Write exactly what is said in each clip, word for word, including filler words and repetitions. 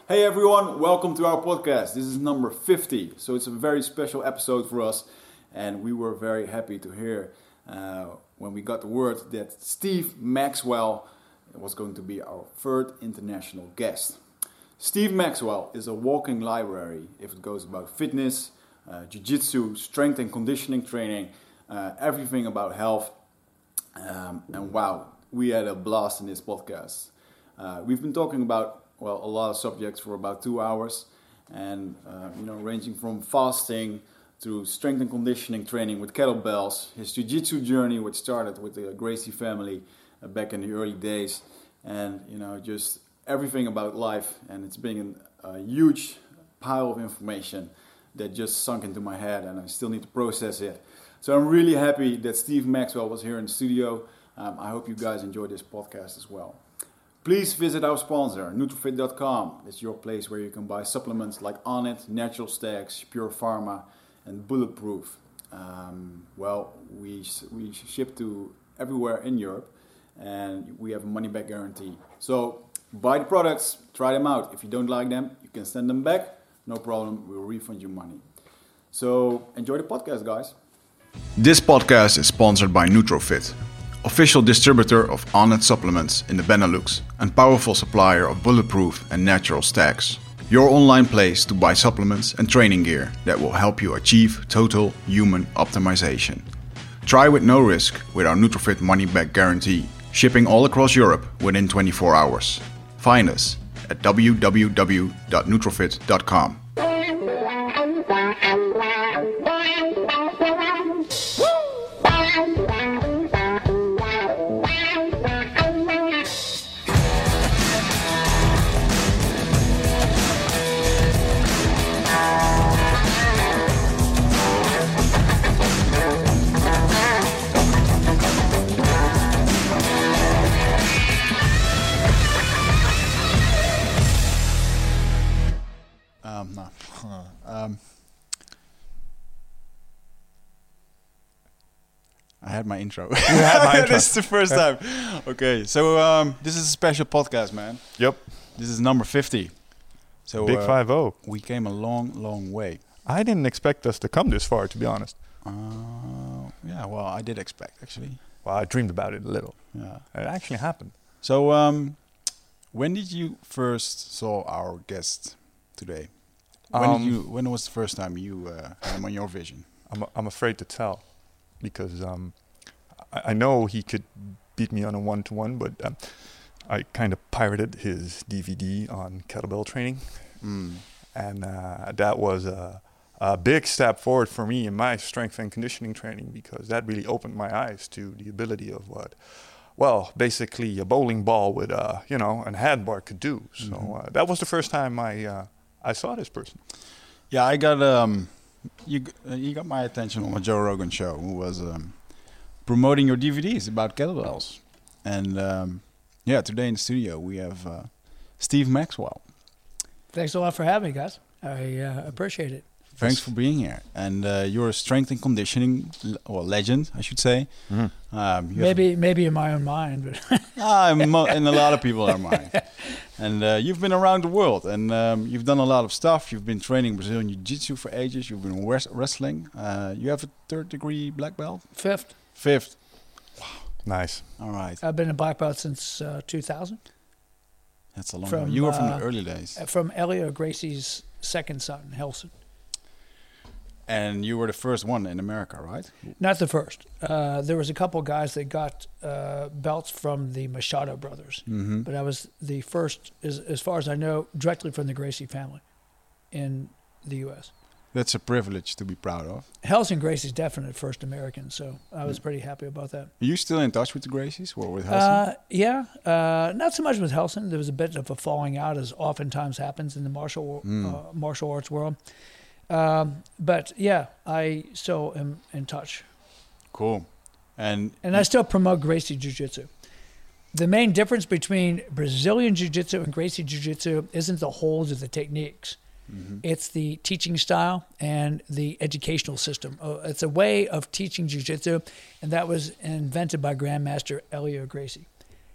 Hey everyone, welcome to our podcast. This is number fifty, so it's a very special episode for us, and we were very happy to hear uh, when we got the word that Steve Maxwell was going to be our third international guest. Steve Maxwell is a walking library if it goes about fitness, uh, jiu-jitsu, strength and conditioning training, uh, everything about health. Um, and wow, we had a blast in this podcast. Uh, we've been talking about, well, a lot of subjects for about two hours. And, uh, you know, ranging from fasting to strength and conditioning training with kettlebells, his jiu-jitsu journey, which started with the Gracie family uh, back in the early days. And, you know, just everything about life. And it's been a huge pile of information that just sunk into my head, and I still need to process it. So I'm really happy that Steve Maxwell was here in the studio. Um, I hope you guys enjoyed this podcast as well. Please visit our sponsor, Nutrofit dot com. It's your place where you can buy supplements like Onnit, Natural Stacks, Pure Pharma, and Bulletproof. Um, well, we we ship to everywhere in Europe, and we have a money-back guarantee. So buy the products, try them out. If you don't like them, you can send them back. No problem, we'll refund you money. So enjoy the podcast, guys. This podcast is sponsored by Nutrofit, official distributor of Onnit supplements in the Benelux and powerful supplier of Bulletproof and Natural Stacks. Your online place to buy supplements and training gear that will help you achieve total human optimization. Try with no risk with our Nutrofit money-back guarantee, shipping all across Europe within twenty-four hours. Find us at w w w dot nutrofit dot com. Um, no. um, I had my intro. You had my intro. This is the first time. Okay, so um, this is a special podcast, man. Yep. This is number fifty. So Big uh, five oh. we came a long, long way. I didn't expect us to come this far, to be honest. Uh, yeah, well, I did expect, actually. Well, I dreamed about it a little. Yeah. It actually happened. So, um, when did you first saw our guest today? When Um, did you? When was the first time you uh, had him on your vision? I'm I'm afraid to tell because um, I, I know he could beat me on a one-to-one, but um, I kind of pirated his D V D on kettlebell training, Mm. and uh, that was a, a big step forward for me in my strength and conditioning training because that really opened my eyes to the ability of what, well, basically a bowling ball with a you know an handbar could do. So Mm-hmm. uh, that was the first time I uh, I saw this person. Yeah, I got um, you g- uh, you got my attention on a Joe Rogan show, who was um, promoting your D V Ds about kettlebells, and um, yeah, today in the studio we have uh, Steve Maxwell. Thanks a lot for having me, guys. I uh, appreciate it. Thanks for being here, and uh, you're a strength and conditioning l- well legend, I should say. Mm-hmm. Um, you have Maybe, maybe in my own mind, but Ah, in mo- in a lot of people are mine. And uh, you've been around the world, and um, you've done a lot of stuff. You've been training Brazilian Jiu-Jitsu for ages. You've been wres- wrestling. Uh, you have a third degree black belt? fifth. Fifth. Nice. All right. I've been a black belt since uh, two thousand. That's a long from, time. You were from the uh, early days. From Elio Gracie's second son, Helson. And you were the first one in America, right? Not the first. Uh, there was a couple guys that got uh, belts from the Machado brothers, Mm-hmm. but I was the first, as, as far as I know, directly from the Gracie family in the U S That's a privilege to be proud of. Helson Gracie's definitely first American, so I was pretty happy about that. Are you still in touch with the Gracies or with Helson? Uh, yeah, uh, not so much with Helson. There was a bit of a falling out, as oftentimes happens in the martial Mm. uh, martial arts world. Um, but yeah, I still am in touch, Cool. And and I still promote Gracie Jiu-Jitsu. The main difference between Brazilian Jiu-Jitsu and Gracie Jiu-Jitsu isn't the holds or the techniques. Mhm. It's the teaching style and the educational system. Uh, it's a way of teaching Jiu-Jitsu, and that was invented by Grandmaster Elio Gracie.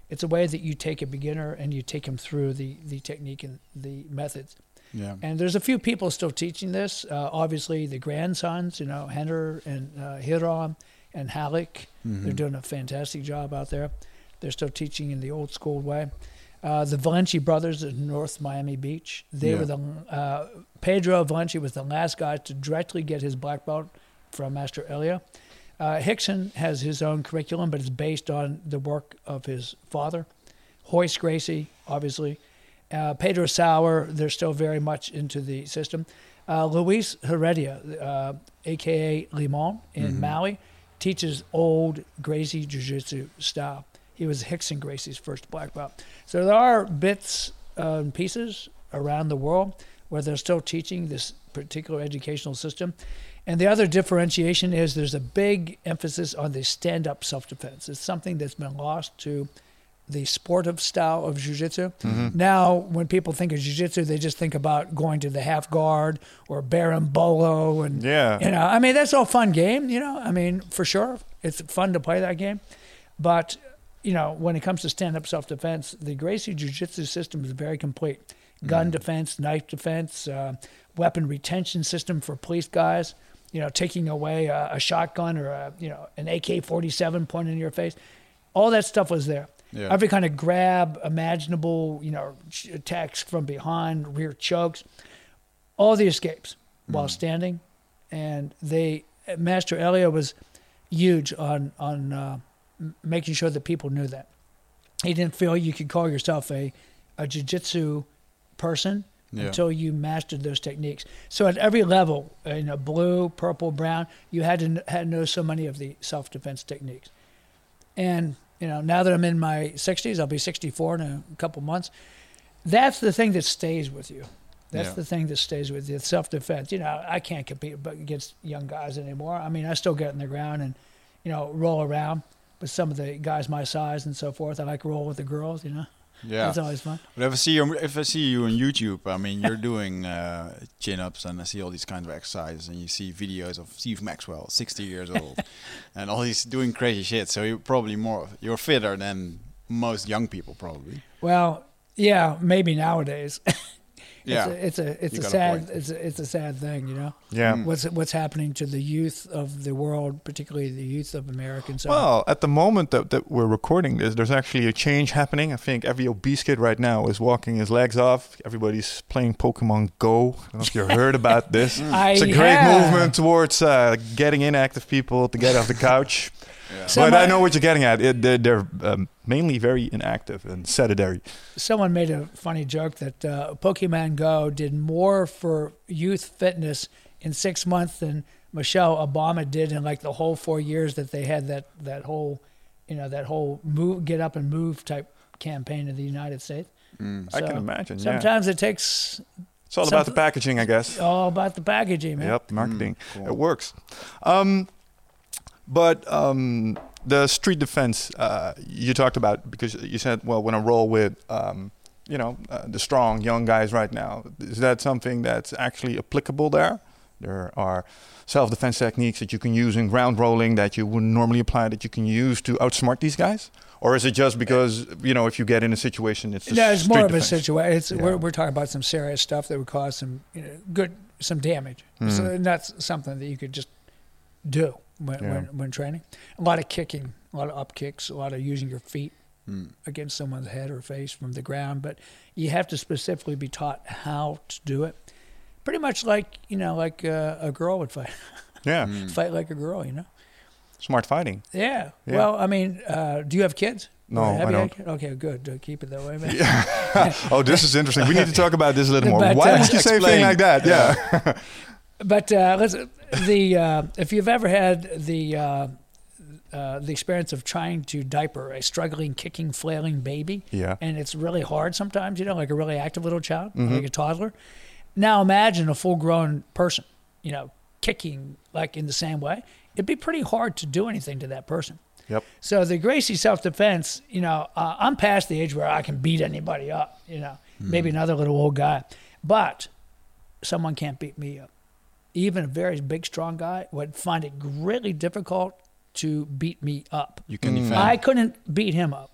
It's a way that you take a beginner and you take him through the, the technique and the methods. Yeah. And there's a few people still teaching this. Uh, obviously, the grandsons, you know, Henner and uh, Hiram and Halleck, Mm-hmm. they're doing a fantastic job out there. They're still teaching in the old school way. Uh, the Valenci brothers at North Miami Beach, they Yeah. were the, uh, Pedro Valenci was the last guy to directly get his black belt from Master Elia. Uh, Hickson has his own curriculum, but it's based on the work of his father. Hoist Gracie, obviously. Uh, Pedro Sauer, they're still very much into the system. Uh, Luis Heredia, uh, a k a. Limon in Mm-hmm. Maui, teaches old Gracie Jiu-Jitsu style. He was Hickson Gracie's first black belt. So there are bits uh, and pieces around the world where they're still teaching this particular educational system. And the other differentiation is there's a big emphasis on the stand-up self-defense. It's something that's been lost to the sportive style of jiu-jitsu. Mm-hmm. Now, when people think of jiu-jitsu, they just think about going to the half guard or berimbolo, and Yeah. you know, I mean, that's all fun game. You know, I mean, for sure, it's fun to play that game. But you know, when it comes to stand-up self-defense, the Gracie jiu-jitsu system is very complete. Gun defense, knife defense, uh, weapon retention system for police guys. You know, taking away a, a shotgun or a, you know, an A K forty-seven pointed in your face. All that stuff was there. Yeah. Every kind of grab imaginable, you know, ch- attacks from behind, rear chokes, all the escapes while standing. And they, Master Elia was huge on, on uh, m- making sure that people knew that. He didn't feel you could call yourself a, a jiu-jitsu person Yeah. until you mastered those techniques. So at every level, uh, you know, blue, purple, brown, you had to kn- had to know so many of the self-defense techniques. And you know, now that I'm in my sixties, I'll be sixty-four in a couple months. That's the thing that stays with you. That's Yeah. the thing that stays with you. It's self-defense. You know, I can't compete against young guys anymore. I mean, I still get in the ground and, you know, roll around with some of the guys my size and so forth. I like roll with the girls, you know. Yeah. That's always fun. But if I see you, if I see you on YouTube, I mean, you're doing uh, chin-ups, and I see all these kinds of exercises, and you see videos of Steve Maxwell, sixty years old, and all he's doing crazy shit. So you're probably more, you're fitter than most young people, probably. Well, yeah, maybe nowadays. Yeah. It's a, it's a, it's You a got a sad, point. it's a, it's a sad thing, you know. Yeah. What's what's happening to the youth of the world, particularly the youth of Americans? So Well, at the moment that, that we're recording this, there's actually a change happening. I think every obese kid right now is walking his legs off. Everybody's playing Pokemon Go. I don't know if you heard about this. I It's a great have. movement towards uh, getting inactive people to get off the couch. Someone, But I know what you're getting at. It, they're they're um, mainly very inactive and sedentary. someone made a funny joke that uh, Pokemon Go did more for youth fitness in six months than Michelle Obama did in like the whole four years that they had that that whole, you know, that whole move, get up and move type campaign in the United States. I can So imagine. Yeah. Sometimes it takes It's all about the something- packaging, I guess. all about the packaging, man. Yep, marketing. cool. It works. Um, but um, the street defense uh, you talked about, because you said, well, when I roll with, um, you know, uh, the strong young guys right now, is that something that's actually applicable there? There are self-defense techniques that you can use in ground rolling that you wouldn't normally apply that you can use to outsmart these guys? Or is it just because, you know, if you get in a situation, it's just No, it's more street of a defense? situation. It's Yeah. we're we're talking about some serious stuff that would cause some you know, good some damage. So and that's something that you could just do when, Yeah. when when training. A lot of kicking, a lot of up kicks, a lot of using your feet Mm. against someone's head or face from the ground. But you have to specifically be taught how to do it. Pretty much like you know, like uh, a girl would fight, Yeah, fight like a girl. You know. smart fighting. Yeah. Yeah. Well, I mean, uh, do you have kids? No, Or have I you had don't. kids? Okay, good. Uh, keep it that way, man. Oh, this is interesting. We need to talk about this a little more. But, Why uh, would you say a Explain. thing like that? Yeah. But uh, let's, the uh, if you've ever had the uh, uh, the experience of trying to diaper a struggling, kicking, flailing baby, Yeah. and it's really hard sometimes, you know, like a really active little child, like a toddler. Now imagine a full-grown person, you know, kicking like in the same way. It'd be pretty hard to do anything to that person. Yep. So the Gracie self-defense, you know, uh, I'm past the age where I can beat anybody up, you know, maybe another little old guy, but someone can't beat me up. Even a very big, strong guy would find it really difficult to beat me up. You can defend. I couldn't beat him up.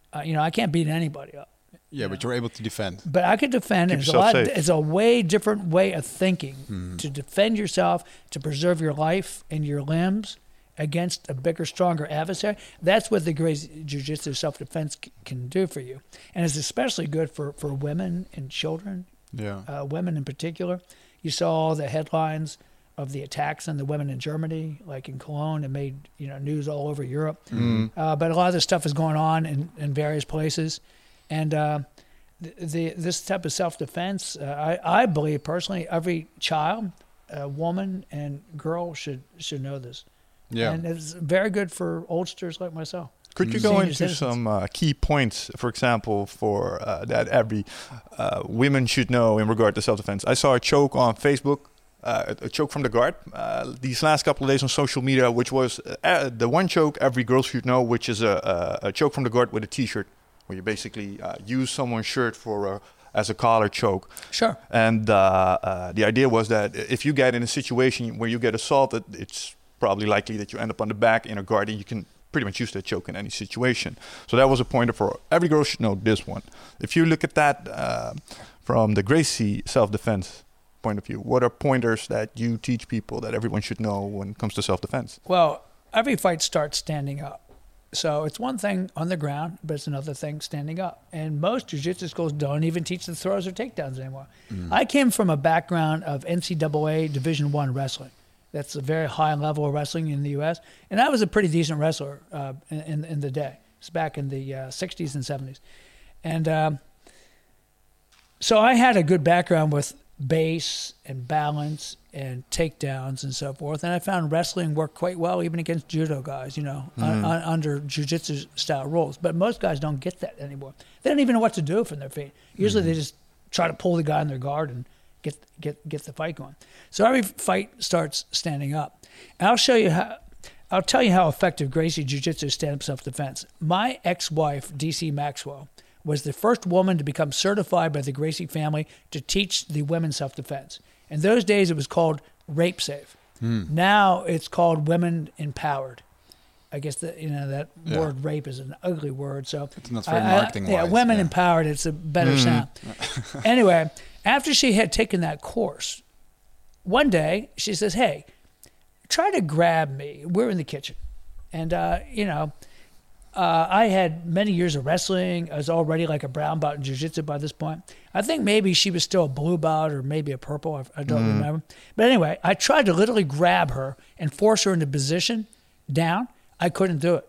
Uh, you know, I can't beat anybody up. Yeah, but you're able to defend. But I could defend. Keep It's a yourself lot. safe. It's a way different way of thinking to defend yourself, to preserve your life and your limbs against a bigger, stronger adversary. That's what the Gracie Jiu-Jitsu self-defense c- can do for you, and it's especially good for for women and children. Yeah. Uh, women in particular. You saw the headlines of the attacks on the women in Germany, like in Cologne. It made you know news all over Europe. Mm. Uh, but a lot of this stuff is going on in, in various places, and uh, the, the this type of self-defense, uh, I, I believe personally, every child, uh, woman, and girl should should know this. Yeah. And it's very good for oldsters like myself. Could you Mm. go Senior into citizens. some uh, key points, for example, for uh, that every uh, women should know in regard to self-defense? I saw a choke on Facebook, uh, a choke from the guard, uh, these last couple of days on social media, which was uh, the one choke every girl should know, which is a, a, a choke from the guard with a T-shirt, where you basically uh, use someone's shirt for a, as a collar choke. Sure. And uh, uh, the idea was that if you get in a situation where you get assaulted, it's probably likely that you end up on the back in a guard, and you can pretty much use that choke in any situation. So that was a pointer for every girl should know this one. If you look at that uh, from the Gracie self-defense point of view, what are pointers that you teach people that everyone should know when it comes to self-defense? Well, every fight starts standing up. So it's one thing on the ground, but it's another thing standing up. And most jiu-jitsu schools don't even teach the throws or takedowns anymore. I came from a background of N C double A Division One wrestling. That's a very high level of wrestling in the U S. And I was a pretty decent wrestler uh, in, in in the day. It's back in the uh, sixties and seventies. And um, so I had a good background with base and balance and takedowns and so forth. And I found wrestling worked quite well even against judo guys, you know, un, un, under jiu-jitsu style rules. But most guys don't get that anymore. They don't even know what to do from their feet. Usually they just try to pull the guy in their guard and get get get the fight going. So every fight starts standing up. And I'll show you how. I'll tell you how effective Gracie Jiu-Jitsu stand-up self-defense. My ex-wife, D C Maxwell, was the first woman to become certified by the Gracie family to teach the women self-defense. In those days, it was called Rape Safe. Now it's called Women Empowered. I guess that you know that Yeah. word rape is an ugly word, so It's not very I- I- marketing Yeah, wise, women yeah. empowered. It's a better sound. Anyway, after she had taken that course, one day she says, "Hey, try to grab me." We're in the kitchen, and uh, you know, uh, I had many years of wrestling. I was already like a brown belt in jiu-jitsu by this point. I think maybe she was still a blue belt or maybe a purple. I, I don't remember. But anyway, I tried to literally grab her and force her into position down. I couldn't do it.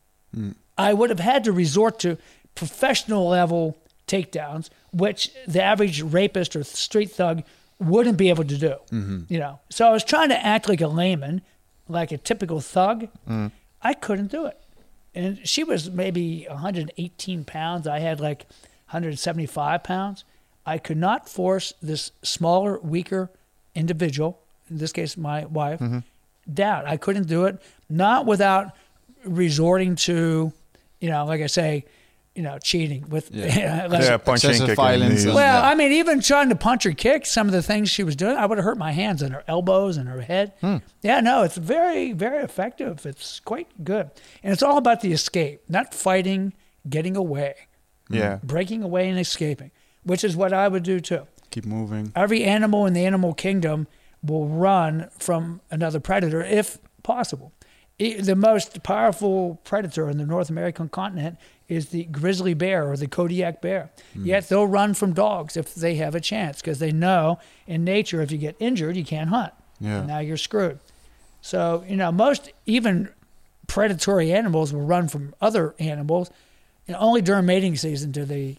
I would have had to resort to professional level takedowns, which the average rapist or street thug wouldn't be able to do. You know, so I was trying to act like a layman, like a typical thug. I couldn't do it, and she was maybe one hundred eighteen pounds. I had like one hundred seventy-five pounds. I could not force this smaller, weaker individual, in this case my wife, down. I couldn't do it, not without resorting to, you know, like I say, you know, cheating with, Yeah. like- Yeah, punching, excessive kicking, violence knees. and- well, Yeah. I mean, even trying to punch or kick, some of the things she was doing, I would have hurt my hands and her elbows and her head. Yeah, no, it's very, very effective. It's quite good. And it's all about the escape, not fighting, getting away, Yeah. breaking away and escaping, which is what I would do too. Keep moving. Every animal in the animal kingdom will run from another predator if possible. E- The most powerful predator in the North American continent is the grizzly bear or the Kodiak bear. Yet they'll run from dogs if they have a chance because they know in nature if you get injured, you can't hunt. Yeah. And now you're screwed. So, you know, most even predatory animals will run from other animals. You know, only during mating season do they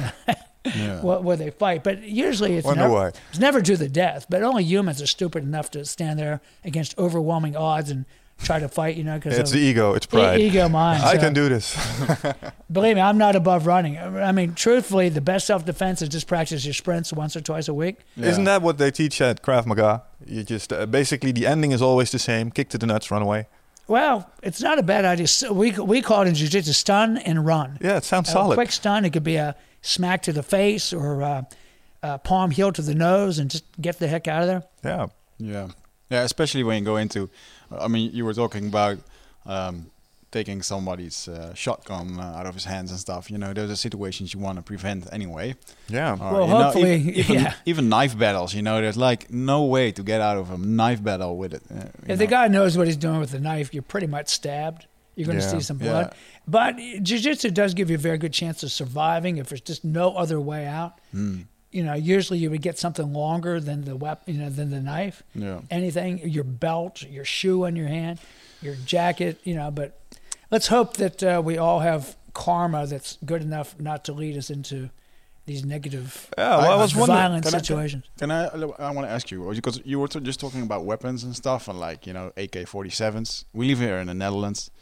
Yeah. wh- where they fight. But usually it's Wonder never, why. it's never to the death. But only humans are stupid enough to stand there against overwhelming odds and try to fight, you know, because It's the ego. It's pride. ego mind. I So, can do this. believe me, I'm not above running. I mean, truthfully, the best self-defense is just practice your sprints once or twice a week. Yeah. Isn't that what they teach at Krav Maga? You just uh, basically the ending is always the same: kick to the nuts, run away. Well, it's not a bad idea. So we we call it in jiu-jitsu stun and run. Yeah, it sounds A solid. quick stun. It could be a smack to the face or a, a palm heel to the nose and just get the heck out of there. Yeah. Yeah, yeah. Especially when you go into, I mean, you were talking about um, taking somebody's uh, shotgun uh, out of his hands and stuff. You know, those are situations you want to prevent anyway. Yeah. Or, Well, you know, hopefully, even, even, yeah. even knife battles. You know, there's like no way to get out of a knife battle with it. Uh, you If know. the guy knows what he's doing with the knife, you're pretty much stabbed. You're going to Yeah. see some Yeah. blood. But jiu-jitsu does give you a very good chance of surviving if there's just no other way out. Mm. You know, usually you would get something longer than the weapon, you know, than the knife. Yeah. Anything, your belt, your shoe on your hand, your jacket, you know. But let's hope that uh, we all have karma that's good enough not to lead us into these negative, Yeah, well, I was wondering. violent Can I- situations. Can I? I want to ask you because you were t- just talking about weapons and stuff, and like you know A K forty-sevens. We live here in the Netherlands.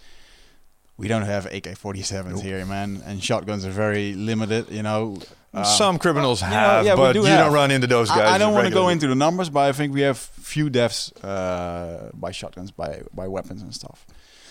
We don't have A K forty-sevens Nope. here, man, and shotguns are very limited. You know, uh, Some criminals yeah, have, yeah, we but do you have. don't run into those guys. I, I don't want to go regularly. into the numbers, but I think we have few deaths uh, by shotguns, by by weapons and stuff.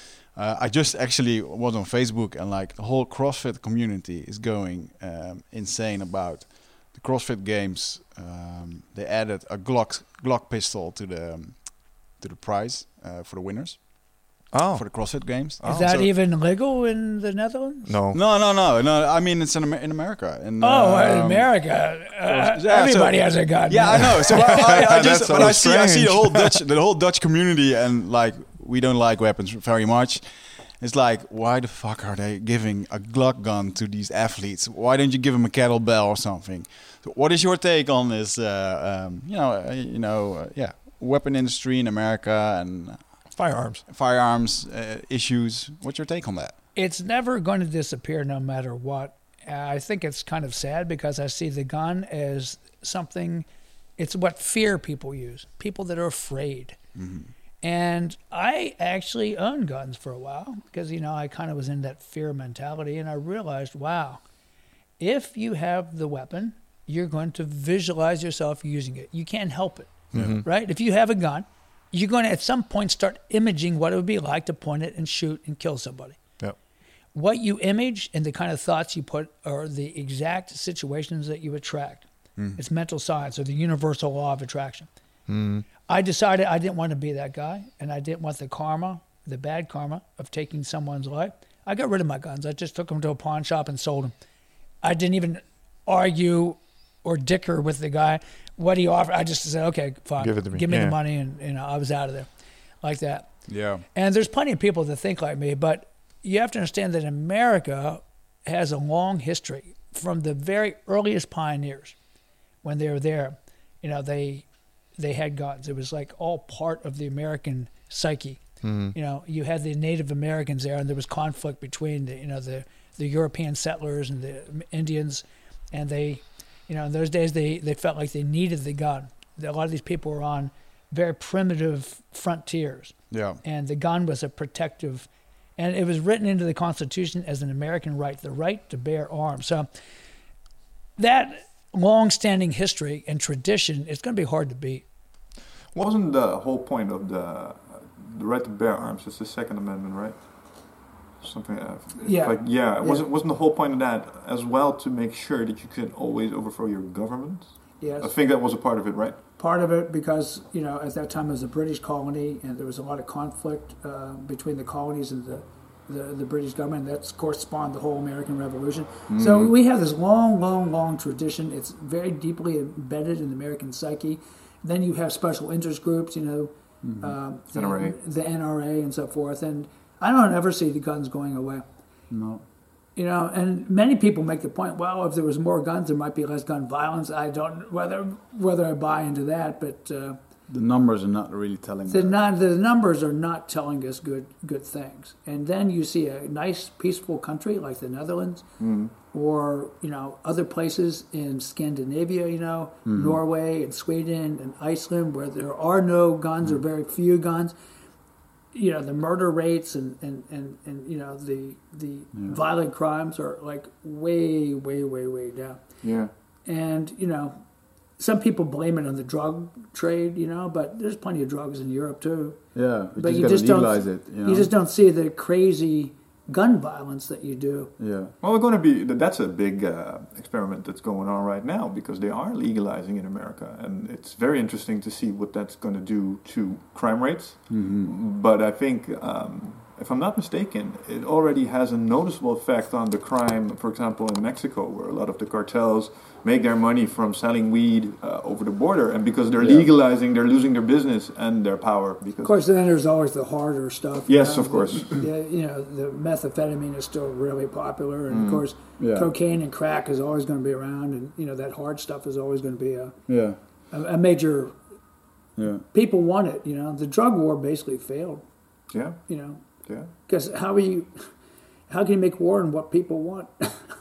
Uh, I just actually was on Facebook, and like the whole CrossFit community is going um, insane about the CrossFit Games. Um, they added a Glock Glock pistol to the um, to the prize uh, for the winners Oh, for the CrossFit Games. Is Oh. that So- even legal in the Netherlands? no. No, no, no, no. I mean, it's in, Amer- in America. In, Oh, in um, America, uh, yeah, so- everybody has a gun. Yeah, I know. So I, I, I just, That's but so I see, I see the strange. whole Dutch, the whole Dutch community, and like we don't like weapons very much. It's like, why the fuck are they giving a Glock gun to these athletes? Why don't you give them a kettlebell or something? So what is your take on this? Uh, um, you know, uh, you know, uh, yeah, weapon industry in America and Firearms. firearms uh, issues. What's your take on that? It's never going to disappear no matter what. Uh, I think it's kind of sad because I see the gun as something, it's what fear people use, people that are afraid. Mm-hmm. And I actually owned guns for a while because, you know, I kind of was in that fear mentality, and I realized, wow, if you have the weapon, you're going to visualize yourself using it. You can't help it, Mm-hmm. right? If you have a gun, you're going to at some point start imaging what it would be like to point it and shoot and kill somebody. Yep. What you image and the kind of thoughts you put are the exact situations that you attract. It's mental science, or the universal law of attraction. Mm. I decided I didn't want to be that guy, and I didn't want the karma, the bad karma of taking someone's life. I got rid of my guns. I just took them to a pawn shop and sold them. I didn't even argue or dicker with the guy. What he offered, I just said, okay, fine. Give it to me. Give me Yeah. the money, and you know, I was out of there, like that. Yeah. And there's plenty of people that think like me, but you have to understand that America has a long history from the very earliest pioneers. When they were there, you know, they they had guns. It was like all part of the American psyche. Mm-hmm. You know, you had the Native Americans there, and there was conflict between the, you know, the the European settlers and the Indians, and they, you know, in those days they they felt like they needed the gun. A lot of these people were on very primitive frontiers, Yeah. and the gun was a protective, and it was written into the Constitution as an American right, the right to bear arms. So that long-standing history and tradition, it's going to be hard to beat. Wasn't the whole point of the the right to bear arms? It's the Second Amendment, right? Something. Uh, Yeah. Like yeah, wasn't wasn't the whole point of that as well to make sure that you could always overthrow your government? Yes. I think that was a part of it, right? Part of it because, you know, at that time it was a British colony, and there was a lot of conflict uh, between the colonies and the, the, the British government. That's, of course, spawned the whole American Revolution. Mm-hmm. So we have this long, long, long tradition. It's very deeply embedded in the American psyche. Then you have special interest groups, you know, mm-hmm. uh, the N R A. the N R A and so forth. And I don't ever see the guns going away. No. You know, and many people make the point, well, if there was more guns, there might be less gun violence. I don't whether whether I buy into that, but uh, The numbers are not really telling. the that. not, the numbers are not telling us good good things. And then you see a nice, peaceful country like the Netherlands, Mm. or you know other places in Scandinavia, you know, mm-hmm. Norway and Sweden and Iceland, where there are no guns mm. or very few guns. You know, the murder rates and, and, and, and you know, the the yeah. violent crimes are like way, way, way, way down. Yeah. And, you know, some people blame it on the drug trade, you know, but there's plenty of drugs in Europe too. Yeah, but, but you, you just just legalize don't, it. You, know? you just don't see the crazy gun violence that you do. Yeah. Well, we're going to be. That's a big uh, experiment that's going on right now because they are legalizing in America, and it's very interesting to see what that's going to do to crime rates. Mm-hmm. But I think um, if I'm not mistaken, it already has a noticeable effect on the crime, for example, in Mexico, where a lot of the cartels make their money from selling weed uh, over the border, and because they're Yeah. legalizing, they're losing their business and their power. Because Of course, then there's always the harder stuff. Yes, you know, of course. the- the- you know, the methamphetamine is still really popular, and of course, Yeah. cocaine and crack is always going to be around, and you know that hard stuff is always going to be a, Yeah. a, a major. Yeah. People want it. You know, the drug war basically failed. yeah, You know, yeah, because how are you? How can you make war on what people want?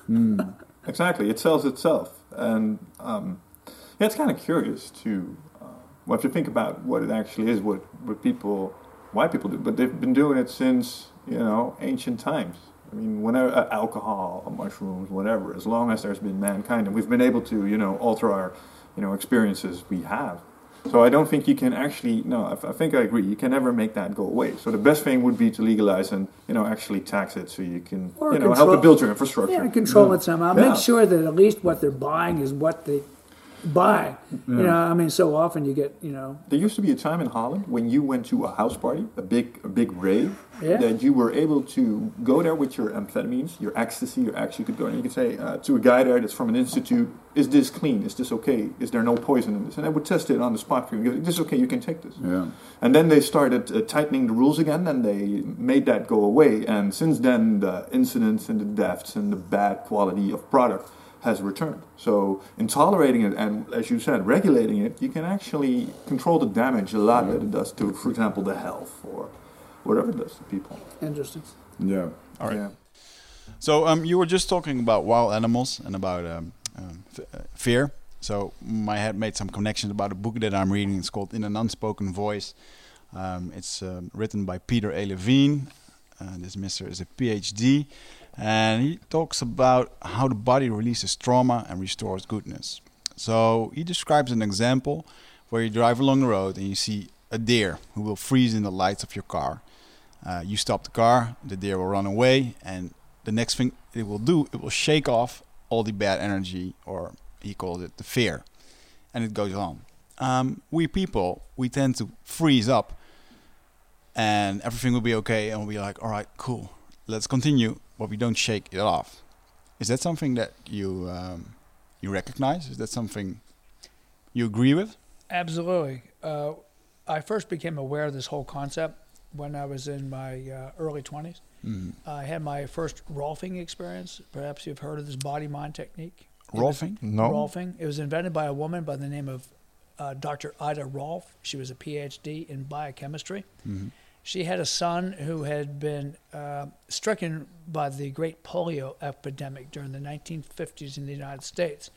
exactly. It sells itself, and um, yeah, it's kind of curious to uh, well, if you think about what it actually is, what what people, why people do, but they've been doing it since you know ancient times. I mean, whenever uh, alcohol, or mushrooms, whatever, as long as there's been mankind, and we've been able to you know alter our you know experiences, we have. So I don't think you can actually, no, I, I think I agree, you can never make that go away. So the best thing would be to legalize and, you know, actually tax it so you can, Or you know, control- help to build your infrastructure. Yeah, control it somehow. Yeah. Make sure that at least what they're buying is what they buy. You know, I mean, so often you get, you know, There used to be a time in Holland when you went to a house party, a big a big rave, Yeah. that you were able to go there with your amphetamines, your ecstasy, your axe. You could go and you could say uh, to a guy there that's from an institute, is this clean? Is this okay? Is there no poison in this? And I would test it on the spot for you. This is okay, you can take this. Yeah. And then they started uh, tightening the rules again, and they made that go away. And since then, the incidents and the deaths and the bad quality of product has returned. So in tolerating it and, as you said, regulating it, you can actually control the damage a lot that it does to, for example, the health or whatever it does to people. interesting. Yeah. All right. Yeah. So um, you were just talking about wild animals and about um, um, f- uh, fear. So mm, I had made some connections about a book that I'm reading. It's called In an Unspoken Voice. Um, it's um, written by Peter A. Levine. Uh, this mister is a P H D. And he talks about how the body releases trauma and restores goodness. So he describes an example where you drive along the road and you see a deer who will freeze in the lights of your car. Uh, you stop the car, the deer will run away, and the next thing it will do, it will shake off all the bad energy, or he calls it the fear. And it goes on. Um, we people, we tend to freeze up and everything will be okay and we'll be like, all right, cool, let's continue, but we don't shake it off. Is that something that you um, you recognize? Is that something you agree with? Absolutely. Uh, I first became aware of this whole concept when I was in my uh, early twenties. Mm. I had my first Rolfing experience. Perhaps you've heard of this body-mind technique. It was- Rolfing? No. Rolfing. It was invented by a woman by the name of uh, Doctor Ida Rolf. She was a P H D in biochemistry. Mhm. She had a son who had been uh, stricken by the great polio epidemic during the nineteen fifties in the United States.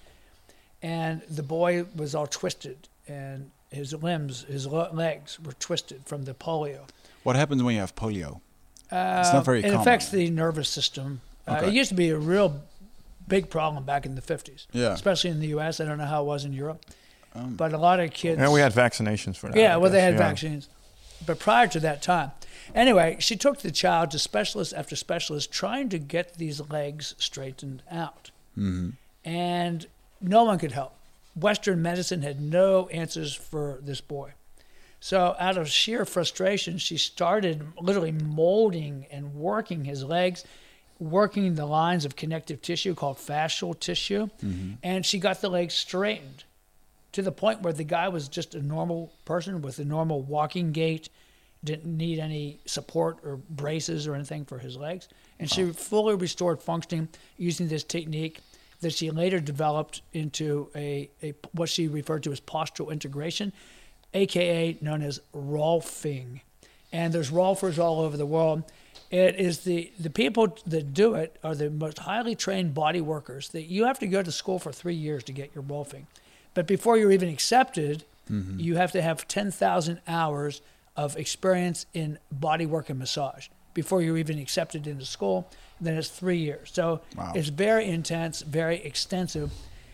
And the boy was all twisted, and his limbs, his le- legs were twisted from the polio. What happens when you have polio? Uh, It's not very It common. affects the nervous system. Uh, Okay. it used to be a real big problem back in the fifties, Yeah. especially in the U S. I don't know how it was in Europe. Um, But a lot of kids... Yeah, we had vaccinations for that. Yeah, I well, they guess, had yeah. vaccines. But prior to that time. Anyway, she took the child to specialist after specialist trying to get these legs straightened out. mhm. And no one could help. Western medicine had no answers for this boy. So out of sheer frustration, she started literally molding and working his legs, working the lines of connective tissue called fascial tissue, and she got the legs straightened to the point where the guy was just a normal person with a normal walking gait, didn't need any support or braces or anything for his legs. And she fully restored functioning using this technique that she later developed into a, a what she referred to as postural integration, A K A known as Rolfing. And there's Rolfers all over the world. It is the, the people that do it are the most highly trained body workers that you have to go to school for three years to get your Rolfing. But before you're even accepted, you have to have ten thousand hours of experience in body work and massage before you're even accepted into school. Then it's three years. So Wow. it's very intense, very extensive.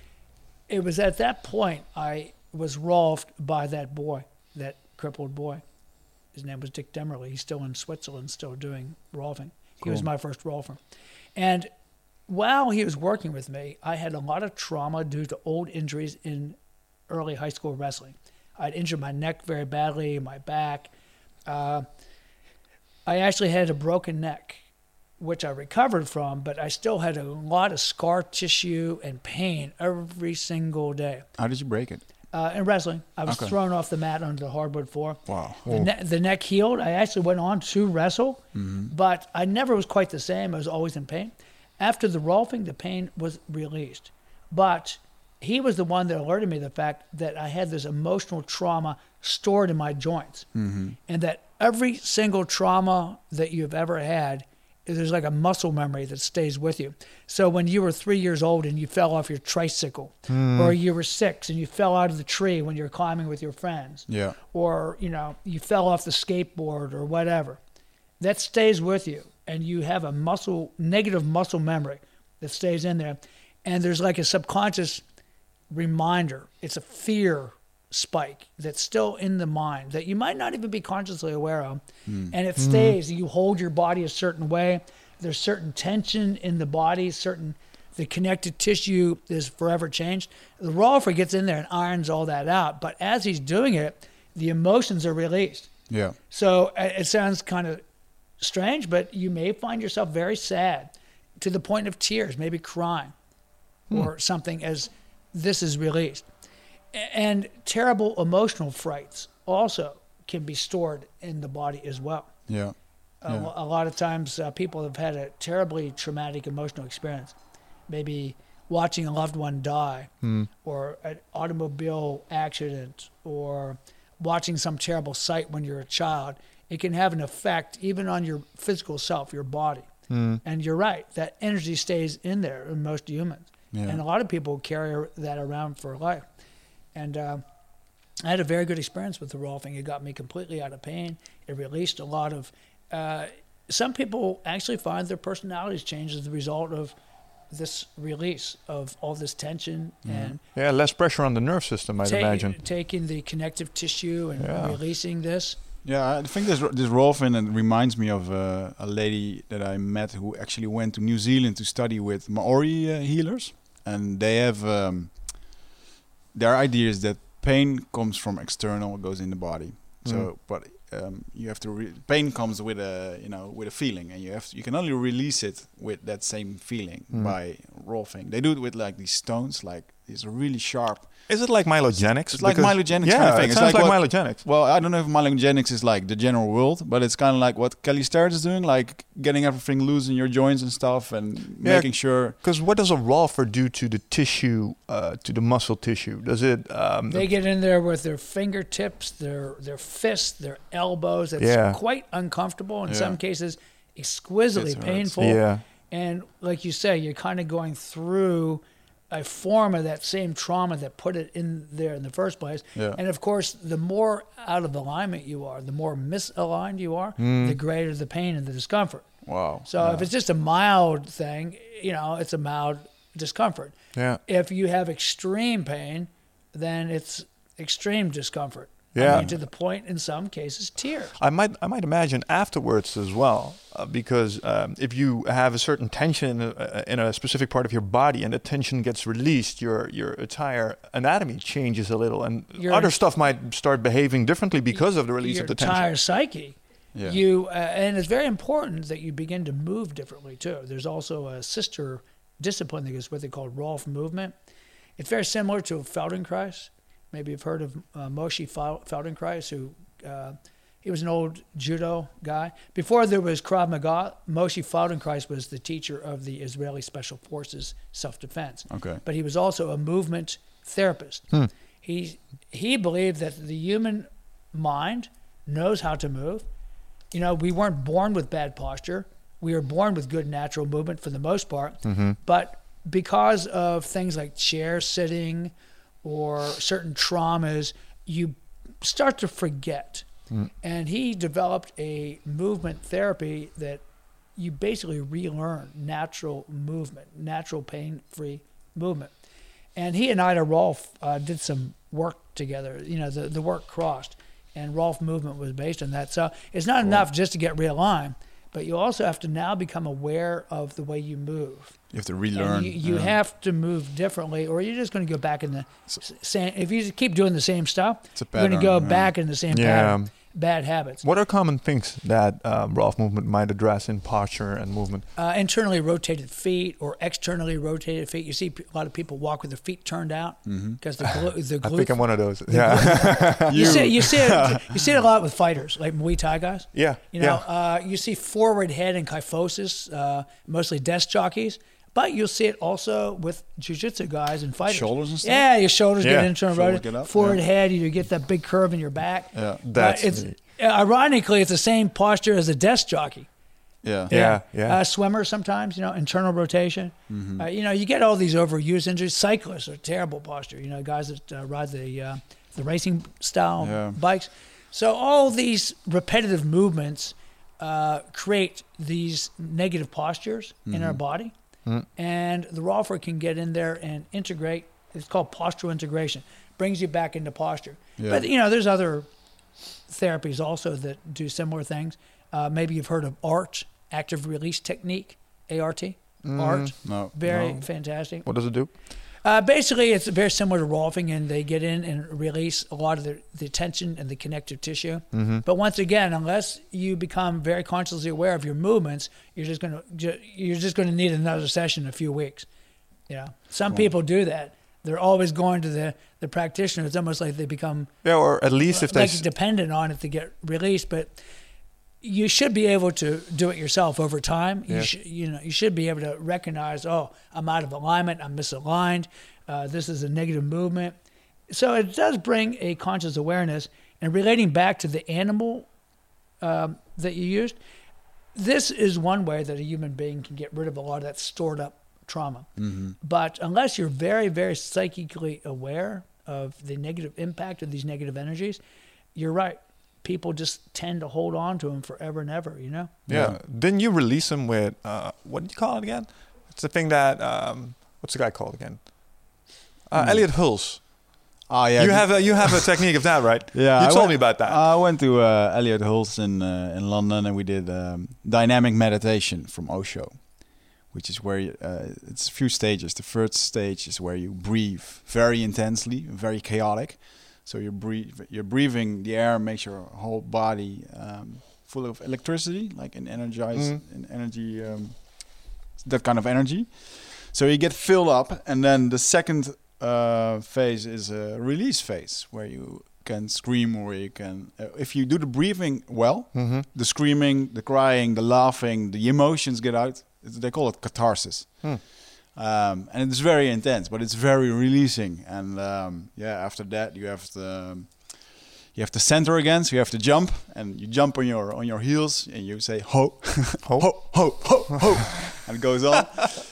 It was at that point I was rolfed by that boy, that crippled boy. His name was Dick Demerly. He's still in Switzerland, still doing rolfing. He was Cool. my first rolfer. And while he was working with me, I had a lot of trauma due to old injuries in early high school wrestling. I'd injured my neck very badly, my back. Uh, I actually had a broken neck, which I recovered from, but I still had a lot of scar tissue and pain every single day. How did you break it? Uh, in wrestling, I was Okay. thrown off the mat onto the hardwood floor. Wow. The, ne- the neck healed. I actually went on to wrestle, but I never was quite the same. I was always in pain. After the Rolfing, the pain was released. But he was the one that alerted me to the fact that I had this emotional trauma stored in my joints. Mm-hmm. And that every single trauma that you've ever had, there's like a muscle memory that stays with you. So when you were three years old and you fell off your tricycle, or you were six and you fell out of the tree when you were climbing with your friends, Yeah. or you know you fell off the skateboard or whatever, that stays with you, and you have a muscle negative muscle memory that stays in there, and there's like a subconscious reminder. It's a fear spike that's still in the mind that you might not even be consciously aware of, and it stays. You hold your body a certain way. There's certain tension in the body, certain the connective tissue is forever changed. The Rolfer gets in there and irons all that out, but as he's doing it, the emotions are released. Yeah. So uh, it sounds kind of strange, but you may find yourself very sad to the point of tears, maybe crying or something as this is released. A- And terrible emotional frights also can be stored in the body as well. Yeah. A, Yeah. lo- a lot of times uh, people have had a terribly traumatic emotional experience, maybe watching a loved one die, or an automobile accident, or watching some terrible sight when you're a child. It can have an effect even on your physical self, your body. And you're right, that energy stays in there in most humans. Yeah. And a lot of people carry that around for life. And uh, I had a very good experience with the Rolfing. It got me completely out of pain. It released a lot of... Uh, some people actually find their personalities change as a result of this release of all this tension and Yeah, less pressure on the nerve system, I'd ta- imagine. taking the connective tissue and Yeah. releasing this. Yeah, I think this this Rolfing it reminds me of uh, a lady that I met who actually went to New Zealand to study with Maori uh, healers, and they have um, their idea is that pain comes from external, goes in the body. So, Mm. but um, you have to re- pain comes with a you know with a feeling, and you have to, you can only release it with that same feeling Mm. by Rolfing. They do it with like these stones, like these really sharp. Is it like myelogenics? It's like Because- myelogenics yeah, kind of thing. it It's sounds like like, what- myelogenics. Well, I don't know if myelogenics is like the general world, but it's kind of like what Kelly Starrett is doing, like getting everything loose in your joints and stuff, and Yeah. making sure. Because what does a Rolfer do to the tissue, uh, to the muscle tissue? Does it... Um, They get in there with their fingertips, their their fists, their elbows. It's Yeah. quite uncomfortable. In Yeah. some cases, exquisitely It hurts. painful. yeah. And like you say, you're kind of going through a form of that same trauma that put it in there in the first place. Yeah. And of course, the more out of alignment you are, the more misaligned you are, Mm. the greater the pain and the discomfort. Wow. So yeah. if it's just a mild thing, you know, it's a mild discomfort. Yeah. If you have extreme pain, then it's extreme discomfort. I Yeah. mean, to the point, in some cases, tears. I might I might imagine afterwards as well, uh, because um, if you have a certain tension uh, in a specific part of your body and the tension gets released, your your entire anatomy changes a little, and Your- other stuff might start behaving differently because of the release Your of the tension. entire psyche. Yeah. You uh, and it's very important that you begin to move differently too. There's also a sister discipline that is what they call Rolf movement. It's very similar to Feldenkrais. Maybe you've heard of uh, Moshe Fel- Feldenkrais, who uh, he was an old judo guy. Before there was Krav Maga, Moshe Feldenkrais was the teacher of the Israeli Special Forces self-defense. Okay. But he was also a movement therapist. He he believed that the human mind knows how to move. You know, we weren't born with bad posture. We were born with good natural movement for the most part. But because of things like chair sitting or certain traumas, you start to forget. And he developed a movement therapy that you basically relearn natural movement, natural pain-free movement. And he and Ida Rolf uh, did some work together. You know, the, the work crossed, and Rolf movement was based on that. So it's not enough just to get realigned, but you also have to now become aware of the way you move. You have to relearn. And you you yeah. have to move differently, or you're just going to go back in the s- same. If you keep doing the same stuff, It's a you're going to go pattern, yeah. back in the same Yeah. pattern. bad habits. What are common things that um, Rolf movement might address in posture and movement? Uh, internally rotated feet or externally rotated feet. You see p- a lot of people walk with their feet turned out because Mm-hmm. the, glu- the I glute. think I'm one of those. Yeah. you see, you see, it, you see it a lot with fighters, like Muay Thai guys. Yeah. You know, yeah. uh, you see forward head and kyphosis, uh, mostly desk jockeys, but you'll see it also with jiu-jitsu guys and fighters. Shoulders and stuff? Yeah, your shoulders Yeah. get internal Shoulders rotated. get up, Forward yeah. head, you get that big curve in your back. Yeah. But That's it's me. ironically it's the same posture as a desk jockey. Yeah. Yeah, yeah. Uh, swimmers sometimes, you know, internal rotation. Mm-hmm. Uh, you know, you get all these overused injuries. Cyclists are terrible posture. You know, guys that uh, ride the uh, the racing style Yeah. bikes. So all these repetitive movements uh, create these negative postures in Mm-hmm. our body, and the Rolfer can get in there and integrate. It's called postural integration. Brings you back into posture. Yeah. But you know, there's other therapies also that do similar things. Uh, maybe you've heard of ART, active release technique, A R T. ART, No. very no. fantastic. What does it do? Uh, basically, it's very similar to Rolfing, and they get in and release a lot of the, the tension and the connective tissue. Mm-hmm. But once again, unless you become very consciously aware of your movements, you're just gonna ju- you're just gonna need another session in a few weeks. You know, some people do that. They're always going to the, the practitioner. It's almost like they become Yeah, or at least if they. like s- dependent on it to get released. But you should be able to do it yourself over time. You Yeah. should, you know, you should be able to recognize, oh, I'm out of alignment, I'm misaligned, uh, this is a negative movement. So it does bring a conscious awareness. And relating back to the animal um, that you used, this is one way that a human being can get rid of a lot of that stored up trauma. Mm-hmm. But unless you're very, very psychically aware of the negative impact of these negative energies, you're right. People just tend to hold on to them forever and ever, you know? Yeah. Didn't you release them with uh, what did you call it again? It's the thing that um, what's the guy called again? Uh, Hmm. Elliot Hulse. Oh yeah. you the- have a, you have a technique of that, right? Yeah, You I told went- me about that. I went to uh, Elliot Hulse in uh, in London, and we did um, dynamic meditation from Osho, which is where you, uh, it's a few stages. The first stage is where you breathe very intensely, very chaotic. So you're breathe, you're breathing the air, makes your whole body um, full of electricity, like an energized, Mhm. an energy, um, that kind of energy. So you get filled up, and then the second uh, phase is a release phase where you can scream, or you can, uh, if you do the breathing well, Mm-hmm. the screaming, the crying, the laughing, the emotions get out. It's, they call it catharsis. Hmm. Um, and it's very intense, but it's very releasing. And um, yeah, after that you have to you have to center again. So you have to jump, and you jump on your on your heels, and you say ho, Ho? ho, ho, ho, ho, and it goes on.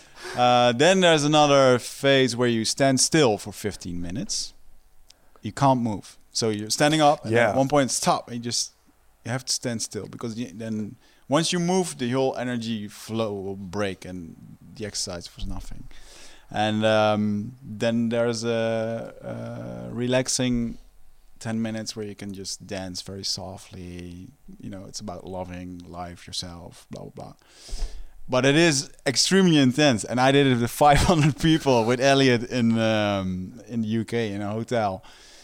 Uh, then there's another phase where you stand still for fifteen minutes. You can't move, so you're standing up. And Yeah. At one point, stop. And you just you have to stand still, because you, then once you move, the whole energy flow will break, and the exercise was nothing. And um, then there's a, a relaxing ten minutes where you can just dance very softly. You know, it's about loving life, yourself, blah, blah, blah. But it is extremely intense. And I did it with five hundred people with Elliot in um, in the U K in a hotel.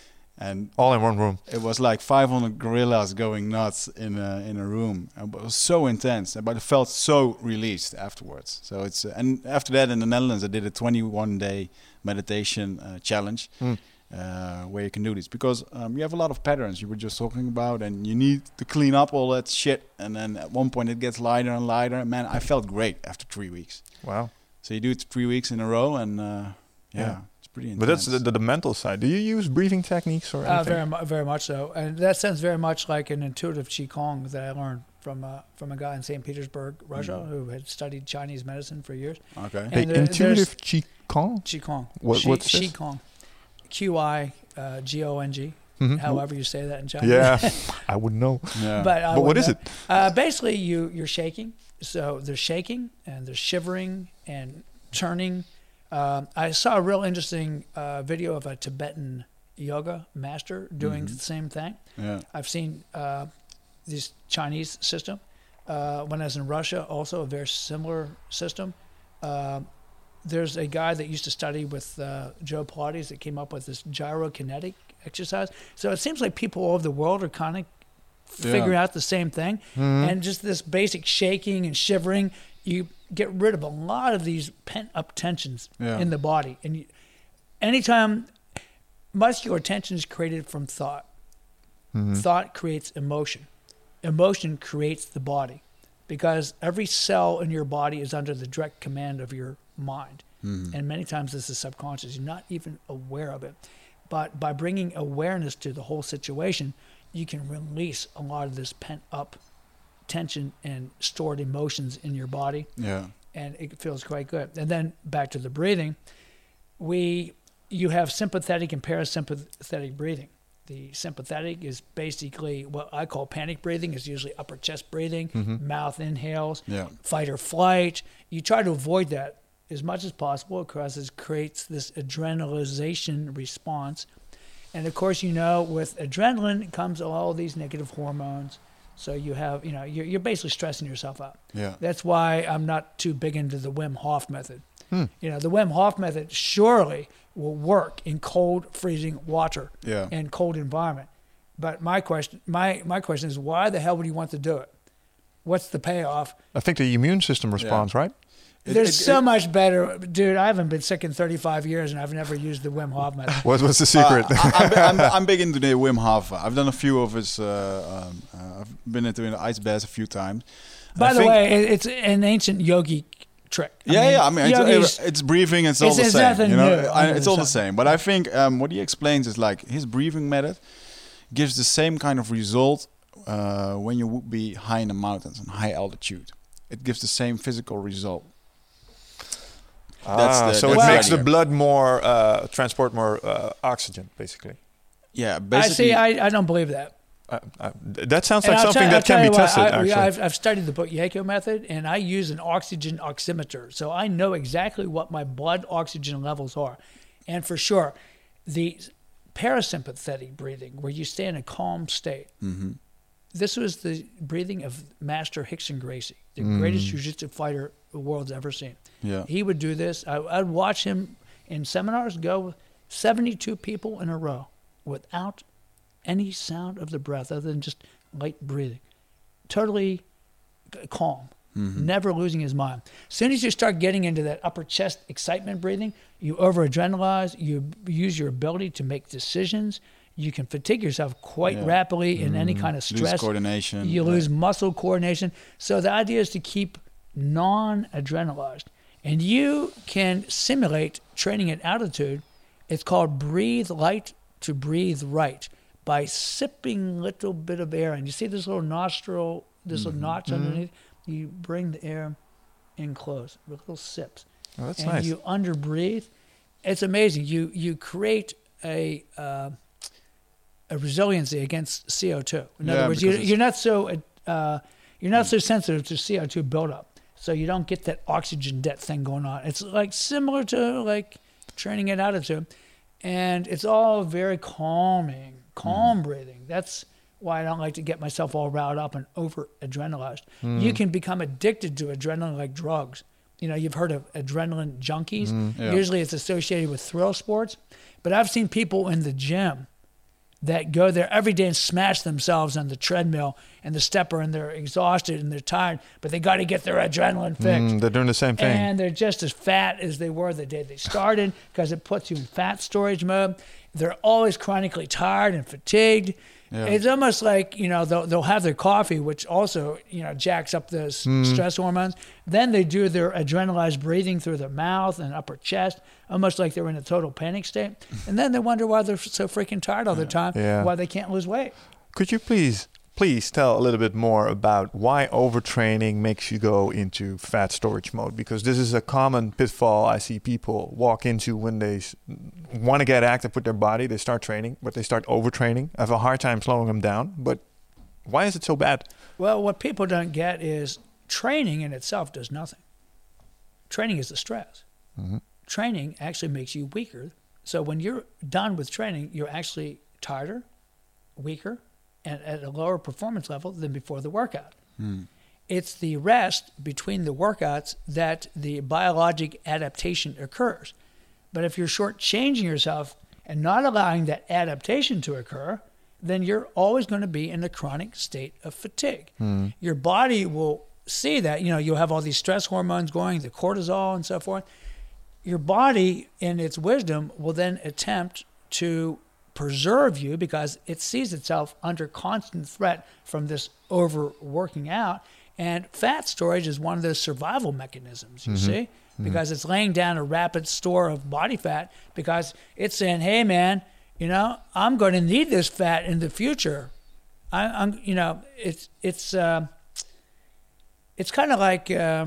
And All in one room. it was like five hundred gorillas going nuts in a, in a room. And it was so intense, but it felt so released afterwards. So it's uh, and after that in the Netherlands, I did a twenty-one day meditation uh, challenge Mm. uh, where you can do this, because um, you have a lot of patterns you were just talking about, and you need to clean up all that shit. And then at one point it gets lighter and lighter. Man, I felt great after three weeks. Wow. So you do it three weeks in a row, and uh, yeah, Yeah. it's pretty intense. But that's the, the, the mental side. Do you use breathing techniques or Uh, anything? very, mu- very much so. And that sounds very much like an intuitive Qigong that I learned from uh, from a guy in Saint Petersburg, Russia, Mm. who had studied Chinese medicine for years. Okay. And Hey, there- intuitive Qigong? Qigong. What- Qi- what's this? Qigong. Q I uh, G O N G, Mhm. however you say that in Chinese. Yeah, I would know. Yeah. But, I But what wouldn't is know. it? Uh, basically, you you're shaking. So there's shaking and there's shivering and turning. Um, I saw a real interesting uh, video of a Tibetan yoga master doing Mhm. the same thing. yeah. I've seen uh, this Chinese system. Uh, when I was in Russia, also a very similar system. Uh, there's a guy that used to study with uh, Joe Pilates that came up with this gyrokinetic exercise. So it seems like people all over the world are kind of figuring Yeah. out the same thing. And just this basic shaking and shivering, you get rid of a lot of these pent-up tensions Yeah. in the body. And you, anytime muscular tension is created from thought, thought creates emotion. Emotion creates the body, because every cell in your body is under the direct command of your mind. And many times this is subconscious. You're not even aware of it. But by bringing awareness to the whole situation, you can release a lot of this pent-up tension and stored emotions in your body, Yeah. and it feels quite good. And then back to the breathing, we you have sympathetic and parasympathetic breathing. The sympathetic is basically what I call panic breathing. It's usually upper chest breathing, mouth inhales, Yeah. fight or flight. You try to avoid that as much as possible, because it creates this adrenalization response. And of course, you know, with adrenaline comes all these negative hormones. So you have, you know, you're, you're basically stressing yourself out. Yeah. That's why I'm not too big into the Wim Hof method. You know, the Wim Hof method surely will work in cold, freezing water Yeah. and cold environment. But my question, my, my question is, why the hell would you want to do it? What's the payoff? I think the immune system responds, right? It- There's it- so it- much better. Dude, I haven't been sick in thirty-five years, and I've never used the Wim Hof method. What was the secret? Uh, I, I'm, bi- I'm, I'm big into the Wim Hof. I've done a few of his. Uh, um, uh, I've been into the ice baths a few times. By I the think- way, it, it's an ancient yogi trick. I yeah, mean, yeah. I mean, yogis- it's, it's breathing. It's all It's- the it's same. nothing You know, new I, under it's the all the sun. same. But I think um, what he explains is like his breathing method gives the same kind of result uh, when you would be high in the mountains and high altitude. It gives the same physical result. That's ah, the- so that's it the makes the idea. blood more, uh, transport more uh, oxygen, basically. Yeah, I basically. see. I, I don't believe that. Uh, uh, that sounds And like I'll something tell- I'll that can tell be you what, tested, I, actually. I've, I've studied the Bukayeko method, and I use an oxygen oximeter, so I know exactly what my blood oxygen levels are. And for sure, the parasympathetic breathing, where you stay in a calm state, Mhm. this was the breathing of Master Rickson Gracie, the greatest jiu-jitsu fighter the world's ever seen. Yeah. He would do this. I, I'd watch him in seminars go with seventy-two people in a row without any sound of the breath other than just light breathing. Totally c- calm, never losing his mind. As soon as you start getting into that upper chest excitement breathing, you over-adrenalize, you b- use your ability to make decisions. You can fatigue yourself quite Yeah. rapidly in any kind of Lose stress. coordination. You like- lose muscle coordination. So the idea is to keep non-adrenalized. And you can simulate training at altitude. It's called breathe light to breathe right, by sipping a little bit of air. And you see this little nostril, this little notch underneath? You bring the air in close with little sips. Oh, that's and nice. you under breathe. It's amazing. You you create a uh, a resiliency against C O two. In Yeah, other words, you, because it's- you're not so uh, you're not so sensitive to C O two buildup, so you don't get that oxygen debt thing going on. It's like similar to like training at altitude, and it's all very calming, calm breathing. That's why I don't like to get myself all riled up and over adrenalized. You can become addicted to adrenaline like drugs. You know, you've heard of adrenaline junkies. yeah. Usually it's associated with thrill sports. But I've seen people in the gym that go there every day and smash themselves on the treadmill and the stepper, and they're exhausted and they're tired, but they got to get their adrenaline fixed. Mm, they're doing the same thing. And they're just as fat as they were the day they started, because it puts you in fat storage mode. They're always chronically tired and fatigued. Yeah. It's almost like, you know, they'll, they'll have their coffee, which also, you know, jacks up the s stress hormones. Then they do their adrenalized breathing through their mouth and upper chest, almost like they're in a total panic state. And then they wonder why they're so freaking tired all the time, Yeah. why they can't lose weight. Could you please, please tell a little bit more about why overtraining makes you go into fat storage mode? Because this is a common pitfall I see people walk into when they want to get active with their body. They start training, but they start overtraining. I have a hard time slowing them down. But why is it so bad? Well, what people don't get is training in itself does nothing. Training is the stress. Training actually makes you weaker. So when you're done with training, you're actually tireder, weaker, and at a lower performance level than before the workout. It's the rest between the workouts that the biologic adaptation occurs. But if you're shortchanging yourself and not allowing that adaptation to occur, then you're always going to be in a chronic state of fatigue. Mm. Your body will see that, you know, you'll have all these stress hormones going, the cortisol and so forth. Your body, in its wisdom, will then attempt to preserve you because it sees itself under constant threat from this overworking out. And fat storage is one of those survival mechanisms, you mm-hmm. see, because mm-hmm. it's laying down a rapid store of body fat because it's saying, hey, man, you know, I'm going to need this fat in the future. I, I'm, you know, it's, it's, uh, it's kind of like, uh,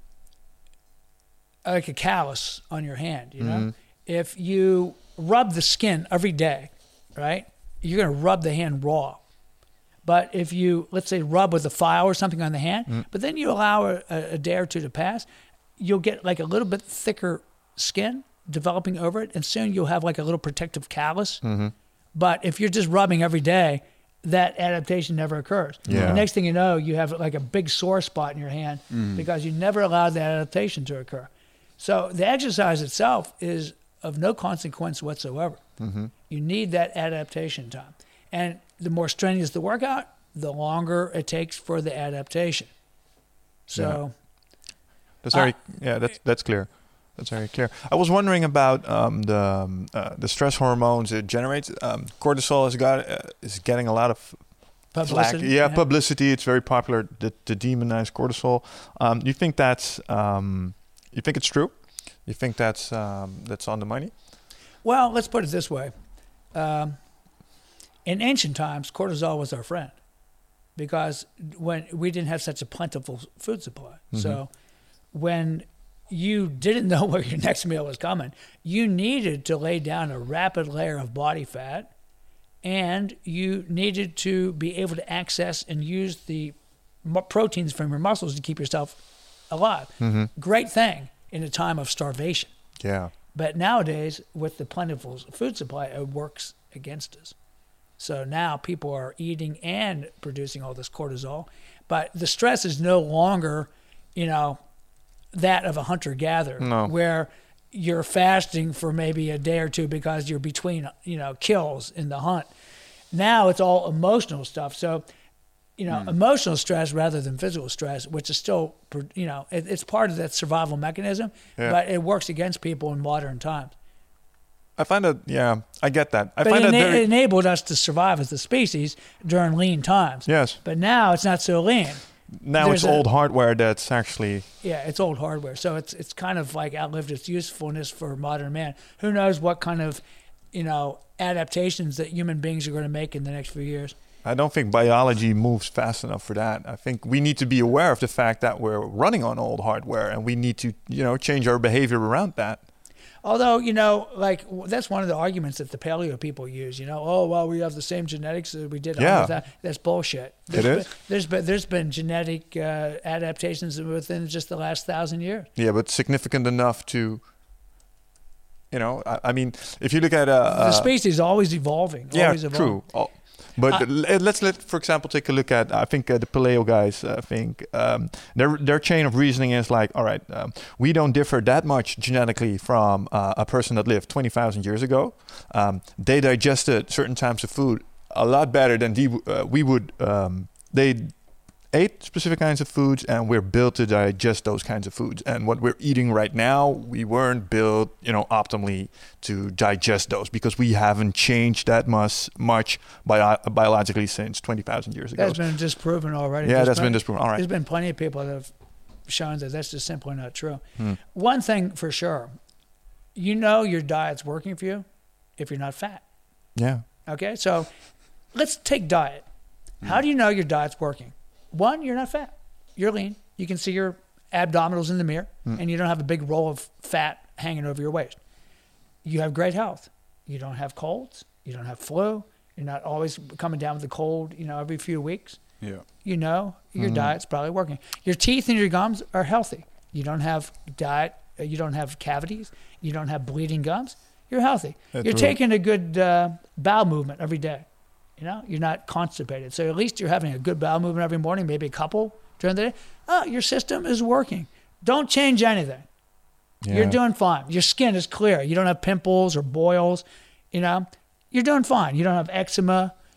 like a callus on your hand, you know? Mm-hmm. If you rub the skin every day, right, you're going to rub the hand raw. But if you, let's say, rub with a file or something on the hand, mm-hmm. but then you allow a, a day or two to pass, you'll get like a little bit thicker skin developing over it, and soon you'll have like a little protective callus. Mm-hmm. But if you're just rubbing every day, that adaptation never occurs. Yeah. The next thing you know, you have like a big sore spot in your hand mm-hmm. because you never allowed that adaptation to occur. So the exercise itself is of no consequence whatsoever. Mm-hmm. You need that adaptation time. And the more strenuous the workout, the longer it takes for the adaptation. So yeah. that's very uh, yeah, that's that's clear. That's very clear. I was wondering about um, the um, uh, the stress hormones it generates. Um, cortisol has got uh, is getting a lot of publicity. Flack. Yeah, yeah, publicity. It's very popular to, to demonize cortisol. Um, you think that's um, you think it's true? You think that's um, that's on the money? Well, let's put it this way. Um, in ancient times, cortisol was our friend because when we didn't have such a plentiful food supply. Mm-hmm. So when you didn't know where your next meal was coming, you needed to lay down a rapid layer of body fat, and you needed to be able to access and use the proteins from your muscles to keep yourself alive. Mm-hmm. Great thing in a time of starvation. Yeah. But nowadays, with the plentiful food supply, it works against us. So now people are eating and producing all this cortisol, but the stress is no longer, you know, that of a hunter-gatherer, no. where you're fasting for maybe a day or two because you're between, you know, kills in the hunt. Now it's all emotional stuff. So, you know, mm. emotional stress rather than physical stress, which is still, you know, it, it's part of that survival mechanism, yeah. but it works against people in modern times. I find that, yeah, I get that. I but find it, that ena- very... it enabled us to survive as a species during lean times. Yes. But now it's not so lean. Now There's it's a, old hardware that's actually... Yeah, it's old hardware. So it's it's kind of like outlived its usefulness for modern man. Who knows what kind of, you know, adaptations that human beings are going to make in the next few years. I don't think biology moves fast enough for that. I think we need to be aware of the fact that we're running on old hardware, and we need to, you know, change our behavior around that. Although, you know, like that's one of the arguments that the paleo people use, you know, oh, well, we have the same genetics that we did. Yeah. That. That's bullshit. There's it been, is? There's been, there's been genetic uh, adaptations within just the last thousand years. Yeah, but significant enough to, you know, I, I mean, if you look at... Uh, the species is always evolving. Yeah, always evolving. true. Oh. But uh, let's let, for example, take a look at. I think uh, the paleo guys. I think um, their their chain of reasoning is like, all right, um, we don't differ that much genetically from uh, a person that lived twenty thousand years ago. Um, they digested certain types of food a lot better than the, uh, we would. Um, they ate specific kinds of foods, and we're built to digest those kinds of foods. And what we're eating right now, we weren't built, you know, optimally to digest those because we haven't changed that much much bio- biologically since twenty thousand years ago. That's been disproven already. Yeah, there's that's been, been disproven. All right. There's been plenty of people that have shown that that's just simply not true. Hmm. One thing for sure, you know your diet's working for you if you're not fat. Yeah. Okay, so let's take diet. Hmm. How do you know your diet's working? One, you're not fat. You're lean. You can see your abdominals in the mirror, mm. and you don't have a big roll of fat hanging over your waist. You have great health. You don't have colds. You don't have flu. You're not always coming down with a cold, you know, every few weeks. Yeah. You know, your mm. diet's probably working. Your teeth and your gums are healthy. You don't have diet. You don't have cavities. You don't have bleeding gums. You're healthy. That's you're right. taking a good uh, bowel movement every day. You know, you're not constipated. So at least you're having a good bowel movement every morning, maybe a couple during the day. Oh, your system is working. Don't change anything. Yeah. You're doing fine. Your skin is clear. You don't have pimples or boils. You know, you're doing fine. You don't have eczema.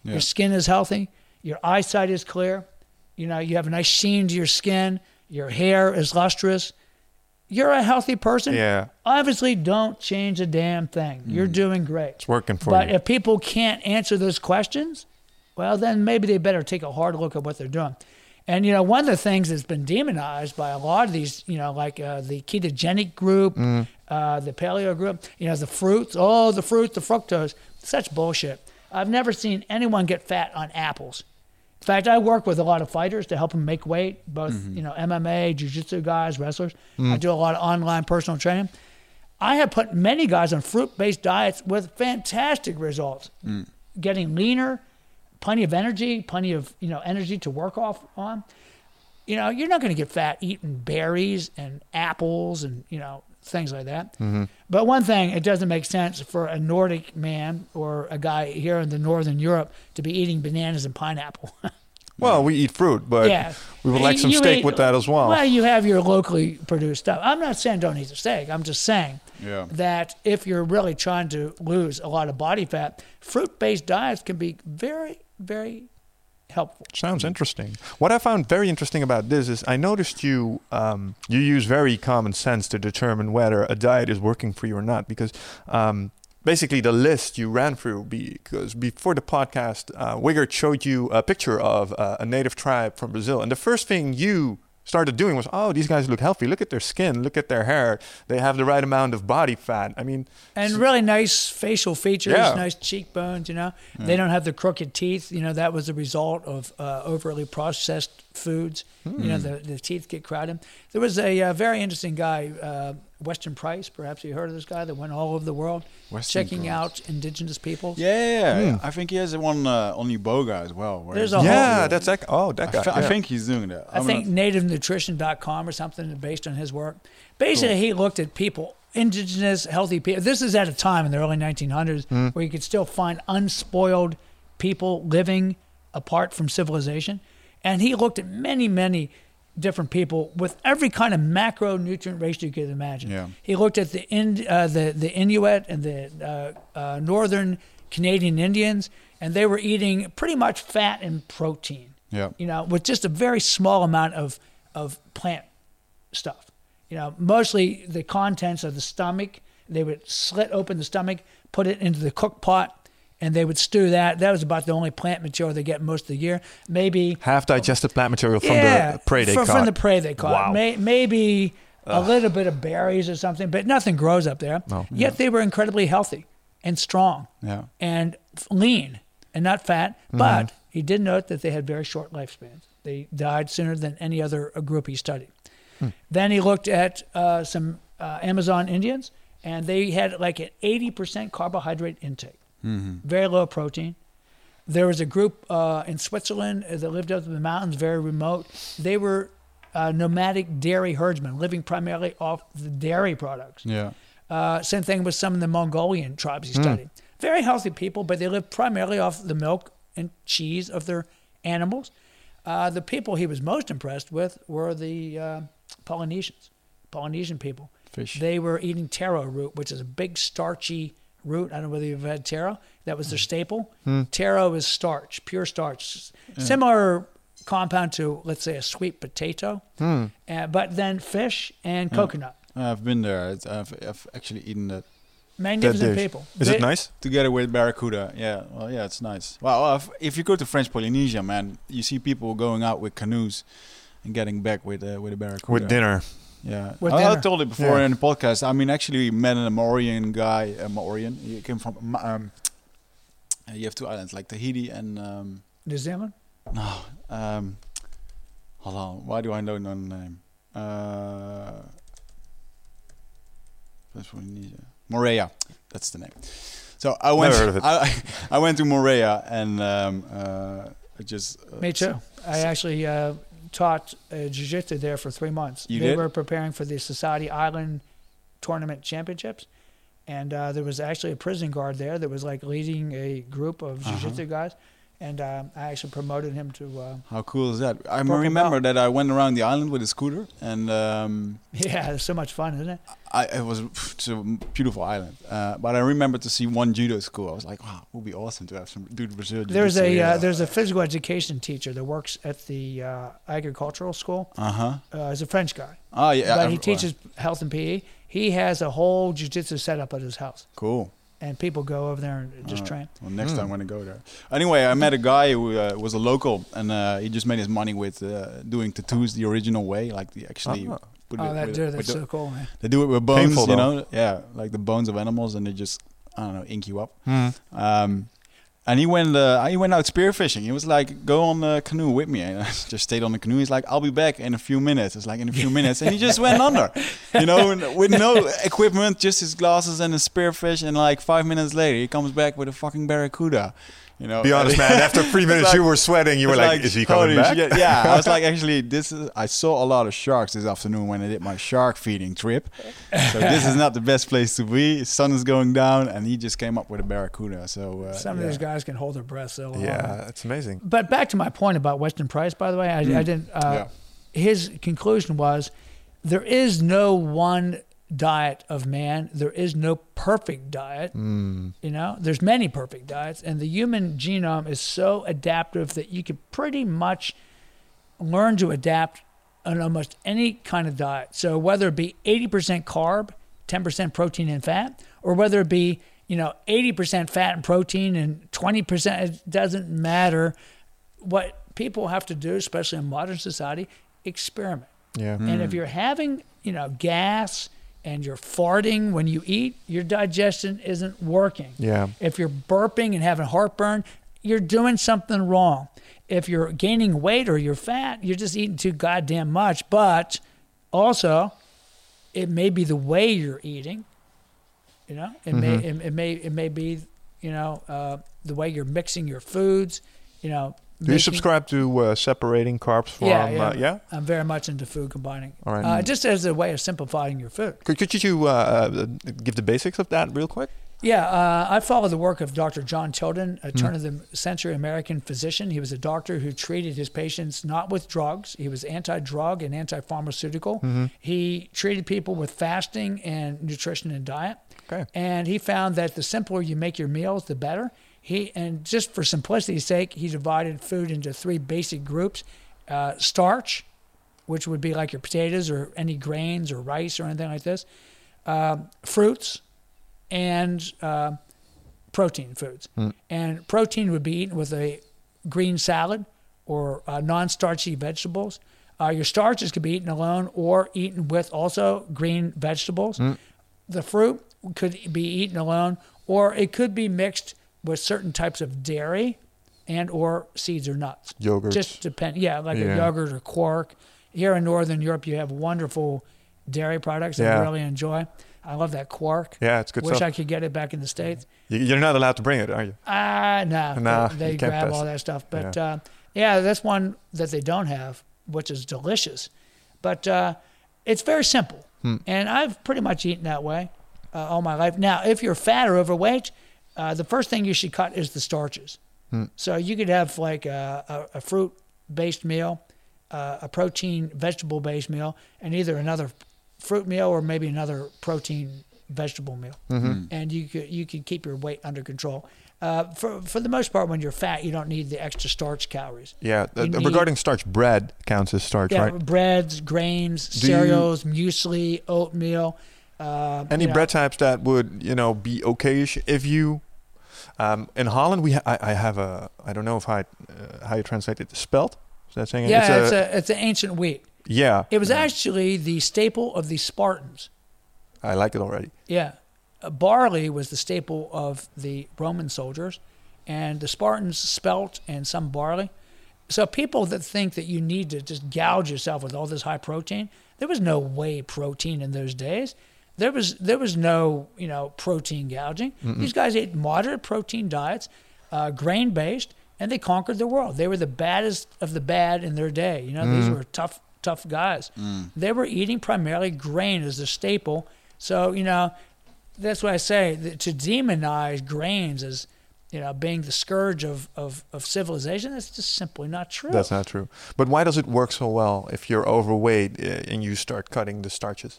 Yeah. Your skin is healthy. Your eyesight is clear. You know, you have a nice sheen to your skin. Your hair is lustrous. You're a healthy person. Yeah. Obviously, don't change a damn thing. You're doing great. It's working for But you. if people can't answer those questions, well, then maybe they better take a hard look at what they're doing. And, you know, one of the things that's been demonized by a lot of these, you know, like uh, the ketogenic group, Mm. uh, the paleo group, you know, the fruits, oh, the fruit, the fructose, such bullshit. I've never seen anyone get fat on apples. In fact, I work with a lot of fighters to help them make weight, both, Mm-hmm. you know, M M A, jiu-jitsu guys, wrestlers. Mm. I do a lot of online personal training. I have put many guys on fruit-based diets with fantastic results, Mm. getting leaner, plenty of energy, plenty of, you know, energy to work off on. You know, you're not going to get fat eating berries and apples and, you know, things like that. Mm-hmm. But one thing, it doesn't make sense for a Nordic man or a guy here in the Northern Europe to be eating bananas and pineapple. Well, we eat fruit, but yeah. we would like some You steak eat- with that as well. Well, you have your locally produced stuff. I'm not saying don't eat the steak. I'm just saying Yeah. that if you're really trying to lose a lot of body fat, fruit-based diets can be very, very helpful. Sounds interesting. What I found very interesting about this is I noticed you um, you use very common sense to determine whether a diet is working for you or not. Because um, basically the list you ran through, because before the podcast, uh, Wigert showed you a picture of uh, a native tribe from Brazil. And the first thing you started doing was, oh, these guys look healthy. Look at their skin. Look at their hair. They have the right amount of body fat. I mean, And really nice facial features, Yeah. nice cheekbones, you know. They don't have the crooked teeth. You know, that was the result of uh, overly processed foods. You know, the, the teeth get crowded. There was a uh, very interesting guy, uh, Weston Price, perhaps you heard of this guy, that went all over the world Weston checking Price. out indigenous peoples. Yeah, yeah, yeah. I think he has one uh, on Iboga as well. where There's he's- a whole- yeah, that's that. Oh, that I, guy. fe- I yeah. think he's doing that. I I'm think not- native nutrition dot com or something based on his work. Basically, he looked at people, indigenous, healthy people. This is at a time in the early nineteen hundreds Hmm. where you could still find unspoiled people living apart from civilization. And he looked at many, many different people with every kind of macronutrient ratio you could imagine. Yeah. He looked at the in, uh, the the Inuit and the uh, uh, northern Canadian Indians, and they were eating pretty much fat and protein. Yeah. You know, with just a very small amount of of plant stuff. You know, mostly the contents of the stomach. They would slit open the stomach, put it into the cook pot, and they would stew that. That was about the only plant material they get most of the year. Maybe Half digested plant material from yeah, the prey they from, caught. from the prey they caught. Wow. May, maybe a little bit of berries or something, but nothing grows up there. No. Yet they were incredibly healthy and strong Yeah. and f- lean and not fat. But he did note that they had very short lifespans. They died sooner than any other uh, group he studied. Then he looked at uh, some uh, Amazon Indians, and they had like an eighty percent carbohydrate intake, very low protein. There was a group uh, in Switzerland that lived up in the mountains, very remote. They were uh, nomadic dairy herdsmen, living primarily off the dairy products. Yeah. Uh, same thing with some of the Mongolian tribes he studied. Very healthy people, but they lived primarily off the milk and cheese of their animals. Uh, the people he was most impressed with were the uh, Polynesians, Polynesian people. Fish. They were eating taro root, which is a big starchy root. I don't know whether you've had taro. That was their staple. Taro is starch, pure starch. Similar compound to, let's say, a sweet potato, uh, but then fish and coconut. I've been there. It's, I've, I've actually eaten that Magnificent dish. people. Is They- it nice? together with barracuda. Yeah. Well, yeah, it's nice. Well, if, if you go to French Polynesia, man, you see people going out with canoes and getting back with uh, with a barracuda. With dinner. Yeah. With I, I dinner. told it before Yeah. in the podcast. I mean, actually, met a Maorian guy. A Maorian. He came from. Ma- Um, uh, you have two islands like Tahiti and um, New Zealand? no. Um, hold on. Why do I know no name? Uh, French Polynesia. Moorea. That's the name. So I went. Never heard of it. I, I went to Moorea and um, uh, I just. Uh, Me too. I actually uh, taught uh, jiu-jitsu there for three months. You they did? were preparing for the Society Island Tournament Championships. And uh, there was actually a prison guard there that was like leading a group of Uh-huh. jiu-jitsu guys. and um, I actually promoted him to. Uh, How cool is that? I Purple remember belt. that I went around the island with a scooter, and um, yeah, it's so much fun, isn't it? I it was it's a beautiful island. Uh, but I remember to see one judo school. I was like, wow, it would be awesome to have some dude Brazil. There's jiu-jitsu a here. uh, there's a physical education teacher that works at the uh, agricultural school. uh-huh. Uh, he's a French guy, Oh yeah, but I- he teaches health and P E. He has a whole jiu-jitsu setup at his house, Cool. and people go over there and just Uh, train. Well, next Mm. time when I go there. Anyway, I met a guy who uh, was a local, and uh, he just made his money with uh, doing tattoos the original way, like the actually. Ah. Put Oh, it that with- dude, with that's the- so cool, man. They do it with bones, Painful, you though. know. Yeah, like the bones of animals, and they just I don't know ink you up. Mm. Um, and he went uh, he went out spearfishing. He was like, "Go on the canoe with me." And I just stayed on the canoe. He's like, "I'll be back in a few minutes." It's like in a few minutes, and he just went under, you know, and with no equipment, just his glasses and a spearfish. And like five minutes later, he comes back with a fucking barracuda. You know, Be honest, man. After three It's minutes, like- you were sweating. You were It's like, "Is he coming holy back?" shit. Yeah, I was like, actually, this is. I saw a lot of sharks this afternoon when I did my shark feeding trip. So this is not the best place to be. Sun is going down, and he just came up with a barracuda. So uh, Some yeah. of these guys can hold their breath so long. Yeah, it's amazing. But back to my point about Weston Price, by the way, I, I didn't. Uh, Yeah. His conclusion was, there is no one diet of man. There is no perfect diet. Mm. You know, there's many perfect diets, and the human genome is so adaptive that you can pretty much learn to adapt on almost any kind of diet. So whether it be eighty percent carb, ten percent protein and fat, or whether it be, you know, eighty percent fat and protein and twenty percent, it doesn't matter. What people have to do, especially in modern society, experiment. Yeah. And if you're having, you know, gas and you're farting when you eat, your digestion isn't working. Yeah. If you're burping and having heartburn, you're doing something wrong. If you're gaining weight or you're fat, you're just eating too goddamn much. But also, it may be the way you're eating. You know, it may it, it may it may be, you know, uh, the way you're mixing your foods. You know. Do you subscribe to uh, separating carbs from? Yeah, yeah. Uh, yeah? I'm very much into food combining. All right. Uh, just as a way of simplifying your food. Could, could you uh, give the basics of that real quick? Yeah, uh, I follow the work of Doctor John Tilden, a turn-of-the-century American physician. He was a doctor who treated his patients not with drugs. He was anti-drug and anti-pharmaceutical. He treated people with fasting and nutrition and diet. Okay. And he found that the simpler you make your meals, the better. He and just for simplicity's sake, he divided food into three basic groups: uh, starch, which would be like your potatoes or any grains or rice or anything like this; uh, fruits, and uh, protein foods. Mm. And protein would be eaten with a green salad or uh, non-starchy vegetables. Uh, your starches could be eaten alone or eaten with also green vegetables. Mm. The fruit could be eaten alone, or it could be mixed with certain types of dairy and or seeds or nuts. Yogurt. Just depend. Yeah, like Yeah. a yogurt or quark. Here in Northern Europe, you have wonderful dairy products that Yeah. I really enjoy. I love that quark. Yeah, it's good Wish stuff. I could get it back in the States. You- You're not allowed to bring it, are you? Ah, no. Nah, they they you can't grab pass all it. that stuff. But yeah. Uh, yeah, that's one that they don't have, which is delicious. But uh, it's very simple. Hmm. And I've pretty much eaten that way uh, all my life. Now, if you're fat or overweight, uh, the first thing you should cut is the starches. Hmm. So you could have like a, a, a fruit-based meal, uh, a protein vegetable-based meal, and either another fruit meal or maybe another protein vegetable meal. Mm-hmm. And you could you could keep your weight under control. Uh, for for the most part, when you're fat, you don't need the extra starch calories. Yeah. You Uh, need- regarding starch, bread counts as starch, Yeah, right? breads, grains, Do you- cereals, muesli, oatmeal. Uh, Any you know, bread types that would, you know, be okay if you... Um, in Holland, we ha- I, I have a... I don't know if I, uh, how you translate it. Spelt? Is that saying it? Yeah, it's a it's an ancient wheat. Yeah. It was Yeah. actually the staple of the Spartans. I like it already. Yeah. Uh, barley was the staple of the Roman soldiers, and the Spartans spelt and some barley. So people that think that you need to just gouge yourself with all this high protein, there was no whey protein in those days. There was there was no, you know, protein gouging. Mm-mm. These guys ate moderate protein diets, uh, grain-based, and they conquered the world. They were the baddest of the bad in their day. You know, these Mm. were tough, tough guys. They were eating primarily grain as the staple. So, you know, that's why I say that to demonize grains as, you know, being the scourge of, of, of civilization. That's just simply not true. That's not true. But why does it work so well if you're overweight uh, and you start cutting the starches?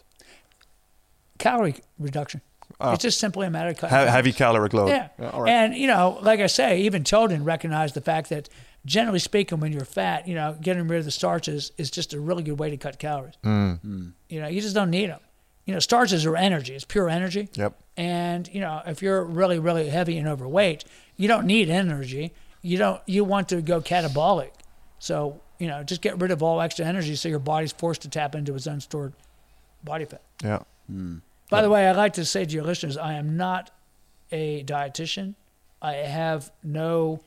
Calorie reduction. Oh. It's just simply a matter of cutting. He- calories. heavy caloric load. Yeah. Yeah, all right. And, you know, like I say, even Tilden recognized the fact that generally speaking, when you're fat, you know, getting rid of the starches is just a really good way to cut calories. Mm. You know, you just don't need them. You know, starches are energy. It's pure energy. Yep. And, you know, if you're really, really heavy and overweight, you don't need energy. You don't, you want to go catabolic. So, you know, just get rid of all extra energy so your body's forced to tap into its unstored body fat. Yeah. By the way, I'd like to say to your listeners, I am not a dietitian. I have no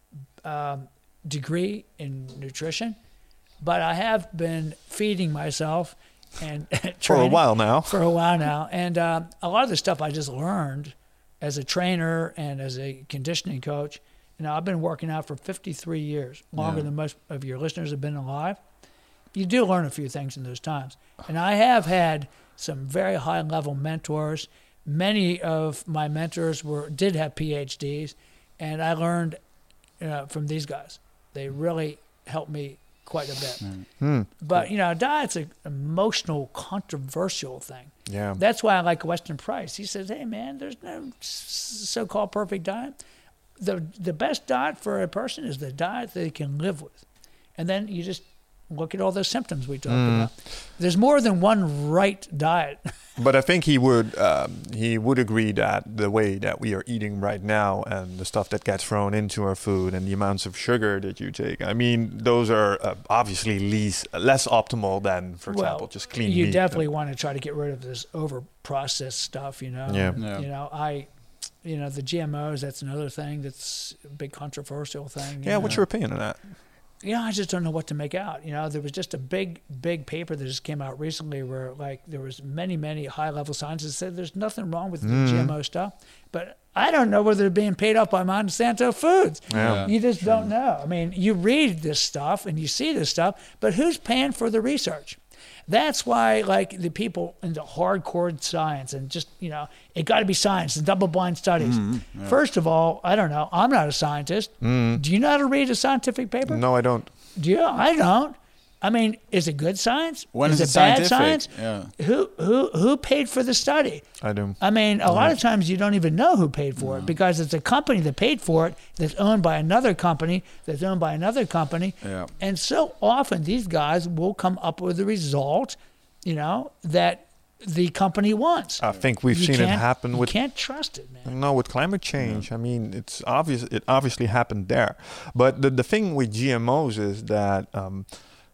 um, degree in nutrition, but I have been feeding myself and For a training while now. For a while now, and uh, a lot of the stuff I just learned as a trainer and as a conditioning coach. You know, I've been working out for fifty-three years, longer Yeah. than most of your listeners have been alive. You do learn a few things in those times, and I have had some very high-level mentors. Many of my mentors were did have P H Ds, and I learned you know, from these guys. They really helped me quite a bit. Hmm. But, you know, diet's an emotional, controversial thing. Yeah. That's why I like Weston Price. He says, hey, man, there's no s- so-called perfect diet. The the best diet for a person is the diet they can live with. And then you just look at all those symptoms we talked Mm. about. There's more than one right diet. But I think he would um, he would agree that the way that we are eating right now and the stuff that gets thrown into our food and the amounts of sugar that you take, I mean, those are uh, obviously least, less optimal than, for example, Well, just clean you meat. definitely want to try to get rid of this over-processed stuff, you know. Yeah. Yeah. You know, I, you know, the G M Os, that's another thing that's a big controversial thing. you Yeah, what's know. your opinion on that? Yeah, I just don't know what to make out. You know, there was just a big, big paper that just came out recently where, like, there was many, many high-level scientists that said there's nothing wrong with Mm. the G M O stuff. But I don't know whether they're being paid off by Monsanto Foods. Yeah. You just don't know. I mean, you read this stuff and you see this stuff, but who's paying for the research? That's why, like, the people into hardcore science and just, you know, it got to be science and double-blind studies. First of all, I don't know. I'm not a scientist. Do you know how to read a scientific paper? No, I don't. Do you? I don't. I mean, is it good science? When is is it it bad scientific? science? Yeah. Who who who paid for the study? I do. I mean, a lot of times you don't even know who paid for it because it's a company that paid for it that's owned by another company that's owned by another company. Yeah. And so often these guys will come up with a result, you know, that the company wants. I think we've You seen it can't- happen you with can't trust it, man. No, with climate change, I mean, it's obvious. It obviously happened there. But the the thing with G M Os is that um,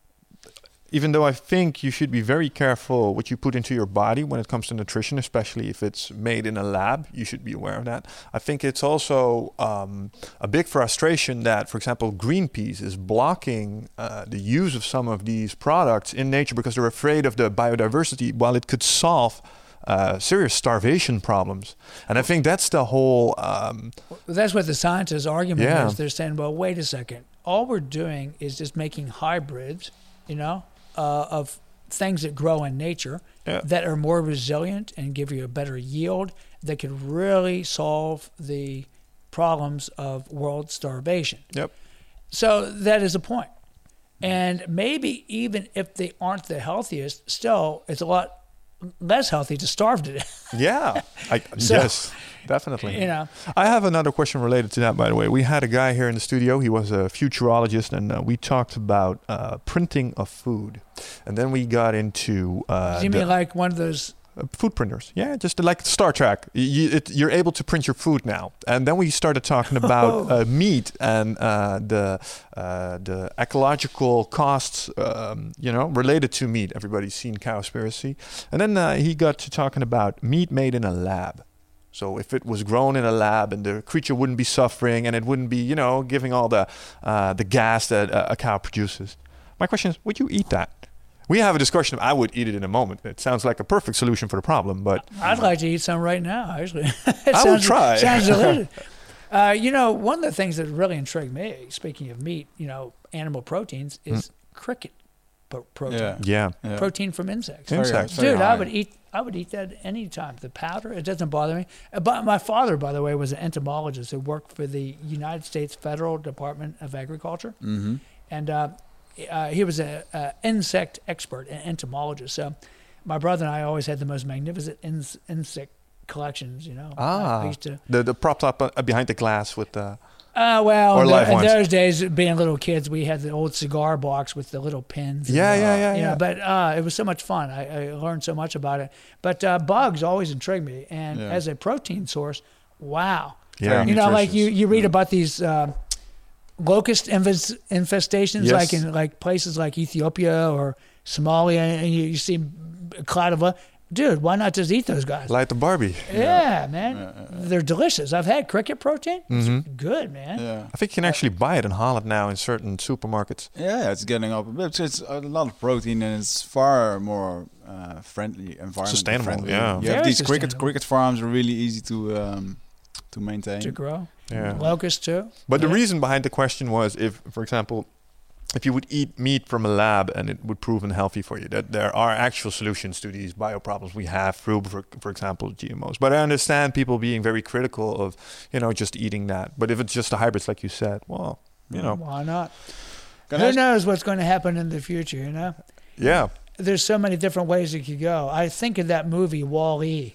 even though I think you should be very careful what you put into your body when it comes to nutrition, especially if it's made in a lab, you should be aware of that. I think it's also um, a big frustration that, for example, Greenpeace is blocking uh, the use of some of these products in nature because they're afraid of the biodiversity, while it could solve uh, serious starvation problems. And I think that's the whole... Um, That's what the scientists' argument Yeah. is. They're saying, well, wait a second. All we're doing is just making hybrids, you know, uh, of things that grow in nature Yeah. that are more resilient and give you a better yield that could really solve the problems of world starvation. Yep. So that is a point. And maybe even if they aren't the healthiest, still it's a lot less healthy to starve to death. Yeah. I, So, yes, definitely. You know, I have another question related to that, by the way. We had a guy here in the studio. He was a futurologist, and uh, we talked about uh, printing of food. And then we got into uh, do you the- mean like one of those? uh, food printers. Yeah, just like Star Trek. You, it, you're able to print your food now. And then we started talking about uh, meat and uh, the uh, the ecological costs, um, you know, related to meat. Everybody's seen Cowspiracy. And then uh, he got to talking about meat made in a lab. So if it was grown in a lab and the creature wouldn't be suffering and it wouldn't be, you know, giving all the uh, the gas that a, a cow produces. My question is, would you eat that? We have a discussion. I would eat it in a moment. It sounds like a perfect solution for the problem, but I'd like to eat some right now, actually. It I would sounds- try. Sounds delicious. Uh, you know, one of the things that really intrigued me, speaking of meat, you know, animal proteins, is cricket. pro- protein. Yeah. Yeah. Yeah. Protein from insects. Very- Insects. very Dude, I high. would eat. I would eat that anytime. The powder, it doesn't bother me. Uh, But my father, by the way, was an entomologist who worked for the United States Federal Department of Agriculture, Mm-hmm. and uh, uh, he was an insect expert, an entomologist. So, my brother and I always had the most magnificent ins- insect collections. You know, Ah. I used to. The the propped up uh, behind the glass with the. Uh, well, Or in, live tho- in ones. those days, being little kids, we had the old cigar box with the little pins. and, Yeah, uh, yeah, yeah, you know, yeah. but uh, it was so much fun. I, I learned so much about it. But uh, bugs always intrigued me, and Yeah. as a protein source, wow. Yeah. You know, like you, Nutritious. you read about these uh, locust infest, infestations, Yes. like in like places like Ethiopia or Somalia, and you, you see a cloud of, uh, dude, why not just eat those guys? Like the Barbie. yeah, man, Yeah, yeah, they're delicious. I've had cricket protein. It's Mhm. good, man. Yeah. I think you can actually buy it in Holland now in certain supermarkets. Yeah, it's getting up a bit. It's a lot of protein and it's far more uh, friendly, environment Sustainable, friendly. yeah. You Very have these cricket sustainable. cricket farms are really easy to um, to maintain. To grow. Yeah. Locust too. But the Yeah. reason behind the question was if, for example, if you would eat meat from a lab and it would prove unhealthy for you, that there are actual solutions to these bio problems we have through, for, for example, G M Os. But I understand people being very critical of, you know, just eating that. But if it's just the hybrids, like you said, well, you know, Why not? Can I Who ask- knows what's going to happen in the future, you know? yeah, There's so many different ways it could go. I think of that movie, Wall-E.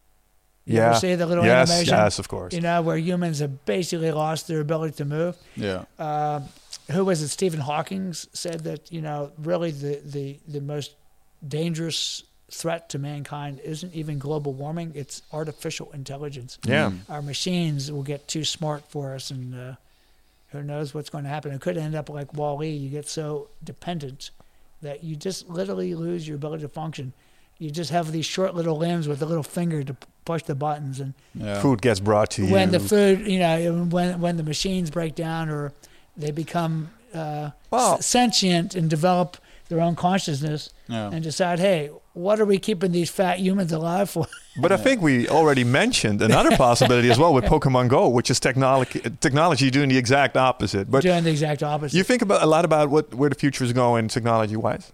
You yeah, ever see the little yes, animation? yes, of course. You know, where humans have basically lost their ability to move. Yeah. Uh, who was it? Stephen Hawking said that, you know, really the, the, the most dangerous threat to mankind isn't even global warming, it's artificial intelligence. Yeah, Mm. Our machines will get too smart for us, and uh, who knows what's going to happen. It could end up like Wall-E. You get so dependent that you just literally lose your ability to function. You just have these short little limbs with a little finger to p- push the buttons, and Yeah. food gets brought to you. when the food, you know, when when the machines break down or they become uh, Well- s- sentient and develop their own consciousness Yeah. and decide, hey, what are we keeping these fat humans alive for? But I think we already mentioned another possibility as well with Pokemon Go, which is technology technology doing the exact opposite. But Doing the exact opposite. you think about a lot about what where the future is going technology wise.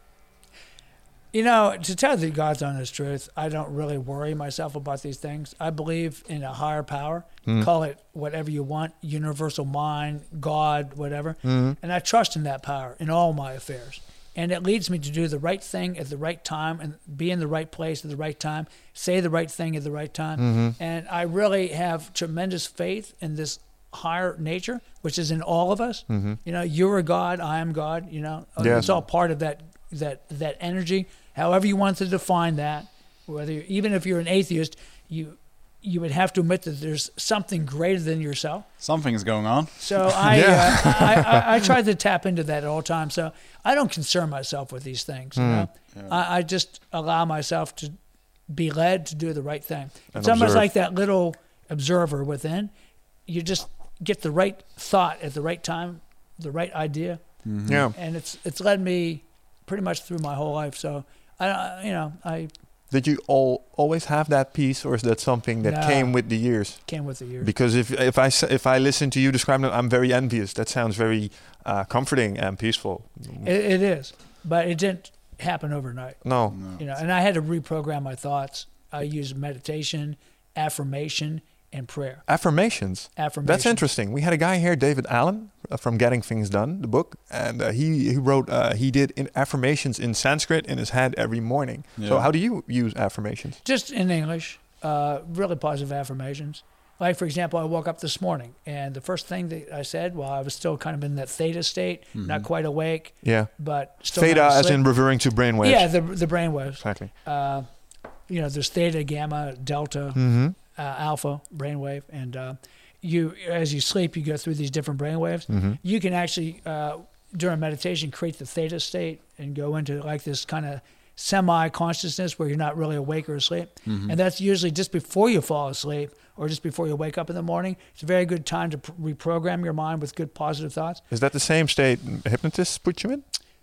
You know, to tell the God's honest truth, I don't really worry myself about these things. I believe in a higher power. Mm. Call it whatever you want, universal mind, God, whatever. Mm. And I trust in that power in all my affairs. And it leads me to do the right thing at the right time and be in the right place at the right time, say the right thing at the right time. Mm-hmm. And I really have tremendous faith in this higher nature, which is in all of us. Mm-hmm. You know, you're a God, I am God, you know. Yes. It's all part of that that that energy. However you want to define that, whether you, even if you're an atheist, you you would have to admit that there's something greater than yourself. Something is going on. So I, Yeah. uh, I, I I try to tap into that at all times. So I don't concern myself with these things. You know, Yeah. I, I just allow myself to be led to do the right thing. And It's almost observe. like that little observer within. You just get the right thought at the right time, the right idea, Mhm. Yeah. and it's it's led me pretty much through my whole life. So I, I you know, I Did you all always have that peace, or is that something that No. came with the years? came with the years. Because if if I s- if I listen to you describe it, I'm very envious. That sounds very uh, comforting and peaceful. It, it is, but it didn't happen overnight. No. No. You know, and I had to reprogram my thoughts. I use meditation, affirmation, and prayer. Affirmations. Affirmation. That's interesting. We had a guy here, David Allen, uh, from Getting Things Done, the book, and uh, he he wrote uh, he did in affirmations in Sanskrit in his head every morning. So Yeah. how do you use affirmations? Just in English, uh, really positive affirmations. Like, for example, I woke up this morning, and the first thing that I said while I was still kind of in that theta state, not quite awake, Yeah. but still Theta, not as asleep. in referring to brainwaves. Yeah, the the brain waves. Exactly. Uh, you know, there's theta, gamma, delta, Mm-hmm. uh, alpha brainwave, and uh, you as you sleep, you go through these different brainwaves. Mm-hmm. You can actually uh, during meditation create the theta state and go into like this kind of semi-consciousness where you're not really awake or asleep, Mhm. and that's usually just before you fall asleep or just before you wake up in the morning. It's a very good time to pr- reprogram your mind with good positive thoughts. Is that the same state hypnotists put you in?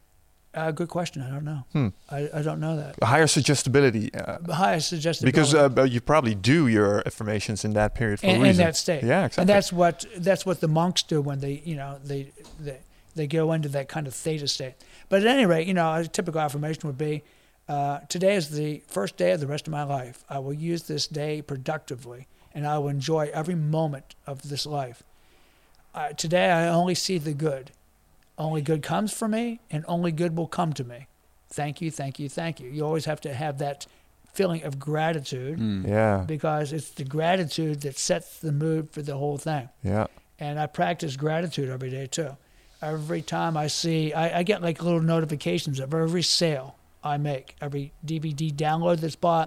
Uh, good question. I don't know. Hmm. I, I don't know that. A higher suggestibility. Uh, The highest suggested because uh, but you probably do your affirmations in that period for in, a in reason. that state. Yeah, exactly. And that's what that's what the monks do when they, you know, they, they They go into that kind of theta state. But at any rate, you know, a typical affirmation would be, uh, today is the first day of the rest of my life. I will use this day productively, and I will enjoy every moment of this life. Uh, today I only see the good. Only good comes for me, and only good will come to me. Thank you, thank you, thank you. You always have to have that feeling of gratitude, Mm. Yeah. because it's the gratitude that sets the mood for the whole thing. Yeah. And I practice gratitude every day too. Every time I see, I, I get like little notifications of every sale I make, every D V D download that's bought,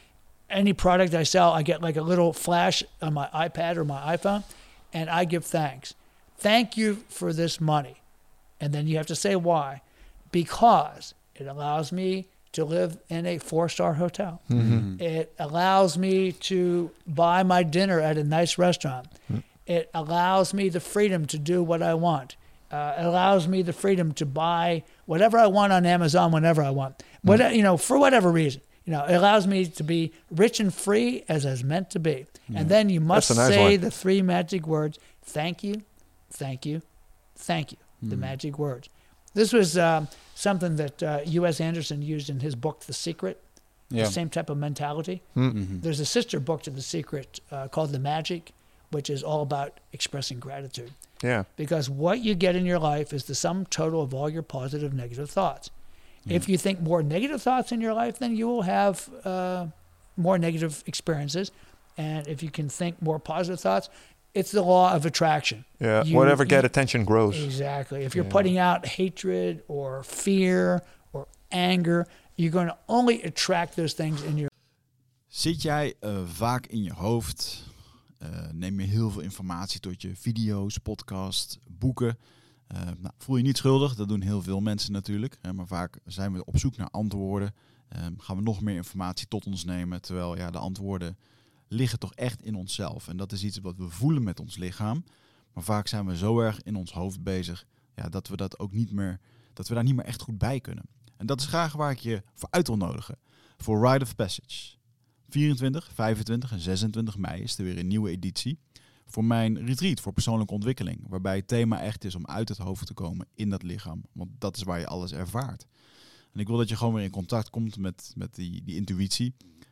any product I sell, I get like a little flash on my iPad or my iPhone, and I give thanks. Thank you for this money. And then you have to say why. Because it allows me to live in a four-star hotel. Mm-hmm. It allows me to buy my dinner at a nice restaurant. Mm. It allows me the freedom to do what I want. Uh, it allows me the freedom to buy whatever I want on Amazon whenever I want. What, mm. you know, for whatever reason. You know, it allows me to be rich and free as I was meant to be. Mm. And then you must nice say one. the three magic words, thank you, thank you, thank you, mm. the magic words. This was um, something that uh, U S Anderson used in his book, The Secret, yeah. the same type of mentality. Mm-hmm. There's a sister book to The Secret uh, called The Magic, which is all about expressing gratitude. Yeah. Because what you get in your life is the sum total of all your positive, negative thoughts. Mm. If you think more negative thoughts in your life, then you will have uh, more negative experiences. And if you can think more positive thoughts, it's the law of attraction. Yeah, you, whatever get you, attention grows. Exactly. If you're yeah. putting out hatred or fear or anger, you're going to only attract those things in your... Zit jij uh, vaak in je hoofd? Uh, neem je heel veel informatie tot je video's, podcasts, boeken? Uh, nou, voel je niet schuldig, dat doen heel veel mensen natuurlijk. Uh, maar vaak zijn we op zoek naar antwoorden. Uh, gaan we nog meer informatie tot ons nemen, terwijl ja, de antwoorden liggen toch echt in onszelf. En dat is iets wat we voelen met ons lichaam. Maar vaak zijn we zo erg in ons hoofd bezig ja, dat we dat ook niet meer, dat we daar niet meer echt goed bij kunnen. En dat is graag waar ik je voor uit wil nodigen. Voor Rite of Passage. vierentwintig, vijfentwintig en zesentwintig mei is er weer een nieuwe editie. Voor mijn retreat voor persoonlijke ontwikkeling. Waarbij het thema echt is om uit het hoofd te komen in dat lichaam. Want dat is waar je alles ervaart. En ik wil dat je gewoon weer in contact komt met, met die, die intuïtie.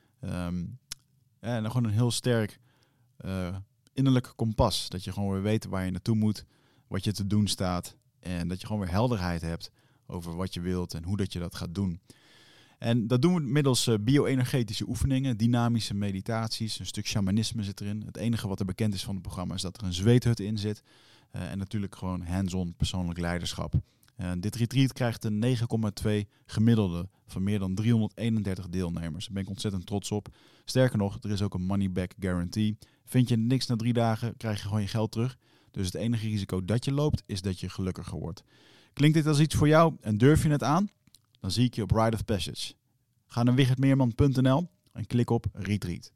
Um, en dan gewoon een heel sterk uh, innerlijk kompas. Dat je gewoon weer weet waar je naartoe moet. Wat je te doen staat. En dat je gewoon weer helderheid hebt over wat je wilt en hoe dat je dat gaat doen. En dat doen we middels uh, bio-energetische oefeningen, dynamische meditaties, een stuk shamanisme zit erin. Het enige wat er bekend is van het programma is dat er een zweethut in zit. Uh, en natuurlijk gewoon hands-on persoonlijk leiderschap. Uh, dit retreat krijgt een negen komma twee gemiddelde van meer dan driehonderdeenendertig deelnemers. Daar ben ik ontzettend trots op. Sterker nog, er is ook een money-back guarantee. Vind je niks na drie dagen, krijg je gewoon je geld terug. Dus het enige risico dat je loopt, is dat je gelukkiger wordt. Klinkt dit als iets voor jou en durf je het aan? Dan zie ik je op Rite of Passage. Ga naar wichertmeerman punt n l en klik op Retreat.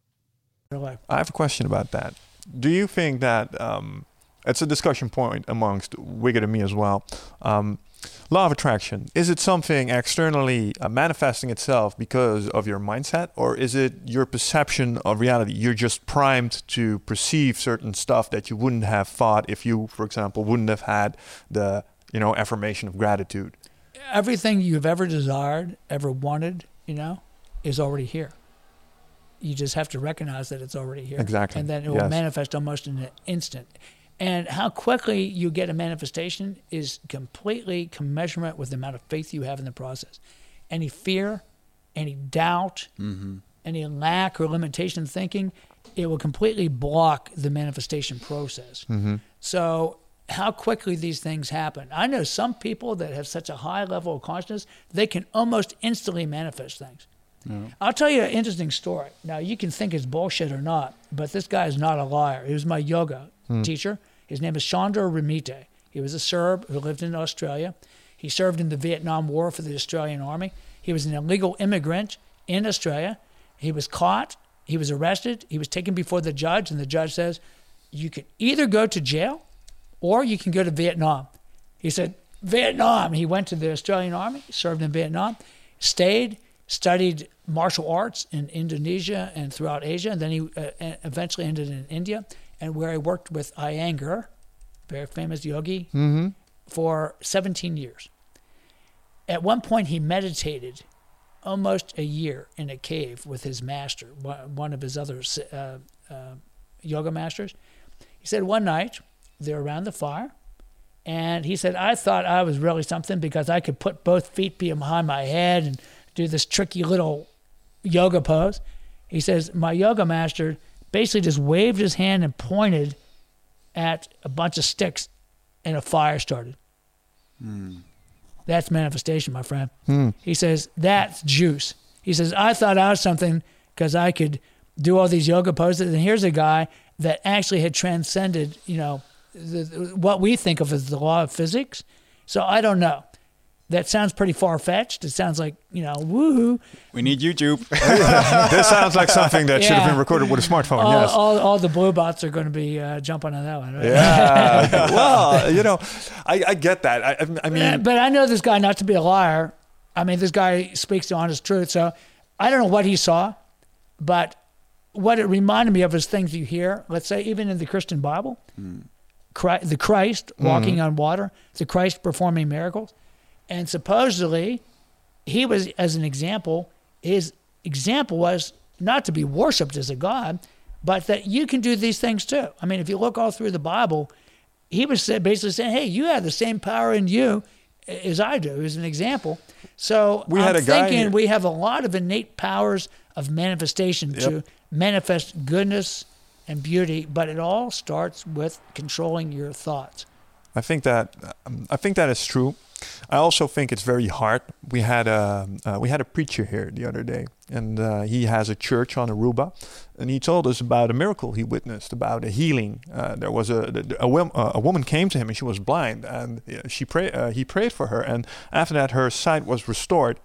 I have a question about that. Do you think that um, it's a discussion point amongst Wigert and me as well? Um, law of attraction, is it something externally uh, manifesting itself because of your mindset, or is it your perception of reality? You're just primed to perceive certain stuff that you wouldn't have thought if you, for example, wouldn't have had the, you know, affirmation of gratitude. Everything you've ever desired, ever wanted, you know, is already here. You just have to recognize that it's already here. Exactly. And then it yes. will manifest almost in an instant. And how quickly you get a manifestation is completely commensurate with the amount of faith you have in the process. Any fear, any doubt, mm-hmm. any lack or limitation of thinking, it will completely block the manifestation process. Mm-hmm. So how quickly these things happen. I know some people that have such a high level of consciousness, they can almost instantly manifest things. Yeah. I'll tell you an interesting story. Now, you can think it's bullshit or not, but this guy is not a liar. He was my yoga hmm. teacher. His name is Sandor Ramite. He was a Serb who lived in Australia. He served in the Vietnam War for the Australian Army. He was an illegal immigrant in Australia. He was caught. He was arrested. He was taken before the judge, and the judge says, you can either go to jail or you can go to Vietnam. He said, Vietnam. He went to the Australian Army, served in Vietnam, stayed, studied martial arts in Indonesia and throughout Asia, and then he uh, eventually ended in India, and where he worked with Iyengar, very famous yogi, mm-hmm. for seventeen years. At one point, he meditated almost a year in a cave with his master, one of his other uh, uh, yoga masters. He said one night, they're around the fire, and he said, I thought I was really something because I could put both feet behind my head and do this tricky little yoga pose. He says, my yoga master basically just waved his hand and pointed at a bunch of sticks, and a fire started. Mm. That's manifestation, my friend. Mm. He says, that's juice. He says, I thought I was something because I could do all these yoga poses, and here's a guy that actually had transcended, you know, the, what we think of as the law of physics. So I don't know. That sounds pretty far-fetched. It sounds like, you know, woohoo. We need YouTube. This sounds like something that yeah. should have been recorded with a smartphone, all, yes. All, all the blue bots are going to be uh, jumping on that one, right? Yeah. Well, you know, I, I get that. I, I mean... But, but I know this guy not to be a liar. I mean, this guy speaks the honest truth. So I don't know what he saw, but what it reminded me of is things you hear, let's say, even in the Christian Bible, mm. Christ, the Christ walking mm-hmm. on water, the Christ performing miracles. And supposedly, he was, as an example, his example was not to be worshipped as a god, but that you can do these things too. I mean, if you look all through the Bible, he was basically saying, hey, you have the same power in you as I do, as an example. So we I'm had a guy thinking here. we have a lot of innate powers of manifestation yep. to manifest goodness and beauty, but it all starts with controlling your thoughts. I think that um, I think that is true. I also think it's very hard. We had a uh, we had a preacher here the other day, and uh, he has a church on Aruba, and he told us about a miracle he witnessed, about a healing. Uh, there was a a, a a woman came to him, and she was blind, and she pray uh, he prayed for her, and after that her sight was restored.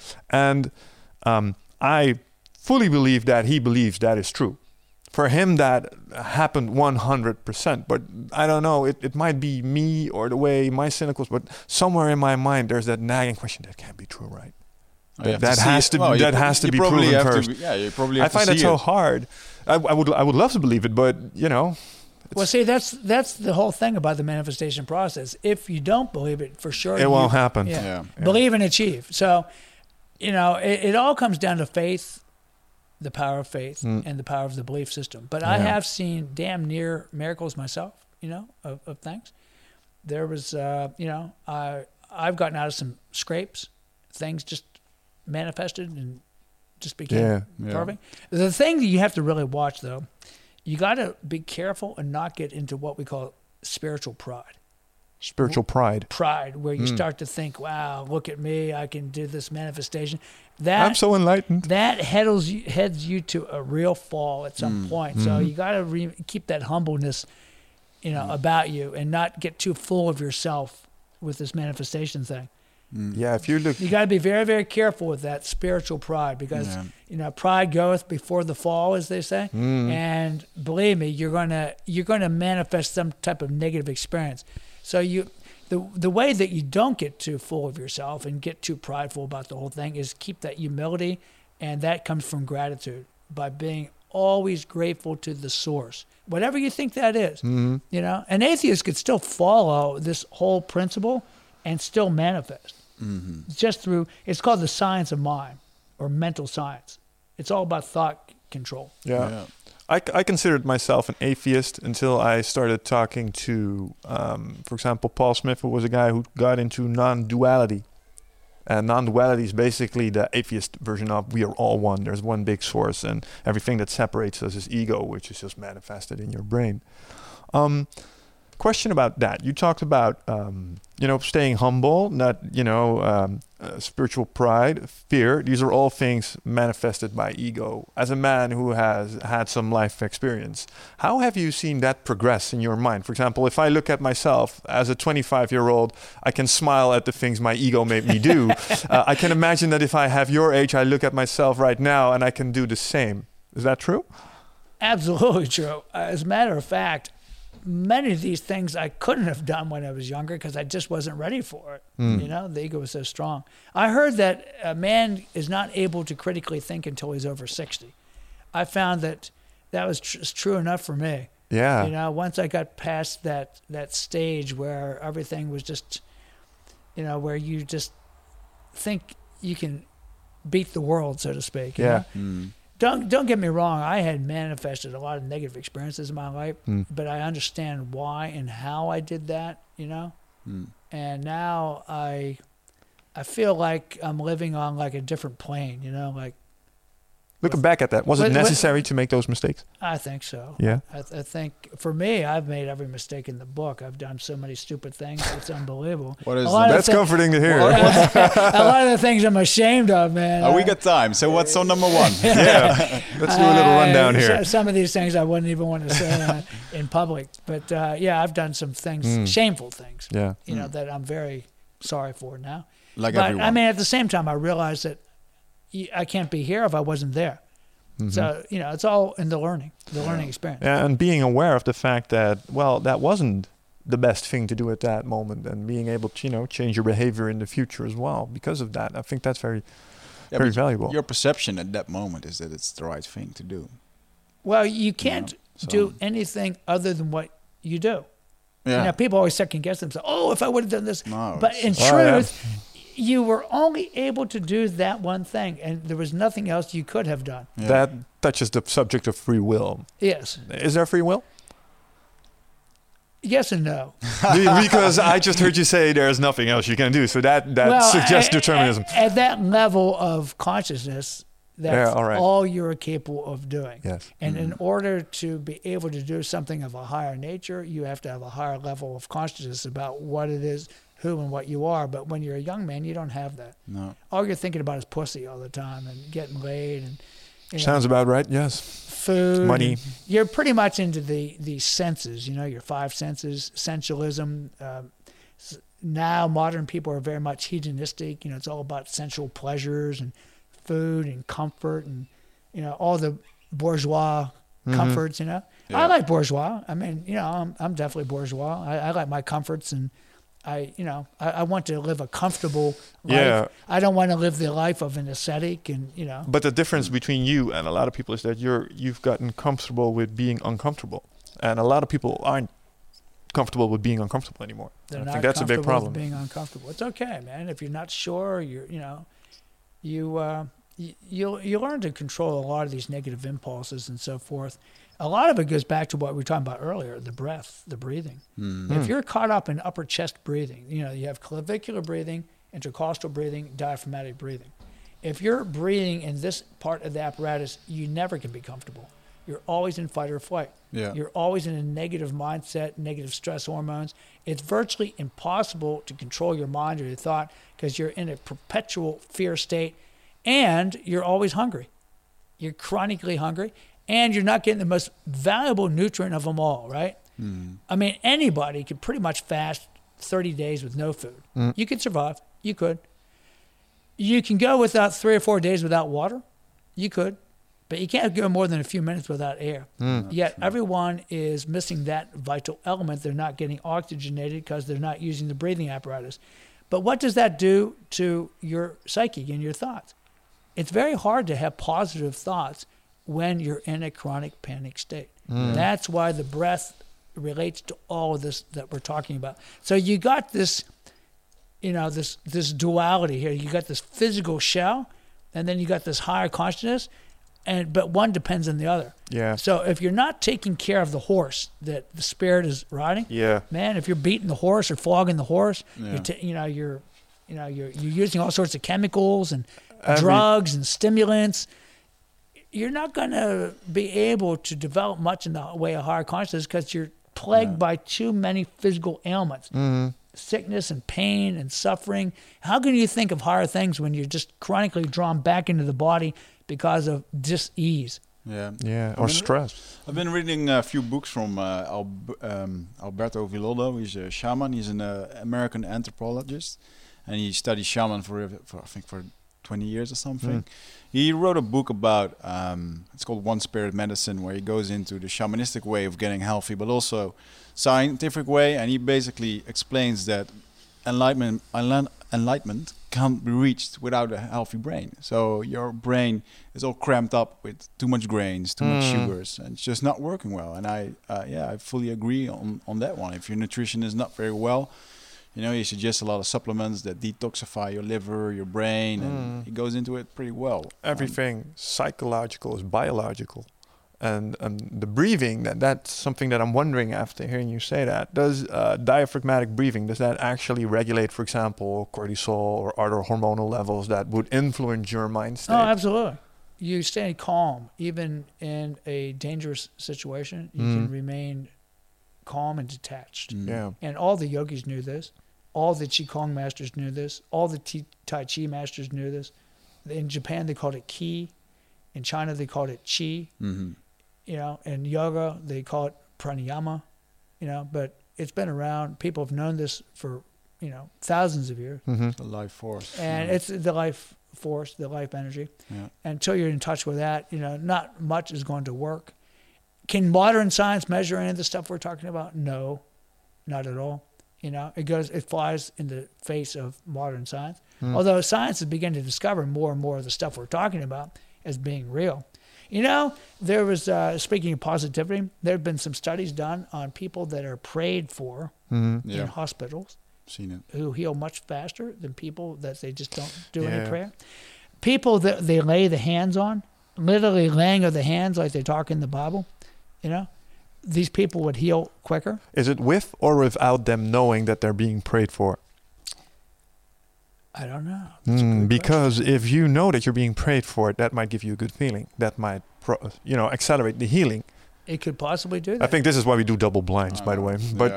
And um, I fully believe that he believes that is true. For him, that happened one hundred percent. But I don't know, it, it might be me or the way my cynicals, but somewhere in my mind, there's that nagging question, that can't be true, right? Oh, that that has it. to, well, that you, has to you be probably proven have first. To be, yeah, you probably have I find to that see so it. hard. I, I would I would love to believe it, but, you know. Well, see, that's that's the whole thing about the manifestation process. If you don't believe it, for sure. It you, won't happen. Yeah, Yeah. Yeah. Believe and achieve. So, you know, it, it all comes down to faith, the power of faith, mm. and the power of the belief system. But yeah. I have seen damn near miracles myself, you know, of, of things. There was, uh, you know, I, I've gotten out of some scrapes. Things just manifested and just became yeah. Yeah. perfect. The thing that you have to really watch, though, you got to be careful and not get into what we call spiritual pride. Spiritual pride. Pride, where you Mm. start to think, wow, look at me, I can do this manifestation. That I'm so enlightened. That heads you, heads you to a real fall at some Mm. point. So you got to re- keep that humbleness, you know, about you, and not get too full of yourself with this manifestation thing. Mm. Yeah, if you look... You got to be very, very careful with that spiritual pride, because, Yeah. you know, pride goeth before the fall, as they say. Mm. And believe me, you're gonna you're gonna manifest some type of negative experience. So you, the the way that you don't get too full of yourself and get too prideful about the whole thing is keep that humility, and that comes from gratitude, by being always grateful to the source, whatever you think that is. Mm-hmm. You know, an atheist could still follow this whole principle and still manifest. Mm-hmm. Just through, it's called the science of mind, or mental science. It's all about thought control. Yeah. Yeah. I, I considered myself an atheist until I started talking to, um, for example, Paul Smith, who was a guy who got into non-duality. And non-duality is basically the atheist version of we are all one. There's one big source, and everything that separates us is ego, which is just manifested in your brain. Um, question about that. You talked about, um, you know, staying humble, not, you know, um, uh, spiritual pride, fear. These are all things manifested by ego. As a man who has had some life experience, how have you seen that progress in your mind? For example, if I look at myself as a twenty-five-year-old, I can smile at the things my ego made me do. uh, I can imagine that if I have your age, I look at myself right now and I can do the same. Is that true? Absolutely true. As a matter of fact, many of these things I couldn't have done when I was younger because I just wasn't ready for it. Mm. You know, the ego was so strong. I heard that a man is not able to critically think until he's over sixty. I found that that was tr- true enough for me. Yeah. You know, once I got past that that stage where everything was just, you know, where you just think you can beat the world, so to speak. you Yeah. know? Mm. Don't don't get me wrong. I had manifested a lot of negative experiences in my life, Mm. but I understand why and how I did that. You know, Mm. and now I I feel like I'm living on like a different plane. You know, like Looking back at that, was What- it what- necessary to make those mistakes? I think so. Yeah. I, th- I think for me, I've made every mistake in the book. I've done so many stupid things. It's unbelievable. What is A lot of That's thi- comforting to hear. a lot of the things I'm ashamed of, man. Oh, we I- got time. So what's on number one? yeah. Let's do a little I- rundown so- here. Some of these things I wouldn't even want to say uh, in public. But uh, yeah, I've done some things, Mm. shameful things, Yeah. you know, that I'm very sorry for now. Like but everyone. I mean, at the same time, I realized that y- I can't be here if I wasn't there. Mhm. So, you know, it's all in the learning, the learning experience. And being aware of the fact that, well, that wasn't the best thing to do at that moment, and being able to, you know, change your behavior in the future as well because of that. I think that's very, Yeah, very but valuable. Your perception at that moment is that it's the right thing to do. Well, you can't so- do anything other than what you do. Yeah. You know, people always second guess themselves. Oh, if I would have done this. No, But it's in just- Oh, yeah. truth, you were only able to do that one thing, and there was nothing else you could have done. Yeah. That touches the subject of free will. Yes. Is there free will? Yes and no. Be- because I just heard you say there's nothing else you can do. So that, that Well, suggests at- determinism. At, at that level of consciousness, that's Yeah, all right. all you're capable of doing. Yes. And in order to be able to do something of a higher nature, you have to have a higher level of consciousness about what it is, who and what you are. But when you're a young man, you don't have that. No. All you're thinking about is pussy all the time and getting laid and you know, Sounds about right. Yes. food, money. and You're pretty much into the the senses. You know, your five senses, sensualism. Um, s- now modern people are very much hedonistic. You know, it's all about sensual pleasures and food and comfort and you know all the bourgeois Mhm. comforts. You know, Yeah. I like bourgeois. I mean, you know, I'm I'm definitely bourgeois. I, I like my comforts and. I, you know, I, I want to live a comfortable life. Yeah. I don't want to live the life of an ascetic and, you know. But the difference between you and a lot of people is that you're you've gotten comfortable with being uncomfortable, and a lot of people aren't comfortable with being uncomfortable anymore. They're I not think that's a big comfortable problem. with being uncomfortable. It's okay, man. If you're not sure, you're, you know, you, uh, you, you, you learn to control a lot of these negative impulses and so forth. A lot of it goes back to what we were talking about earlier, the breath, the breathing. Mm. If you're caught up in upper chest breathing, you know, you have clavicular breathing, intercostal breathing, diaphragmatic breathing. If you're breathing in this part of the apparatus, you never can be comfortable. You're always in fight or flight. Yeah. You're always in a negative mindset, negative stress hormones. It's virtually impossible to control your mind or your thought because you're in a perpetual fear state and you're always hungry. You're chronically hungry and you're not getting the most valuable nutrient of them all, right? Mm. I mean, anybody could pretty much fast thirty days with no food. Mm. You could survive. You could. You can go without three or four days without water. You could. But you can't go more than a few minutes without air. Mm. Yet everyone is missing that vital element. They're not getting oxygenated because they're not using the breathing apparatus. But what does that do to your psyche and your thoughts? It's very hard to have positive thoughts when you're in a chronic panic state. Mm. That's why the breath relates to all of this that we're talking about. So you got this, you know, this this duality here. You got this physical shell, and then you got this higher consciousness, and but one depends on the other. Yeah. So if you're not taking care of the horse that the spirit is riding, Yeah. man, if you're beating the horse or flogging the horse, Yeah. you're t- you know you're, you know you're you're using all sorts of chemicals and Every- drugs and stimulants. You're not going to be able to develop much in the way of higher consciousness because you're plagued Yeah. by too many physical ailments, Mm-hmm. sickness and pain and suffering. How can you think of higher things when you're just chronically drawn back into the body because of dis-ease? Yeah. Yeah. I Or mean, stress. I've been reading a few books from uh, Al- um, Alberto Villoldo. He's a shaman. He's an uh, American anthropologist, and he studied shaman for, for I think for twenty years or something. Mm. He wrote a book about um, it's called One Spirit Medicine, where he goes into the shamanistic way of getting healthy, but also scientific way, and he basically explains that enlightenment enli- enlightenment can't be reached without a healthy brain. So your brain is all cramped up with too much grains, too much sugars, and it's just not working well. And I, uh, yeah, I fully agree on, on that one. If your nutrition is not very well, you know, you suggest a lot of supplements that detoxify your liver, your brain, and it goes into it pretty well. Everything um, psychological is biological. And, and the breathing, that that's something that I'm wondering after hearing you say that. Does uh, diaphragmatic breathing, does that actually regulate, for example, cortisol or other hormonal levels that would influence your mind state? Oh, absolutely. You stay calm. Even in a dangerous situation, you mm. can remain calm and detached. Mm. Yeah. And all the yogis knew this. All the Qigong masters knew this. All the t- Tai Chi masters knew this. In Japan, they called it Qi. In China, they called it Qi. Mm-hmm. You know, in yoga, they call it pranayama, you know, but it's been around. People have known this for, you know, thousands of years. Mm-hmm. The life force. And yeah. it's the life force, the life energy. Yeah. Until you're in touch with that, you know, not much is going to work. Can modern science measure any of the stuff we're talking about? No, not at all. You know, it goes, it flies in the face of modern science. Mm. Although science is beginning to discover more and more of the stuff we're talking about as being real. You know, there was, uh, speaking of positivity, there have been some studies done on people that are prayed for mm-hmm. in yeah. hospitals. Seen it. Who heal much faster than people that they just don't do yeah. any prayer. People that they lay the hands on, literally laying of the hands like they talk in the Bible, you know, these people would heal quicker. Is it with or without them knowing that they're being prayed for? I don't know. Mm, because question. If you know that you're being prayed for, that might give you a good feeling. That might, pro- you know, accelerate the healing. It could possibly do that. I think this is why we do double blinds, uh, by the way. But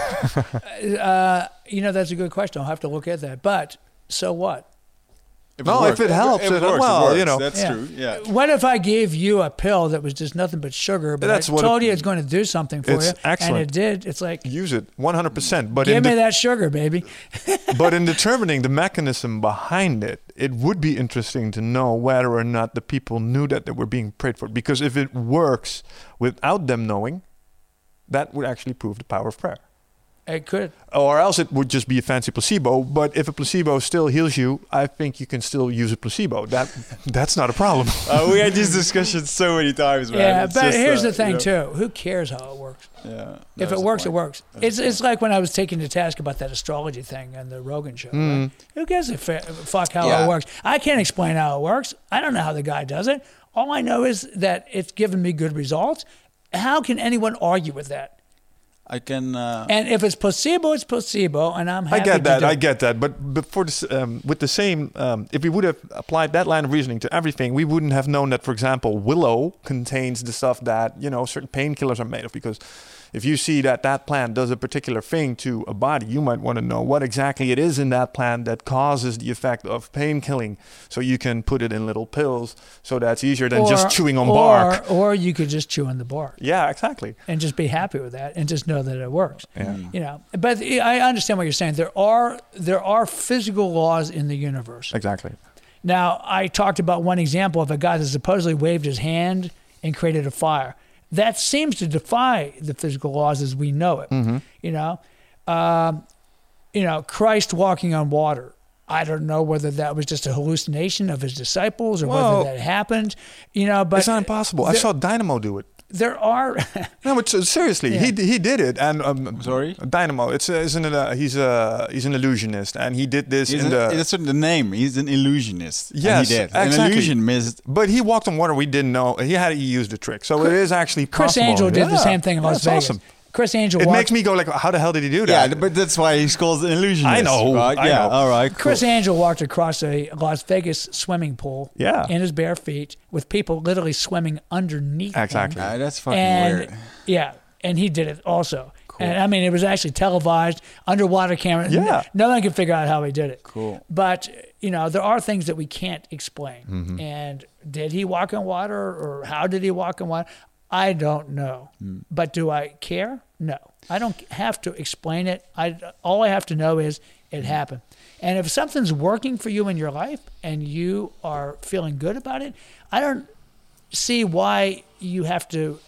yeah. uh, you know, that's a good question. I'll have to look at that. But so what? If no, it if it helps, if it, it, works, well, it works. you know, that's yeah. true. Yeah. What if I gave you a pill that was just nothing but sugar, but that's I what told it, you it's going to do something for it's you, excellent. and it did? It's like use it one hundred percent. But give in me de- that sugar, baby. But in determining the mechanism behind it, it would be interesting to know whether or not the people knew that they were being prayed for. Because if it works without them knowing, that would actually prove the power of prayer. It could. Or else it would just be a fancy placebo. But if a placebo still heals you, I think you can still use a placebo. That That's not a problem. uh, we had this discussion so many times, man. Yeah, it's but just, here's uh, the thing, you know. too. Who cares how it works? Yeah. If it works, it works. That's it's it's like when I was taking the task about that astrology thing on the Rogan show. Mm. Right? Who gives a f- fuck how Yeah. it works? I can't explain how it works. I don't know how the guy does it. All I know is that it's given me good results. How can anyone argue with that? I can. Uh, And if it's placebo, it's placebo, and I'm happy I get that. to do I it. get that. But but for this, um, with the same, um, if we would have applied that line of reasoning to everything, we wouldn't have known that, for example, willow contains the stuff that, you know, certain painkillers are made of. Because if you see that that plant does a particular thing to a body, you might want to know what exactly it is in that plant that causes the effect of pain killing. So you can put it in little pills, so that's easier than Or- just chewing on or, bark. Or you could just chew on the bark Yeah, exactly. and just be happy with that and just know that it works. Yeah. You know, but I understand what you're saying. There are there are physical laws in the universe. Exactly. Now, I talked about one example of a guy that supposedly waved his hand and created a fire. That seems to defy the physical laws as we know it. Mm-hmm. You know, um, you know, Christ walking on water. I don't know whether that was just a hallucination of his disciples or Well, whether that happened. You know, but it's not impossible. I there- saw Dynamo do it. There are. No, but uh, seriously, Yeah. he he did it. And um, Sorry? Dynamo. It's uh, isn't it? A, he's a he's an illusionist, and he did this he's in a, the. that's the name. He's an illusionist. and Yes, he did. An exactly. illusion missed. But he walked on water. We didn't know. He had he used the trick, so it is actually Chris possible. Angel did the Yeah. same thing in Las That's Vegas. awesome. Chris Angel It walked. makes me go like, how the hell did he do Yeah, that? but that's why he's called an illusionist. I know, Right? I yeah. know. All right. Cool. Chris Angel walked across a Las Vegas swimming pool Yeah. in his bare feet with people literally swimming underneath him. Exactly. Ah, that's fucking And weird. yeah, and he did it also. And I mean, it was actually televised, underwater camera. Yeah. No one can figure out how he did it. Cool. But, you know, there are things that we can't explain. Mm-hmm. And did he walk on water or how did he walk on water? I don't know. Mm. But do I care? No. I don't have to explain it. I, all I have to know is it happened. And if something's working for you in your life and you are feeling good about it, I don't see why you have to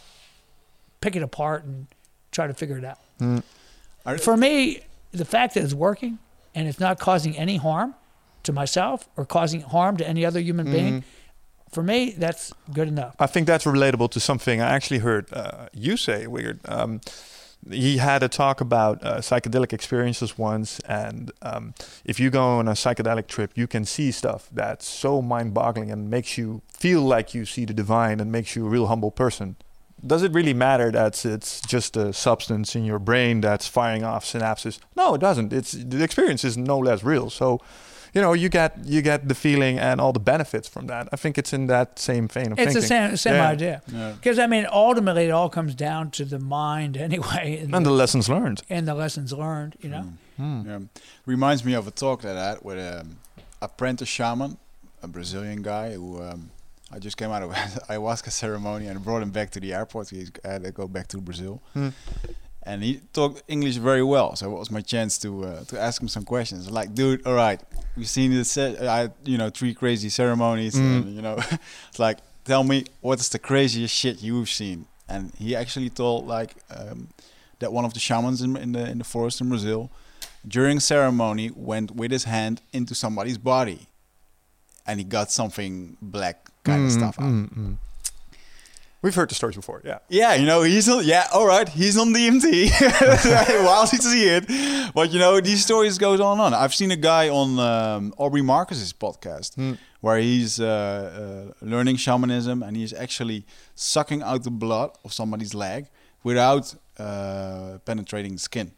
pick it apart and try to figure it out. Mm. For me, the fact that it's working and it's not causing any harm to myself or causing harm to any other human being, for me, that's good enough. I think that's relatable to something I actually heard uh, you say, Weird. Um, he had a talk about uh, psychedelic experiences once, and um, if you go on a psychedelic trip, you can see stuff that's so mind-boggling and makes you feel like you see the divine and makes you a real humble person. Does it really matter that it's just a substance in your brain that's firing off synapses? No, it doesn't. It's the experience is no less real. So, you know, you get you get the feeling and all the benefits from that. I think it's in that same vein of it's thinking. It's the same, same yeah. idea. Because, yeah. I mean, ultimately it all comes down to the mind anyway. And, and the, the lessons learned. And the lessons learned, you know. Mm. Mm. Yeah. Reminds me of a talk that I had with an apprentice shaman, a Brazilian guy who... Um, I just came out of ayahuasca ceremony and brought him back to the airport. He had to go back to Brazil. Hmm. And he talked English very well. So it was my chance to uh, to ask him some questions. Like, dude, all right, we've seen this, I, you know, three crazy ceremonies. Mm. And, you know, it's like, tell me, what's the craziest shit you've seen? And he actually told, like, um, that one of the shamans in, in, the, in the forest in Brazil, during ceremony, went with his hand into somebody's body. And he got something black kind mm, of stuff out. Mm, mm. We've heard the stories before, yeah. Yeah, you know, he's on, yeah, all right, he's on D M T while he see it. But, you know, these stories goes on and on. I've seen a guy on um, Aubrey Marcus's podcast mm. where he's uh, uh, learning shamanism and he's actually sucking out the blood of somebody's leg without uh, penetrating the skin.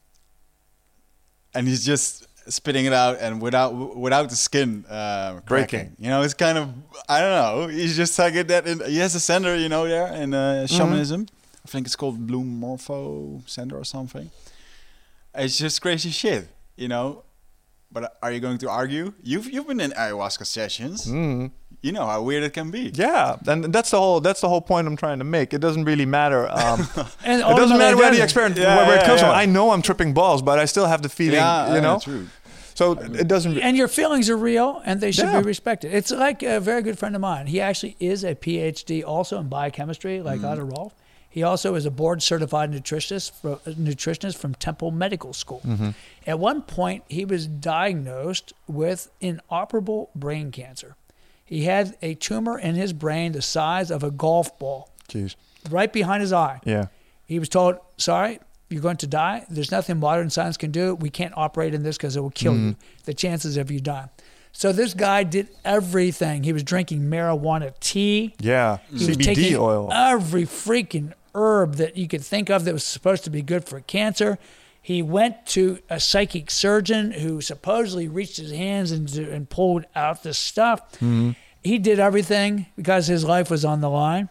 And he's just... spitting it out and without without the skin uh, breaking. You know, it's kind of, I don't know. He's just like it that in, he has a center, you know, there in uh, shamanism. Mm-hmm. I think it's called Bloom Morpho Center or something. It's just crazy shit, you know. But are you going to argue? You've you've been in ayahuasca sessions. Mm. You know how weird it can be. Yeah, and that's the whole that's the whole point I'm trying to make. It doesn't really matter. Um, and it doesn't matter where the experience yeah, where, where yeah, it comes yeah. from. I know I'm tripping balls, but I still have the feeling. Yeah, you know. Yeah, true. So it doesn't. Re- and your feelings are real, and they should yeah. be respected. It's like a very good friend of mine. He actually is a P H D also in biochemistry, like mm. Otto Rolf. He also is a board-certified nutritionist, for, nutritionist from Temple Medical School. Mm-hmm. At one point, he was diagnosed with inoperable brain cancer. He had a tumor in his brain the size of a golf ball, Jeez. right behind his eye. Yeah. He was told, sorry, you're going to die. There's nothing modern science can do. We can't operate in this because it will kill mm. you. The chances of you dying. So this guy did everything. He was drinking marijuana tea. Yeah, he C B D was taking oil. Every freaking herb that you could think of that was supposed to be good for cancer. He went to a psychic surgeon who supposedly reached his hands and, and pulled out this stuff. Mm-hmm. He did everything because his life was on the line.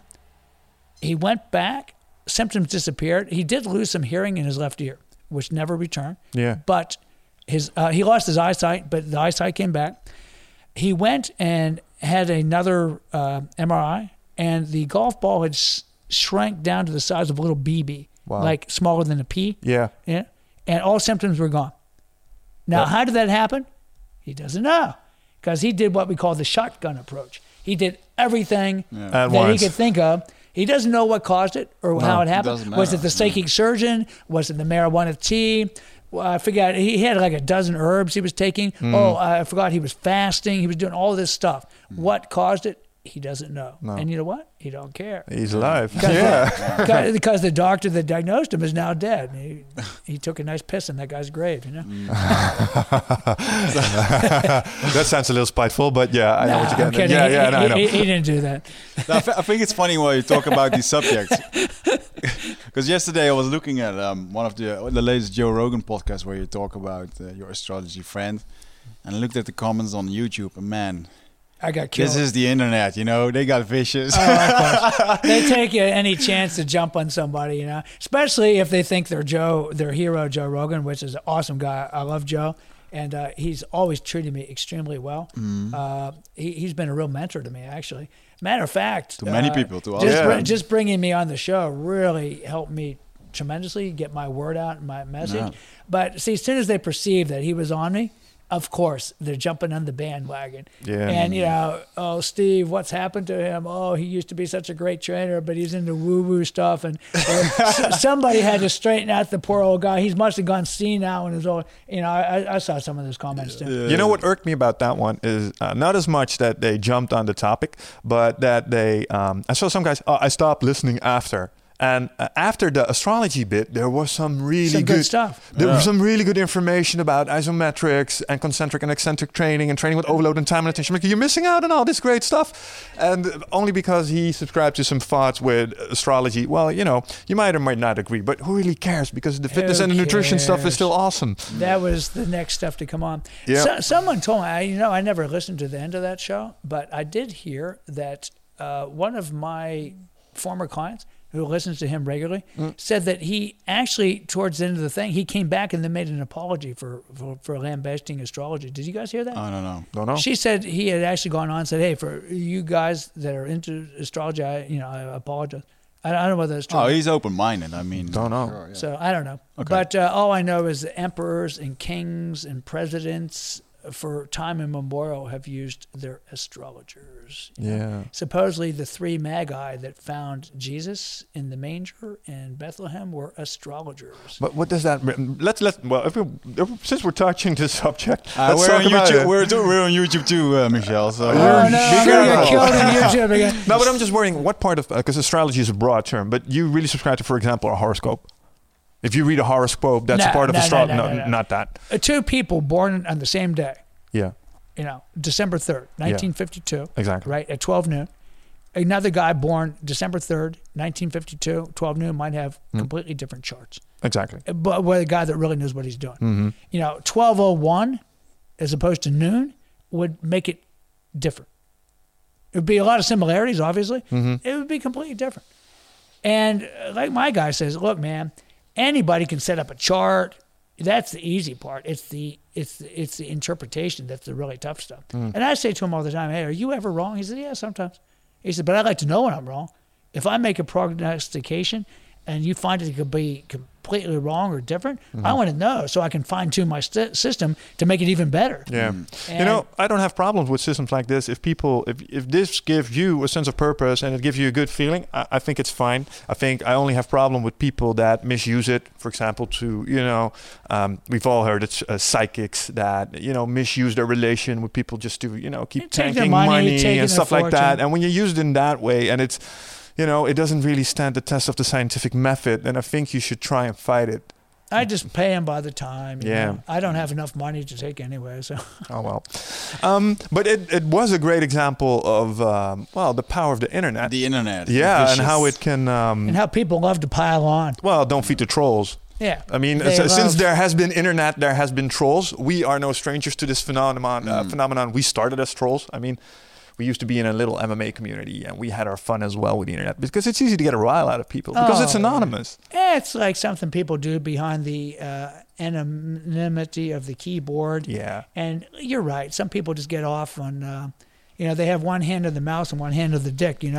He went back. Symptoms disappeared. He did lose some hearing in his left ear, which never returned. Yeah. But his uh, he lost his eyesight, but the eyesight came back. He went and had another uh, M R I, and the golf ball had s- shrank down to the size of a little B B, wow. like smaller than a pea. Yeah. Yeah. And all symptoms were gone. Now, yep. how did that happen? He doesn't know, because he did what we call the shotgun approach. He did everything yeah. that once. he could think of. He doesn't know what caused it or no, how it happened. It was it the psychic no. surgeon? Was it the marijuana tea? Well, I forgot. He had like a dozen herbs he was taking. Mm. Oh, I forgot he was fasting. He was doing all this stuff. Mm. What caused it? He doesn't know. No. And you know what? He don't care. He's alive. Yeah. Because, because the doctor that diagnosed him is now dead. He, he took a nice piss in that guy's grave, you know? Mm. That sounds a little spiteful, but yeah, I nah, know what you're getting at. Yeah, yeah, no, I know. He, he didn't do that. I, th- I think it's funny when you talk about these subjects. Because yesterday I was looking at um, one of the the latest Joe Rogan podcasts where you talk about uh, your astrology friend, and I looked at the comments on YouTube, and man, I got killed. This is the internet, you know. They got vicious. Oh, they take uh, any chance to jump on somebody, you know. Especially if they think they're Joe, their hero, Joe Rogan, which is an awesome guy. I love Joe, and uh, he's always treated me extremely well. Mm. Uh, he, he's been a real mentor to me, actually. Matter of fact, to many uh, people, to us. Just, yeah. br- just bringing me on the show really helped me tremendously get my word out and my message. Yeah. But see, as soon as they perceived that he was on me, of course, they're jumping on the bandwagon. Yeah. And, you know, oh, Steve, what's happened to him? Oh, he used to be such a great trainer, but he's into woo-woo stuff. And uh, somebody had to straighten out the poor old guy. He must have gone senile and his old, you know, I, I saw some of those comments too. You know what irked me about that one is uh, not as much that they jumped on the topic, but that they, um, I saw some guys, oh, I stopped listening after. And uh, after the astrology bit, there was some really Some good, good stuff. There Yeah. was some really good information about isometrics and concentric and eccentric training and training with overload and time and attention. Like, you're missing out on all this great stuff. And only because he subscribed to some thoughts with astrology. Well, you know, you might or might not agree, but who really cares? Because the fitness Who and the nutrition stuff is cares? still awesome. That was the next stuff to come on. Yeah. So, someone told me, I, you know, I never listened to the end of that show, but I did hear that uh, one of my former clients who listens to him regularly said that he actually, towards the end of the thing, he came back and then made an apology for, for, for lambasting astrology. Did you guys hear that? I don't know. Don't know. She said he had actually gone on and said, hey, for you guys that are into astrology, I, you know, I apologize. I, I don't know whether that's true. Oh, he's open-minded. I mean, Don't know. sure, yeah. So I don't know. Okay. But uh, all I know is that emperors and kings and presidents for time immemorial have used their astrologers. you know. Yeah. Supposedly the three magi that found Jesus in the manger in Bethlehem were astrologers. But what does that mean? Let's let well, if we, if, since we're touching this subject, Uh, let's we're, talk on about YouTube, it. we're, we're on YouTube too, uh, Michelle. So Oh You're- no, I'm be gonna get careful. killed on YouTube again. No, but I'm just worrying what part of because astrology is a broad term, but you really subscribe to, for example, a horoscope. If you read a horoscope, that's No, a part of no, no, astrology. no, No, no, no. not that. Uh, Two people born on the same day, Yeah, you know, December third, nineteen fifty-two, exactly. right, at twelve noon. Another guy born December third, nineteen fifty-two, twelve noon, might have Hmm. completely different charts. Exactly. But with a guy that really knows what he's doing. hmm You know, twelve oh one as opposed to noon would make it different. It would be a lot of similarities, obviously. hmm It would be completely different. And uh, like my guy says, look, man, anybody can set up a chart. That's the easy part. It's the it's the, it's the interpretation that's the really tough stuff. And I say to him all the time, hey, are you ever wrong? He said, yeah, sometimes. He said, but I'd like to know when I'm wrong. If I make a prognostication and you find it could be completely wrong or different, I want to know so I can fine tune my st- system to make it even better. Yeah. And You know, I don't have problems with systems like this. If people, if, if this gives you a sense of purpose and it gives you a good feeling, I, I think it's fine. I think I only have problem with people that misuse it. For example, to, you know, um, we've all heard it's uh, psychics that, you know, misuse their relation with people just to, you know, keep Take their tanking money, money, taking and their stuff like that. fortune. And when you use it in that way and it's, you know, it doesn't really stand the test of the scientific method, then I think you should try and fight it. I just pay him by the time. you Yeah. know. I don't have enough money to take anyway. So Oh, well. Um, but it, it was a great example of, um, well, the power of the internet. the internet. yeah, and vicious. how it can, um, and how people love to pile on. well, don't feed the trolls. Yeah. I mean, They s- since love- there has been internet, there has been trolls. We are no strangers to this phenomenon. Uh, phenomenon. We started as trolls. I mean, we used to be in a little M M A community, and we had our fun as well with the internet because it's easy to get a rile out of people because it's Oh, yeah. anonymous. Yeah, it's like something people do behind the uh, anonymity of the keyboard. Yeah. And you're right. Some people just get off on, uh, you know, they have one hand of the mouse and one hand of the dick, you know.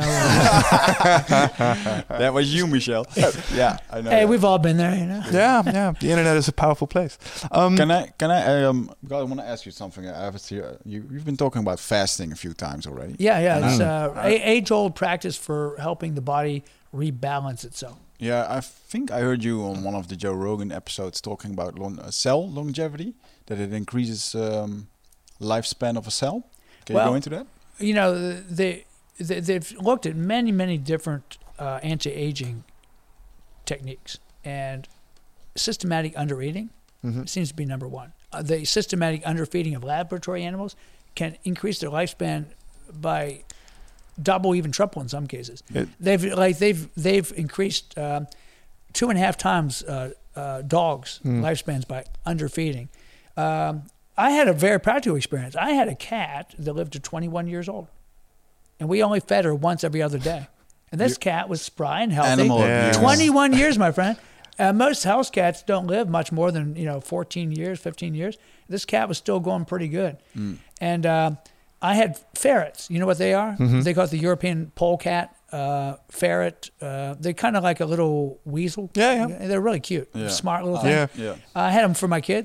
That was you, Michelle. yeah, I know. Hey, that. we've all been there, you know. Yeah, yeah. The internet is a powerful place. Um, Can I? Can I? Um, God, I want to ask you something. I have here. You, you've been talking about fasting a few times already. Yeah, yeah. It's Mm. uh, a- age-old practice for helping the body rebalance itself. Yeah, I think I heard you on one of the Joe Rogan episodes talking about lon- uh, cell longevity, that it increases um, lifespan of a cell. Can Well, you go into that? You know, they, they they've looked at many, many different uh, anti-aging techniques, and systematic undereating mhm. seems to be number one. Uh, the systematic underfeeding of laboratory animals can increase their lifespan by double, even triple in some cases. It- they've like they've they've increased um, two and a half times uh, uh, dogs' Mm. lifespans by underfeeding. Um, I had a very practical experience. I had a cat that lived to twenty-one years old, and we only fed her once every other day. And this cat was spry and healthy. Animal Yeah. abuse. twenty-one years, my friend. Uh, most house cats don't live much more than, you know, fourteen years, fifteen years. This cat was still going pretty good. Mm. And uh, I had ferrets. You know what they are? Mhm. They call it the European polecat uh, ferret. Uh, they're kind of like a little weasel. Yeah, yeah. They're really cute, Yeah. smart little Uh, thing. Yeah. Yeah. I had them for my kids.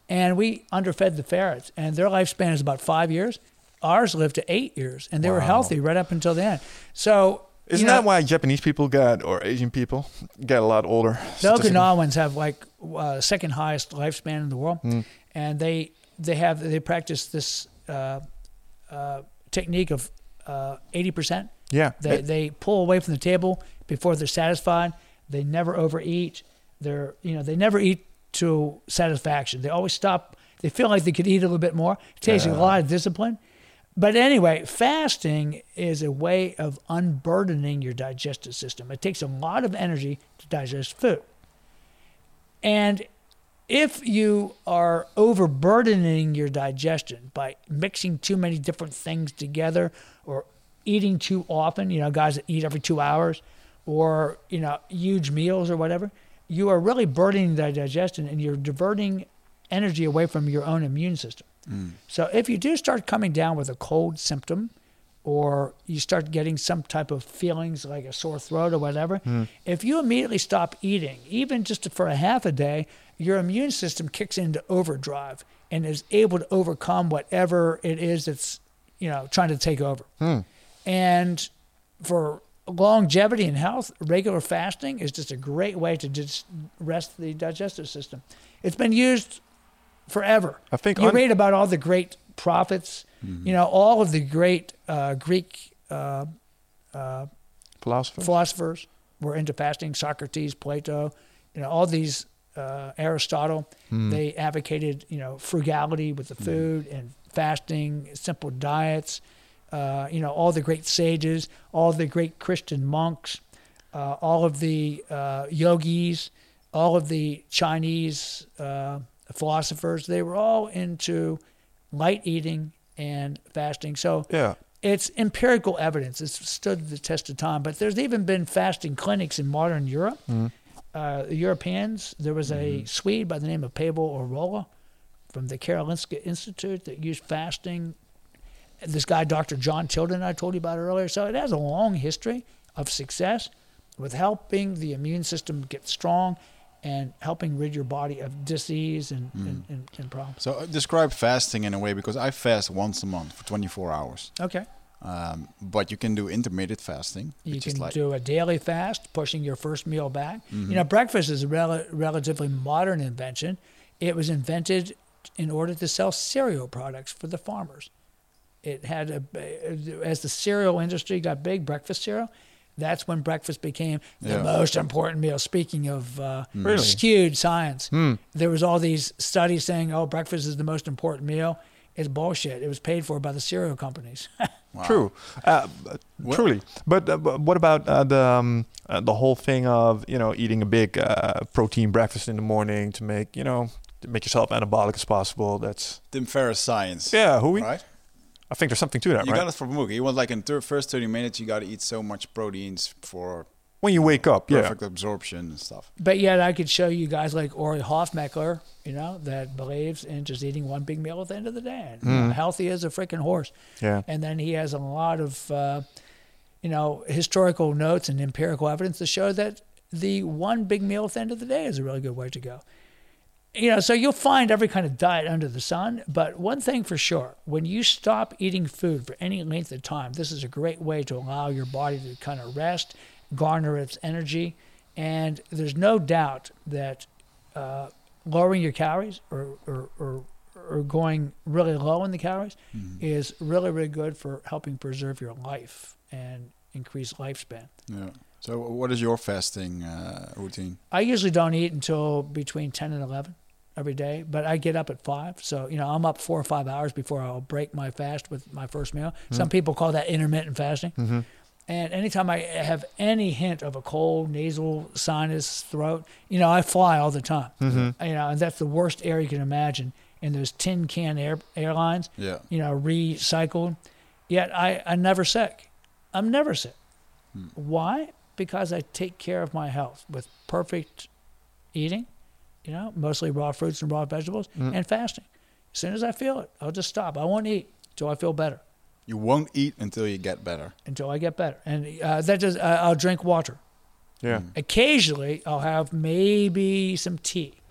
and we underfed the ferrets, and their lifespan is about five years. Ours lived to eight years, and they Wow. were healthy right up until the end. So Isn't you know, that why Japanese people get, or Asian people, get a lot older? the Okinawans have like uh, second highest lifespan in the world, Mm. and they they have they practice this uh, uh, technique of uh, eighty percent. Yeah. They It- they pull away from the table before they're satisfied. They never overeat. They're you know they never eat to satisfaction. They always stop. They feel like they could eat a little bit more. It takes a lot of discipline. But anyway, fasting is a way of unburdening your digestive system. It takes a lot of energy to digest food. And if you are overburdening your digestion by mixing too many different things together or eating too often, you know, guys that eat every two hours or, you know, huge meals or whatever, you are really burdening the digestion and you're diverting energy away from your own immune system. Mm. So if you do start coming down with a cold symptom or you start getting some type of feelings like a sore throat or whatever, mm. if you immediately stop eating, even just for a half a day, your immune system kicks into overdrive and is able to overcome whatever it is that's, you know, trying to take over. Mm. And for longevity and health, regular fasting is just a great way to just rest the digestive system. It's been used forever. I think you un- read about all the great prophets, mm-hmm. you know, all of the great uh, Greek uh, uh, philosophers. philosophers were into fasting. Socrates, Plato, you know, all these, uh, Aristotle, mm. they advocated, you know, frugality with the food mm. and fasting, simple diets. Uh, you know, all the great sages, all the great Christian monks, uh, all of the uh, yogis, all of the Chinese uh, philosophers, they were all into light eating and fasting. So yeah. it's empirical evidence. It's stood the test of time. But there's even been fasting clinics in modern Europe. Mm-hmm. Uh, the Europeans, there was a mm-hmm. Swede by the name of Pavel Orola from the Karolinska Institute that used fasting. This guy, Doctor John Tilden, I told you about earlier. So it has a long history of success with helping the immune system get strong and helping rid your body of disease and, mm. and, and, and problems. So uh, describe fasting in a way, because I fast once a month for twenty-four hours. Okay. Um, but you can do intermittent fasting. You which can is like do a daily fast, pushing your first meal back. Mm-hmm. You know, breakfast is a rel- relatively modern invention. It was invented in order to sell cereal products for the farmers. It had a, as the cereal industry got big, breakfast cereal, that's when breakfast became the yeah. most important meal. Speaking of uh, really? skewed science, hmm. there was all these studies saying, oh, breakfast is the most important meal. It's bullshit. It was paid for by the cereal companies. Wow. True, uh, truly. But uh, what about uh, the um, uh, the whole thing of, you know, eating a big uh, protein breakfast in the morning to make, you know, to make yourself anabolic as possible? That's Tim Ferriss science. Yeah, who we? Right? I think there's something to that, you right? You got it from Mookie. He was like in the first thirty minutes, you got to eat so much proteins for when you wake up, perfect yeah, perfect absorption and stuff. But yet, I could show you guys like Ori Hofmeckler, you know, that believes in just eating one big meal at the end of the day. And, mm. you know, healthy as a freaking horse. Yeah. And then he has a lot of, uh, you know, historical notes and empirical evidence to show that the one big meal at the end of the day is a really good way to go. You know, so you'll find every kind of diet under the sun, but one thing for sure, when you stop eating food for any length of time, this is a great way to allow your body to kind of rest, garner its energy, and there's no doubt that uh, lowering your calories or, or, or, or going really low in the calories mm-hmm. is really, really good for helping preserve your life and increase lifespan. Yeah. So what is your fasting uh, routine? I usually don't eat until between ten and eleven every day, but I get up at five. So, you know, I'm up four or five hours before I'll break my fast with my first meal. Mm-hmm. Some people call that intermittent fasting. Mm-hmm. And anytime I have any hint of a cold, nasal, sinus, throat, you know, I fly all the time. Mm-hmm. You know, and that's the worst air you can imagine. And those tin can air, airlines, yeah. you know, recycled. Yet I, I'm never sick. I'm never sick. Hmm. Why? Because I take care of my health with perfect eating, you know, mostly raw fruits and raw vegetables, mm. and fasting. As soon as I feel it, I'll just stop. I won't eat until I feel better. You won't eat until you get better. Until I get better. And uh, that just, uh, I'll drink water. Yeah. Mm. Occasionally, I'll have maybe some tea.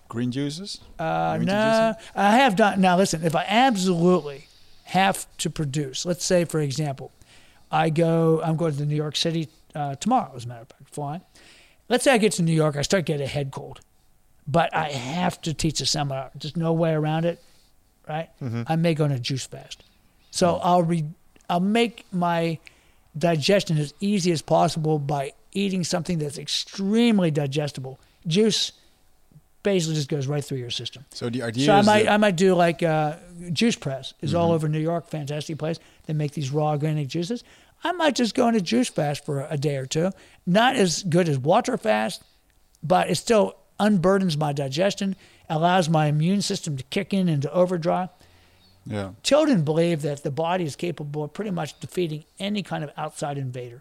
Green juices? Uh, You no, introduce I have done. Now, listen, if I absolutely have to produce, let's say, for example, I go, I'm going to New York City uh, tomorrow, as a matter of fact, flying. Let's say I get to New York, I start getting a head cold, but I have to teach a seminar. There's no way around it, right? Mm-hmm. I may go on a juice fast. So I'll re, I'll make my digestion as easy as possible by eating something that's extremely digestible. Juice basically just goes right through your system. So the idea So I is might that- I might do like uh, Juice Press is all over New York, fantastic place. They make these raw organic juices. I might just go on a juice fast for a day or two. Not as good as water fast, but it still unburdens my digestion, allows my immune system to kick in into overdrive. yeah. Children believe that the body is capable of pretty much defeating any kind of outside invader.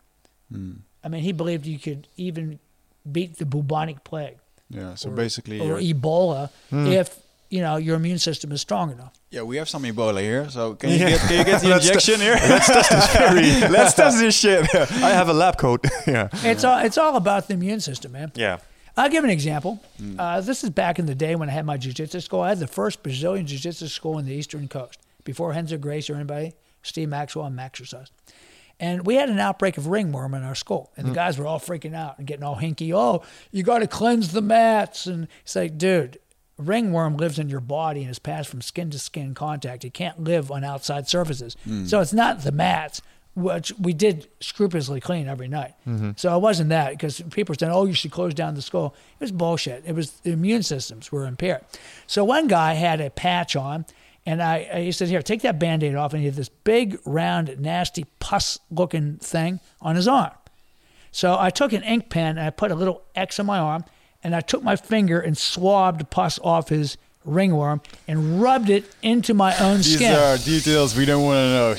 I mean, he believed you could even beat the bubonic plague Yeah. So or, basically, or you're- Ebola if you know your immune system is strong enough. yeah, we have some Ebola here. So can you Yeah. get can you get the Let's injection here? Let's test this theory. Let's test this shit. I have a lab coat. yeah. It's all it's all about the immune system, man. Yeah. I'll give an example. Uh, this is back in the day when I had my jiu-jitsu school. I had the first Brazilian jiu-jitsu school in the Eastern Coast. Before Renzo Grace or anybody, Steve Maxwell and Maxercise. And we had an outbreak of ringworm in our school. And the guys were all freaking out and getting all hinky. Oh, you got to cleanse the mats. And it's like, dude, ringworm lives in your body and is passed from skin to skin contact. It can't live on outside surfaces. So it's not the mats, which we did scrupulously clean every night. So it wasn't that, because people were saying, oh, you should close down the school. It was bullshit. It was the immune systems were impaired. So one guy had a patch on, and I, I he said, here, take that Band-Aid off, and he had this big, round, nasty, pus-looking thing on his arm. So I took an ink pen, and I put a little X on my arm, and I took my finger and swabbed pus off his ringworm and rubbed it into my own These skin. are details we don't want to know.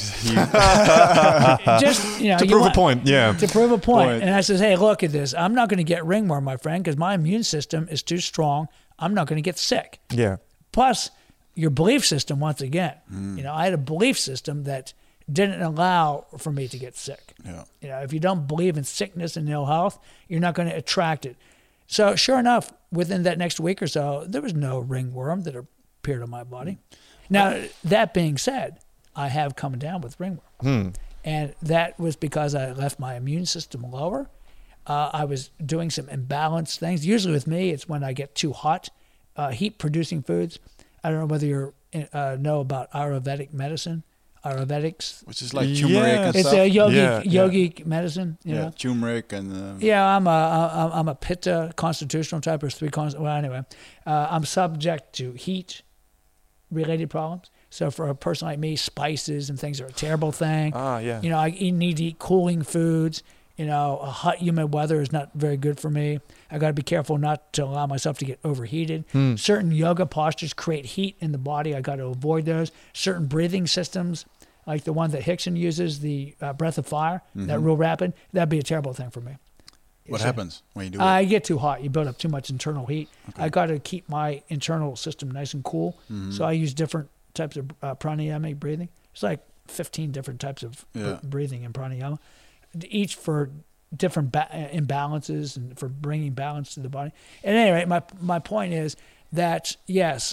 Just, you know, To you prove want- a point. Yeah. to prove a point. Point. And I says, hey, look at this. I'm not going to get ringworm, my friend, because my immune system is too strong. I'm not going to get sick. Yeah. Plus, your belief system, once again. You know, I had a belief system that didn't allow for me to get sick. yeah. You know, if you don't believe in sickness and ill health, you're not going to attract it. So sure enough, within that next week or so, there was no ringworm that appeared on my body. Now, that being said, I have come down with ringworm. And that was because I left my immune system lower. Uh, I was doing some imbalanced things. Usually with me, it's when I get too hot, uh, heat-producing foods. I don't know whether you uh, know about Ayurvedic medicine, Ayurvedics. Which is like Yeah. turmeric and It's stuff. a yogi, Yeah, yeah. yogic medicine, you yeah, know. turmeric and uh, Yeah, I'm a I'm- I'm a Pitta constitutional type. There's three cons. Well, anyway, uh, I'm subject to heat related problems. So for a person like me, spices and things are a terrible thing. Ah, yeah. You know, I eat- need to eat cooling foods. You know, a hot, humid weather is not very good for me. I got to be careful not to allow myself to get overheated. Certain yoga postures create heat in the body. I got to avoid those. Certain breathing systems, like the one that Hickson uses, the uh, breath of fire, that real rapid, that'd be a terrible thing for me. what So- happens when you do I it? get too hot. You build up too much internal heat. I got to keep my internal system nice and cool. So I use different types of uh, pranayamic breathing. It's like fifteen different types of Yeah. breathing in pranayama, each for different ba- imbalances and for bringing balance to the body. At any rate, my my point is that yes,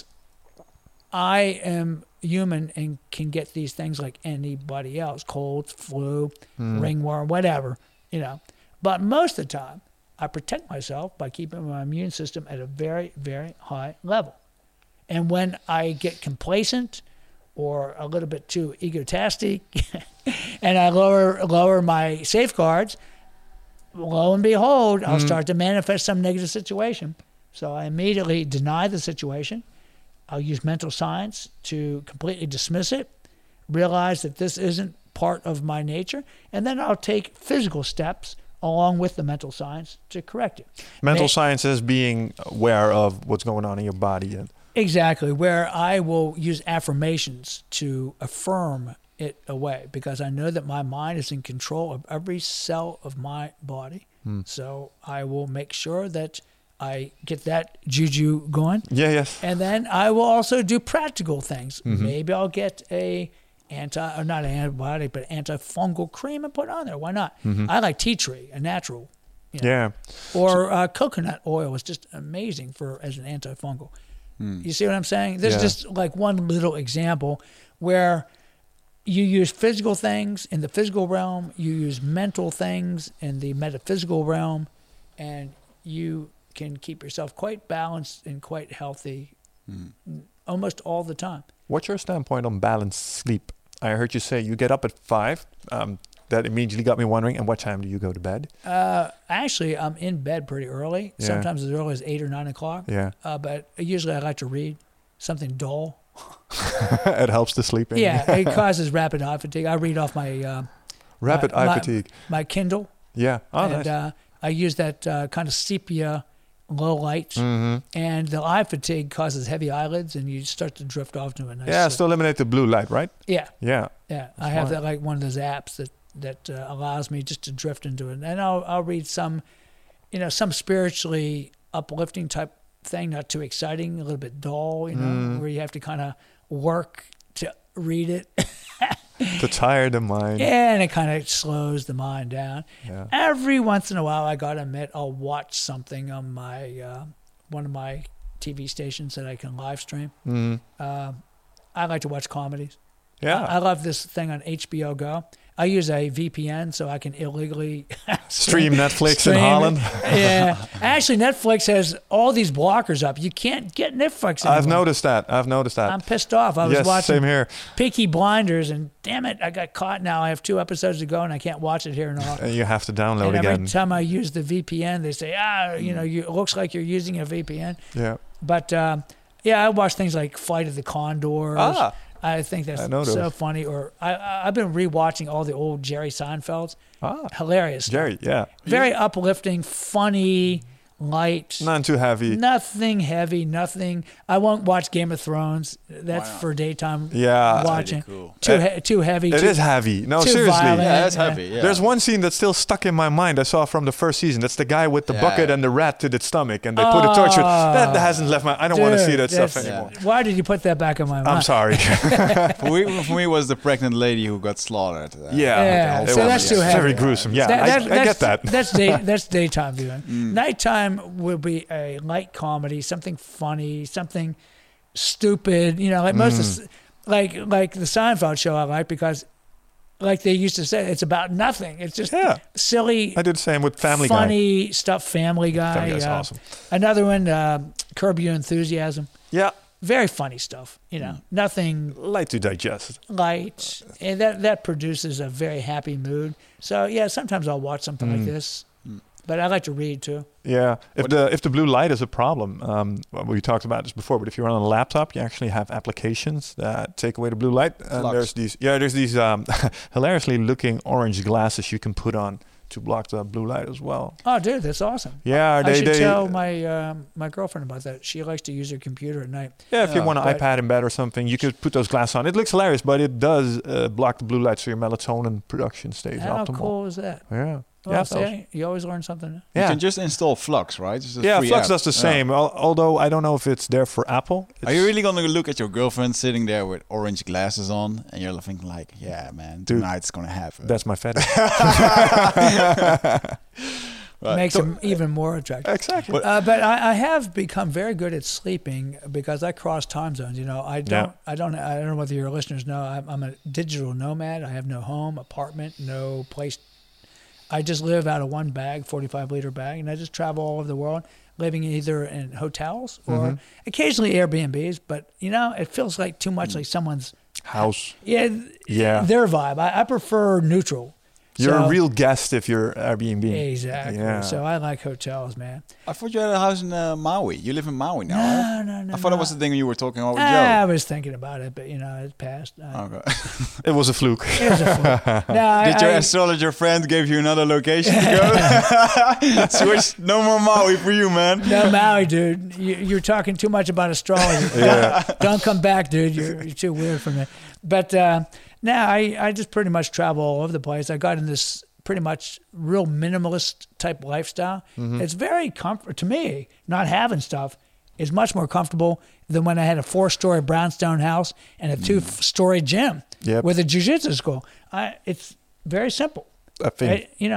I am human and can get these things like anybody else: colds, flu, ringworm, whatever, you know. But most of the time, I protect myself by keeping my immune system at a very, very high level. And when I get complacent or a little bit too egotastic and I lower lower my safeguards, lo and behold, I'll start to manifest some negative situation. So I immediately deny the situation. I'll use mental science to completely dismiss it, realize that this isn't part of my nature, and then I'll take physical steps along with the mental science to correct it. Mental May- science is being aware of what's going on in your body. And Exactly, where I will use affirmations to affirm it away because I know that my mind is in control of every cell of my body. So I will make sure that I get that juju going. yeah, yes. And then I will also do practical things. Maybe I'll get a anti, or not an antibiotic, but antifungal cream and put it on there. Why not? I like tea tree, a natural. You know, Yeah. or uh, coconut oil is just amazing for as an antifungal. Hmm. You see what I'm saying? This Yeah. is just like one little example where you use physical things in the physical realm, you use mental things in the metaphysical realm, and you can keep yourself quite balanced and quite healthy Hmm. almost all the time. What's your standpoint on balanced sleep? I heard you say you get up at five. Um, that immediately got me wondering, and what time do you go to bed? Uh, actually, I'm in bed pretty early, Yeah. sometimes as early as eight or nine o'clock. Yeah. Uh, but usually I like to read something dull. It helps the sleeping. Yeah, it causes rapid eye fatigue. I read off my uh, Rapid my- eye my- fatigue. my Kindle, Yeah. Oh, and nice. uh, I use that uh, kind of sepia low light, hmm and the eye fatigue causes heavy eyelids, and you start to drift off to a nice. Yeah, sleep. still eliminate the blue light, right? yeah, Yeah. yeah. I have smart. that like one of those apps that that uh, allows me just to drift into it, and I'll I'll read some, you know, some spiritually uplifting type thing, not too exciting, a little bit dull, you know, Mm. where you have to kind of work to read it. To tire the mind. And it kind of slows the mind down. Yeah. Every once in a while, I gotta admit, I'll watch something on my uh, one of my T V stations that I can live stream. Mhm. Uh, I like to watch comedies. Yeah. I, I love this thing on H B O Go. I use a V P N so I can illegally Stream Netflix stream in it. Holland. Yeah, actually, Netflix has all these blockers up. You can't get Netflix anymore. I've noticed that. I've noticed that. I'm pissed off. I was yes, watching same here. Peaky Blinders, and damn it, I got caught. Now I have two episodes to go, and I can't watch it here and all. And you have to download And every again. time I use the V P N, they say, ah, you know, you, it looks like you're using a V P N. Yeah. But um, yeah, I watch things like Flight of the Condors. Ah. I think that's I know so those. funny. Or I, I- I've been rewatching all the old Jerry Seinfelds. Ah. Hilarious. Jerry, yeah. Very uplifting, funny, light. None too heavy. Nothing heavy, nothing. I won't watch Game of Thrones. That's Why not? for daytime Yeah. watching. Really cool. Too, Uh, he- too heavy. It too, is heavy. No, too seriously. violent. Yeah, that's Yeah. heavy. Yeah. There's one scene that's still stuck in my mind I saw from the first season. That's the guy with the Yeah. bucket and the rat to the stomach, and they put a torch. That hasn't left my. I don't want to Dude, see that stuff that's- anymore. Why did you put that back in my mind? I'm sorry. for, me, for me, it was the pregnant lady who got slaughtered. Uh, yeah, Yeah, it so was that's too heavy. very gruesome. Yeah, That- I, that- I that's, get that. That's day, that's daytime viewing. Mm. Nighttime will be a light comedy, something funny, something stupid. You know, like most of Mm. the, like like the Seinfeld show I like because, like they used to say, it's about nothing. It's just Yeah. silly, I did the same with Family Guy. funny stuff. Family Guy. Family Guy's uh, awesome. Another one, uh, Curb Your Enthusiasm. Yeah, Very funny stuff. You know, nothing light to digest. light, and that that produces a very happy mood. So yeah, sometimes I'll watch something like Mm. this, but I like to read too. Yeah, if What- the if the blue light is a problem, um, well, we talked about this before. But if you're on a laptop, you actually have applications that take away the blue light. And Flux. there's these, yeah, there's these um, hilariously looking orange glasses you can put on to block the blue light as well. Oh, dude, that's awesome. Yeah, I they should they tell my um, my girlfriend about that. She likes to use her computer at night. yeah. If you Yeah, want an but- iPad in bed or something, you could put those glasses on. It looks hilarious, but it does uh, block the blue light, so your melatonin production stays How optimal. cool is that? Yeah, Well, yeah, see, you always learn something new. You yeah. can just install Flux, right? It's a Yeah, free Flux app. does the Yeah. same. Al- although I don't know if it's there for Apple. Are It's- you really gonna look at your girlfriend sitting there with orange glasses on, and you're thinking like, "Yeah, man, Dude, tonight's gonna happen." That's my fetish. Right. Makes So- them even more attractive. exactly. Uh, but I, I have become very good at sleeping because I cross time zones. You know, I don't, I don't, I don't know whether your listeners know. I'm, I'm a digital nomad. I have no home, apartment, no place. I just live out of one bag, forty-five liter bag, and I just travel all over the world, living either in hotels or Mhm. occasionally Airbnbs. But you know, it feels like too much like someone's House. yeah, Yeah. their vibe. I, I prefer neutral. You're So- a real guest if you're Airbnb. Exactly. Yeah. So I like hotels, man. I thought you had a house in uh, Maui. You live in Maui now. right? No, no, no. I thought no. it was the thing you were talking about with I Joe. was thinking about it, but you know, it passed. Uh, Okay. It was a fluke. It was a fluke. No, I, Did your I, astrologer friend give you another location to go? Switch. No more Maui for you, man. no, Maui, dude. You, you're talking too much about astrology. Yeah. Don't, don't come back, dude. You're, you're too weird for me. But uh, now I, I just pretty much travel all over the place. I got in this pretty much real minimalist type lifestyle. Mm-hmm. It's very comfort to me. Not having stuff is much more comfortable than when I had a four-story brownstone house and a two-story gym Yep. with a jiu-jitsu school. I, it's very simple. I think. I- you know,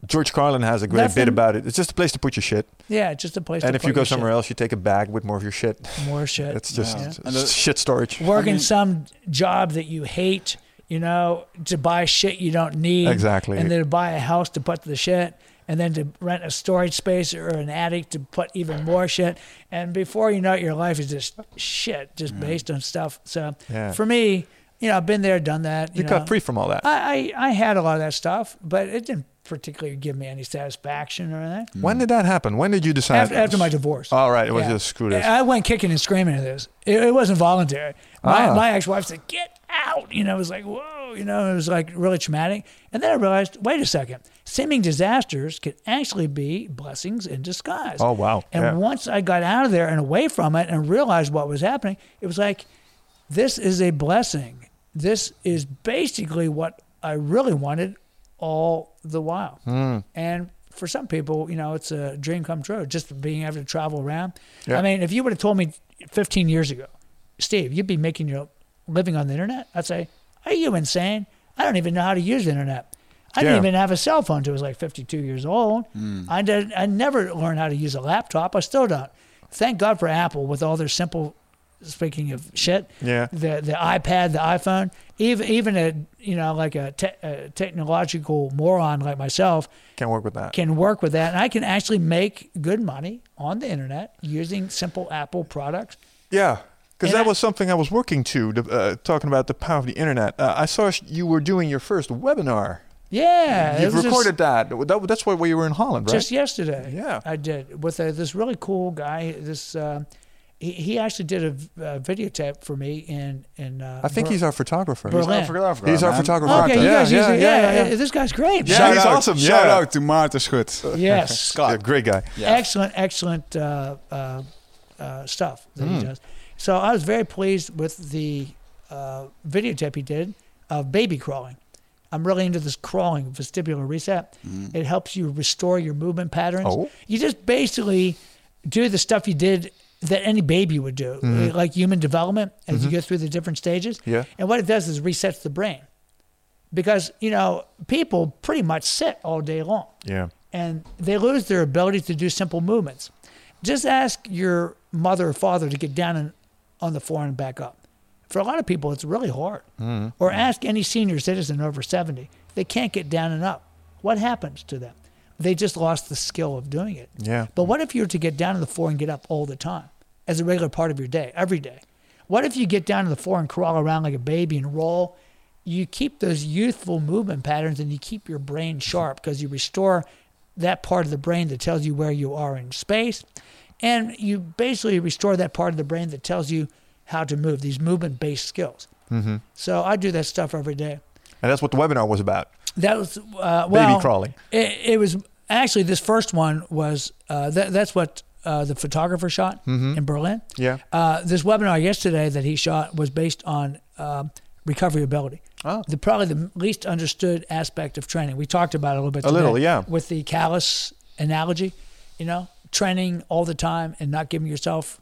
George Carlin has a great Nothing- bit about it. It's just a place to put your shit. Yeah, just a place. And to if put you go your somewhere shit. else, you take a bag with more of your shit. more shit. It's just Yeah. it's And the- shit storage. Working I mean- some job that you hate, you know, to buy shit you don't need. Exactly. And then to buy a house to put the shit, and then to rent a storage space or an attic to put even more shit. And before you know it, your life is just shit, just based on stuff. So Yeah. for me, you know, I've been there, done that. You know. cut free from all that. I, I, I had a lot of that stuff, but it didn't particularly give me any satisfaction or anything. When did that happen? When did you decide? After, after my divorce. All right, it was Yeah. just screw this. I went kicking and screaming at this. It, it wasn't voluntary. My, Ah. my ex-wife said, "Get out!" You know, it was like, whoa. You know, it was like really traumatic. And then I realized, wait a second, seeming disasters can actually be blessings in disguise. Oh, wow. And Yeah. once I got out of there and away from it and realized what was happening, it was like, this is a blessing. This is basically what I really wanted all the while. Mm. And for some people, you know, it's a dream come true, just being able to travel around. Yeah. I mean, if you would have told me fifteen years ago, Steve, you'd be making your living on the internet, I'd say, are you insane? I don't even know how to use the internet. I didn't Yeah. even have a cell phone until I was like fifty-two years old. I did. I never learned how to use a laptop. I still don't. Thank God for Apple with all their simple, speaking of shit, Yeah. the the iPad, the iPhone, even even a you know like a, te- a technological moron like myself Can't work with that. can work with that, and I can actually make good money on the internet using simple Apple products. Yeah, because And that I- was something I was working to, the, uh, talking about the power of the internet. Uh, I saw sh- you were doing your first webinar. Yeah, it You've was just- recorded that. that. That's why you were in Holland, right? just yesterday. Yeah. I did with a, this really cool guy. This uh, he, he actually did a, v- a videotape for me in in. Uh, I think Ber- he's our photographer. Berlin. He's our photographer. He's our man. photographer. Okay, you yeah, guys yeah, use it. yeah, Yeah, yeah, yeah. this guy's great. Yeah, Shout he's out, awesome. Shout Yeah. out to Maarten Schut. Yes, Scott. Yeah, great guy. Yeah. excellent, excellent uh, uh, uh, stuff that Mm. he does. So I was very pleased with the uh, videotape he did of baby crawling. I'm really into this crawling, vestibular reset. It helps you restore your movement patterns. Oh. You just basically do the stuff you did that any baby would do, like human development as you go through the different stages. Yeah. And what it does is resets the brain. Because, you know, people pretty much sit all day long Yeah. and they lose their ability to do simple movements. Just ask your mother or father to get down and on the floor and back up. For a lot of people, it's really hard. Mm-hmm. Or ask any senior citizen over seventy. They can't get down and up. What happens to them? They just lost the skill of doing it. Yeah. But what if you were to get down on the floor and get up all the time as a regular part of your day, every day? What if you get down on the floor and crawl around like a baby and roll? You keep those youthful movement patterns and you keep your brain sharp because you restore that part of the brain that tells you where you are in space. And you basically restore that part of the brain that tells you how to move, these movement-based skills. Mm-hmm. So I do that stuff every day. And that's what the webinar was about. That was, uh, well, Baby crawling. It, it was actually, this first one was, uh, that, that's what uh, the photographer shot Mm-hmm. in Berlin. Yeah. Uh, this webinar yesterday that he shot was based on um, recovery ability. Oh. The probably the least understood aspect of training. We talked about it a little bit A today little, yeah. with the callus analogy, you know, training all the time and not giving yourself.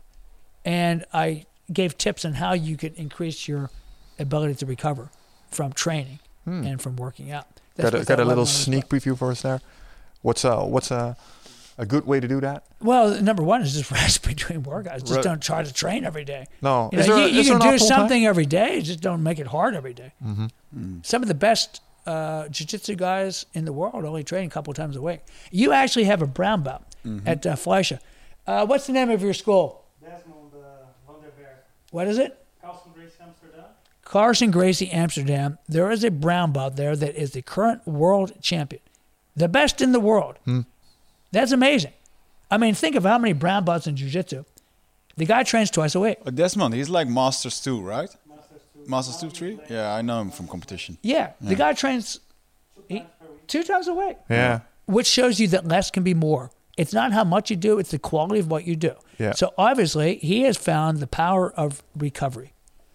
And I gave tips on how you could increase your ability to recover from training and from working out. That's Got a, what got that a little webinar was sneak about. preview for us there. What's uh what's a a good way to do that? Well, number one is just rest between workouts. Just Right. don't try to train every day. No. You, Is know, there- you, you is there can an do optimal time? something every day, just don't make it hard every day. Mm-hmm. Some of the best uh, jiu-jitsu guys in the world only train a couple times a week. You actually have a brown belt at uh, Fleischer. Uh, what's the name of your school? Desmond uh, van der Berg, What is it? Carlson Grace Amsterdam. Carson Gracie, Amsterdam. There is a brown belt there that is the current world champion, the best in the world. That's amazing. I mean, think of how many brown belts in jiu-jitsu. The guy trains twice a week. Uh, Desmond, he's like Masters two, right? Masters two. Masters two, three? Yeah, I know him from competition. Yeah, the guy trains Two times per week. two times a week, Yeah. which shows you that less can be more. It's not how much you do, it's the quality of what you do. Yeah. So obviously, he has found the power of recovery.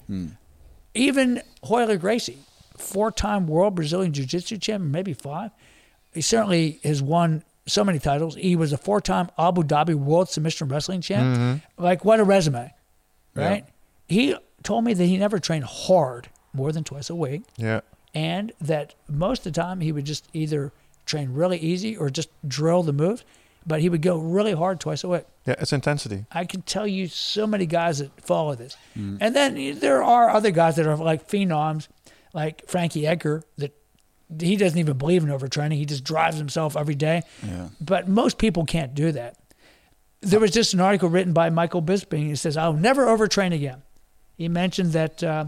Even Royler Gracie, four-time world Brazilian Jiu-Jitsu champion, maybe five. He certainly has won so many titles. He was a four-time Abu Dhabi World Submission Wrestling champ. Like, what a resume, right? He told me that he never trained hard more than twice a week, Yeah. and that most of the time he would just either train really easy or just drill the moves, but he would go really hard twice a week. Yeah, it's intensity. I can tell you so many guys that follow this. And then there are other guys that are like phenoms, like Frankie Edgar, that he doesn't even believe in overtraining. He just drives himself every day. Yeah. But most people can't do that. There was just an article written by Michael Bisping. He says, I'll never overtrain again. He mentioned that uh,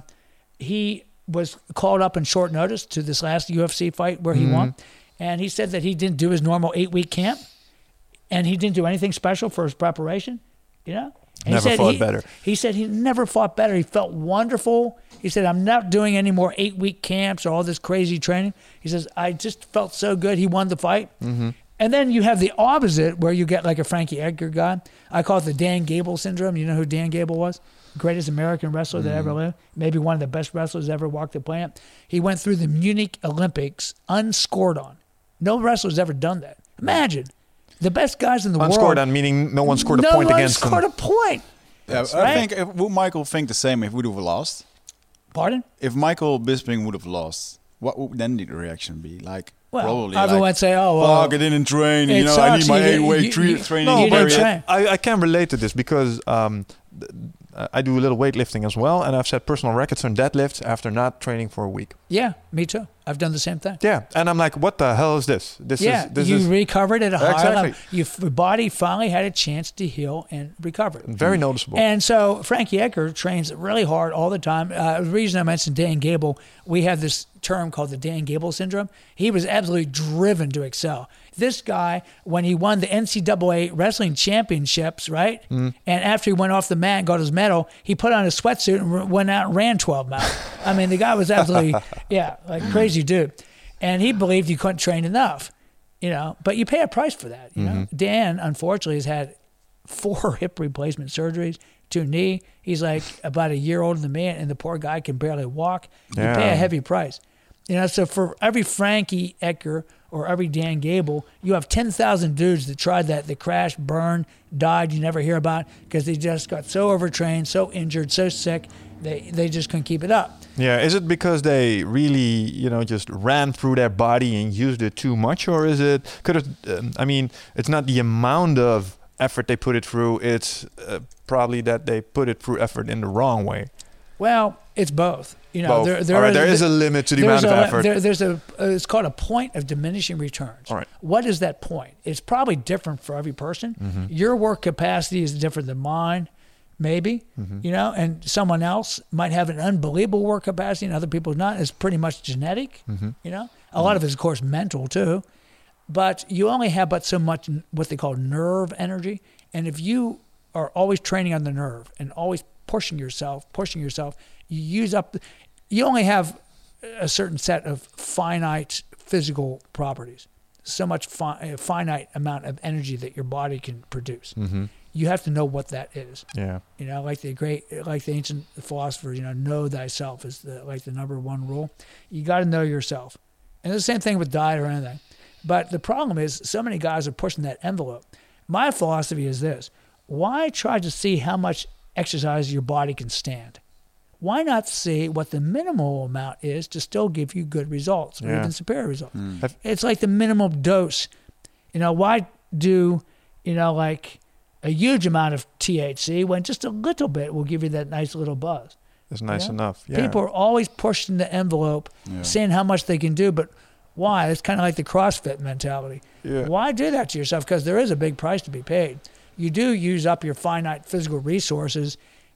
he was called up in short notice to this last U F C fight where he Mhm. won. And he said that he didn't do his normal eight-week camp. And he didn't do anything special for his preparation, you know? And Never he said fought he, better. He said he never fought better. He felt wonderful. He said, I'm not doing any more eight-week camps or all this crazy training. He says, I just felt so good. He won the fight. Mm-hmm. And then you have the opposite where you get like a Frankie Edgar guy. I call it the Dan Gable syndrome. You know who Dan Gable was? Greatest American wrestler that ever lived. Maybe one of the best wrestlers ever walked the planet. He went through the Munich Olympics unscored on. No wrestler's ever done that. Imagine. The best guys in the Unscored world. on meaning no one scored a no point one against scored him. a point. Yeah, I right. think if, would Michael think the same if we would have lost? Pardon? If Michael Bisping would have lost, what would then the reaction be? Like, Well, probably everyone like, would say, oh, well, fuck, I didn't train. You it know, I need sucks. my You- eight-way you- tre- you- training. no, you period. didn't train. I, I can relate to this because um, th- I do a little weightlifting as well, and I've set personal records on deadlifts after not training for a week. Yeah, me too. I've done the same thing. Yeah, and I'm like, what the hell is this? This yeah, is this you is recovered at a high Exactly. level. You, your body finally had a chance to heal and recover. very noticeable. And so Frankie Edgar trains really hard all the time. Uh, the reason I mentioned Dan Gable, we have this term called the Dan Gable syndrome. He was absolutely driven to excel. This guy, when he won the N C double A wrestling championships, right? Mm-hmm. And after he went off the mat and got his medal, he put on a sweatsuit and r- went out and ran twelve miles. I mean, the guy was absolutely, yeah, like crazy dude. And he believed you couldn't train enough, you know, but you pay a price for that, you know. Dan, unfortunately, has had four hip replacement surgeries, two knee. He's like about a year older than me, and the poor guy can barely walk. You Yeah. pay a heavy price. You know, so for every Frankie Edgar or every Dan Gable, you have ten thousand dudes that tried that, that crashed, burned, died, you never hear about because they just got so overtrained, so injured, so sick, they, they just couldn't keep it up. Yeah, is it because they really, you know, just ran through their body and used it too much, or is it? Could it? Um, I mean, it's not the amount of effort they put it through; it's uh, probably that they put it through effort in the wrong way. Well, it's both. You know, Both. there, there All right, is, there is a limit to the there's amount of a, effort. There, there's a. Uh, it's called a point of diminishing returns. All right. What is that point? It's probably different for every person. Mm-hmm. Your work capacity is different than mine, maybe. Mm-hmm. You know, and someone else might have an unbelievable work capacity, and other people's not. It's pretty much genetic. Mm-hmm. You know, a lot of it is, of course, mental too. But you only have but so much n- what they call nerve energy, and if you are always training on the nerve and always pushing yourself, pushing yourself, you use up. The, you only have a certain set of finite physical properties, so much fi- a finite amount of energy that your body can produce. Mm-hmm. You have to know what that is. Yeah. You know, like the great, like the ancient philosophers, you know, know thyself is the like the number one rule. You got to know yourself, and the same thing with diet or anything. But the problem is, so many guys are pushing that envelope. My philosophy is this: why try to see how much exercise your body can stand? Why not see what the minimal amount is to still give you good results or Yeah. even superior results? Have- It's like the minimum dose. You know, why do, you know, like a huge amount of T H C when just a little bit will give you that nice little buzz? It's nice Yeah. enough. Yeah. People are always pushing the envelope, Yeah. seeing how much they can do, but why? It's kind of like the CrossFit mentality. Yeah. Why do that to yourself? Because there is a big price to be paid. You do use up your finite physical resources,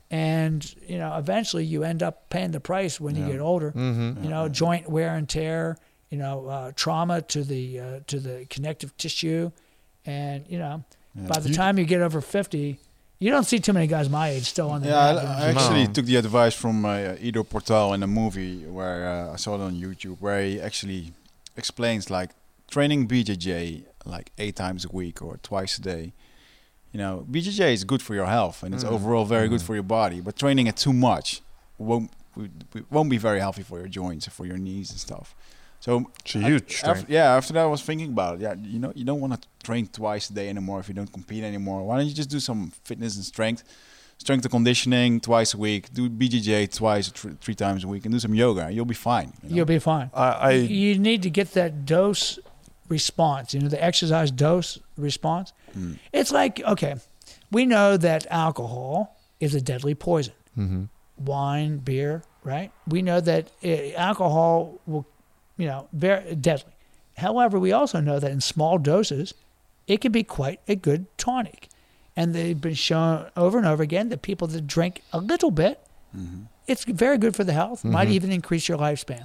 and you know eventually you end up paying the price when you Yeah. get older. Mm-hmm. You know, joint wear and tear. You know, uh, trauma to the uh, to the connective tissue, and you know, Yeah. by the You- time you get over fifty, you don't see too many guys my age still on the Yeah, mat I, doing I shit. actually No. took the advice from uh, Ido Portal in a movie where uh, I saw it on YouTube, where he actually explains like training B J J like eight times a week or twice a day. You know, B J J is good for your health and it's Mm. overall very good Mm. for your body, but training it too much won't won't be very healthy for your joints and for your knees and stuff. So It's a I- huge after, strain. yeah, after that I was thinking about it. Yeah, you know, you don't want to train twice a day anymore if you don't compete anymore. Why don't you just do some fitness and strength, strength and conditioning twice a week, do B J J twice or th- three times a week, and do some yoga. You'll be fine. You know? You'll be fine. I, I you need to get that dose response, you know, the exercise dose response. Mm. It's like, okay, we know that alcohol is a deadly poison. Mm-hmm. Wine, beer, right? We know that uh, alcohol will, you know, very deadly. However, we also know that in small doses, it can be quite a good tonic. And they've been shown over and over again that people that drink a little bit, Mm-hmm. it's very good for the health, Mm-hmm. might even increase your lifespan.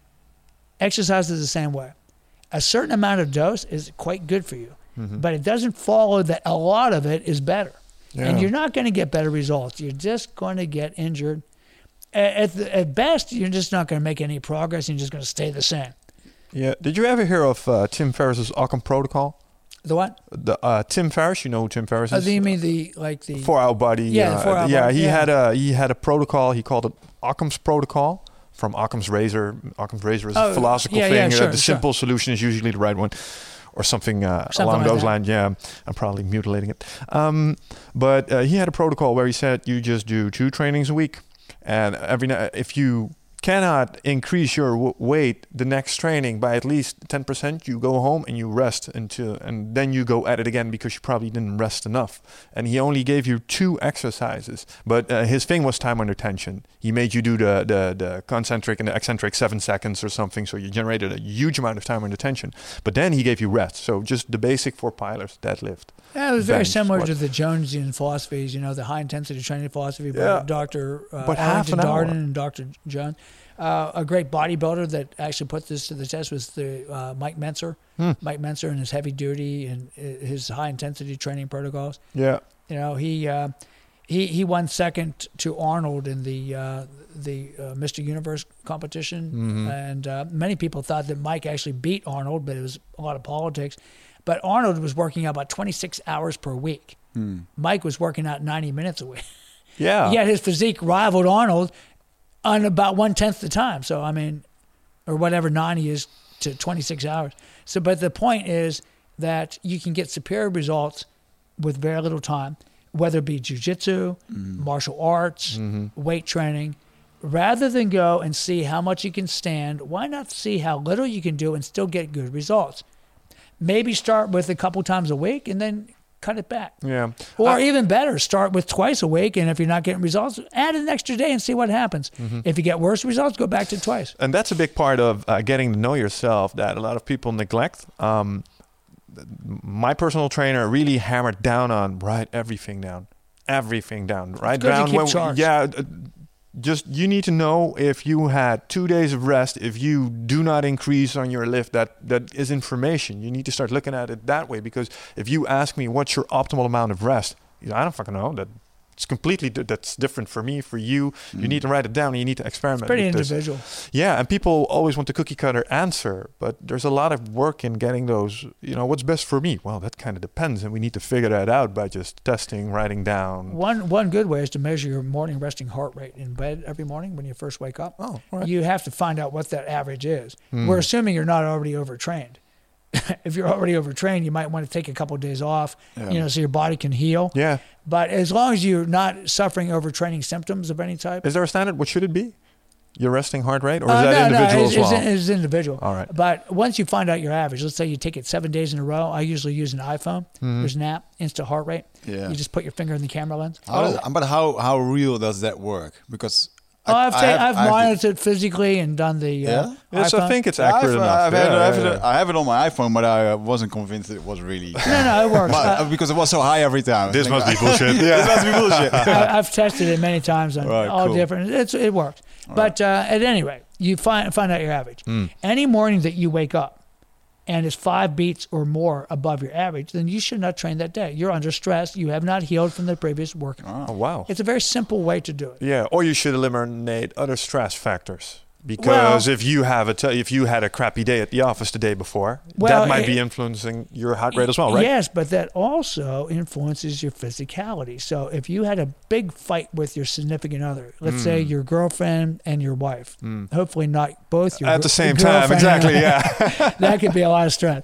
Exercise is the same way. A certain amount of dose is quite good for you, Mm-hmm. but it doesn't follow that a lot of it is better. And Yeah. you're not going to get better results. You're just going to get injured. At, at, the, at best, you're just not going to make any progress. You're just going to stay the same. Yeah. Did you ever hear of uh, Tim Ferriss's Occam protocol? The what? The uh, Tim Ferriss, you know who Tim Ferriss Oh, is? do you mean the, like the... Four Hour Body. Yeah, the uh, Four Hour yeah, Body, he yeah. had a he had a protocol. He called it Occam's protocol, from Occam's razor. Occam's razor is Oh, a philosophical yeah, thing. yeah, uh, sure, the sure. simple solution is usually the right one, or something, uh, Something along like those that. lines. Yeah, I'm probably mutilating it. Um, but uh, he had a protocol where he said you just do two trainings a week, and every ni- if you cannot increase your w- weight the next training by at least ten percent, you go home and you rest until, and then you go at it again because you probably didn't rest enough. And he only gave you two exercises, but uh, his thing was time under tension. He made you do the, the the concentric and the eccentric seven seconds or something, so you generated a huge amount of time under tension. But then he gave you rest, so just the basic four pilars, deadlift. Yeah, it was very bench, similar squat. to the Jonesian philosophies, you know, the high-intensity training philosophy by Yeah. Doctor Uh, But half Arlington an hour. Darden and Doctor Jones. Uh, a great bodybuilder that actually put this to the test was the uh, Mike Menser. Hmm. Mike Menser and his heavy duty and uh, his high-intensity training protocols. Yeah. You know, he uh, he he won second to Arnold in the uh, the uh, Mister Universe competition, Mhm. and uh, many people thought that Mike actually beat Arnold, but it was a lot of politics. But Arnold was working out about twenty-six hours per week. Hmm. Mike was working out ninety minutes a week. Yeah. Yet his physique rivaled Arnold on about one tenth the time. So I mean, or whatever ninety is to twenty-six hours. So, but the point is that you can get superior results with very little time, whether it be jujitsu, martial arts, Mm-hmm. weight training. Rather than go and see how much you can stand, why not see how little you can do and still get good results? Maybe start with a couple times a week and then cut it back. Yeah. Or I- even better, start with twice a week, and if you're not getting results, add an extra day and see what happens. Mm-hmm. If you get worse results, go back to twice. And that's a big part of uh, getting to know yourself that a lot of people neglect. Um, th- my personal trainer really hammered down on write everything down, everything down, write good to down. keep when- charts. yeah, uh, just you need to know if you had two days of rest. If you do not increase on your lift, that that is information. You need to start looking at it that way, because if you ask me what's your optimal amount of rest, you know, I don't fucking know. That it's completely di- that's different for me, for you. You need to write it down and you need to experiment. Pretty with this. individual. Yeah, and people always want the cookie cutter answer, but there's a lot of work in getting those, you know, what's best for me? Well, that kind of depends, and we need to figure that out by just testing, writing down. One one good way is to measure your morning resting heart rate in bed every morning when you first wake up. Oh, all right. You have to find out what that average is. Hmm. We're assuming you're not already overtrained. If you're already overtrained, you might want to take a couple of days off, Yeah. you know, so your body can heal. Yeah. But as long as you're not suffering overtraining symptoms of any type, Is there a standard? What should it be? Your resting heart rate? Or is Uh, that no, individual no, it's, as well? it's, it's individual. All right. But once you find out your average, let's say you take it seven days in a row. I usually use an iPhone. Mm-hmm. There's an app, Insta Heart Rate. Yeah. You just put your finger in the camera lens. How does, but how how real does that work? Because Oh, I've, ta- have- I've have the- monitored physically and done the uh, Yeah? Yes, I iPhone. think it's Yeah, I've, accurate uh, enough. I've had, Yeah, I, have yeah, it, I have it on my iPhone, but I uh, wasn't convinced it was really. No, no, it works. But, Uh, uh, because it was so high every time. This Like, must be bullshit. This must be bullshit. I, I've tested it many times on Right, all cool. different. It's it works. But uh, at any rate, you find find out your average. Mm. Any morning that you wake up and it's five beats or more above your average, then you should not train that day. You're under stress. You have not healed from the previous workout. Oh, wow. It's a very simple way to do it. Yeah, or you should eliminate other stress factors. Because Well- if you have a t- if you had a crappy day at the office the day before, Well, that might it- be influencing your heart rate as well, right? Yes, but that also influences your physicality. So if you had a big fight with your significant other, let's say Mm. your girlfriend and your wife, hopefully not both your At the gr- same time, girlfriend exactly. and- Yeah, That could be a lot of stress.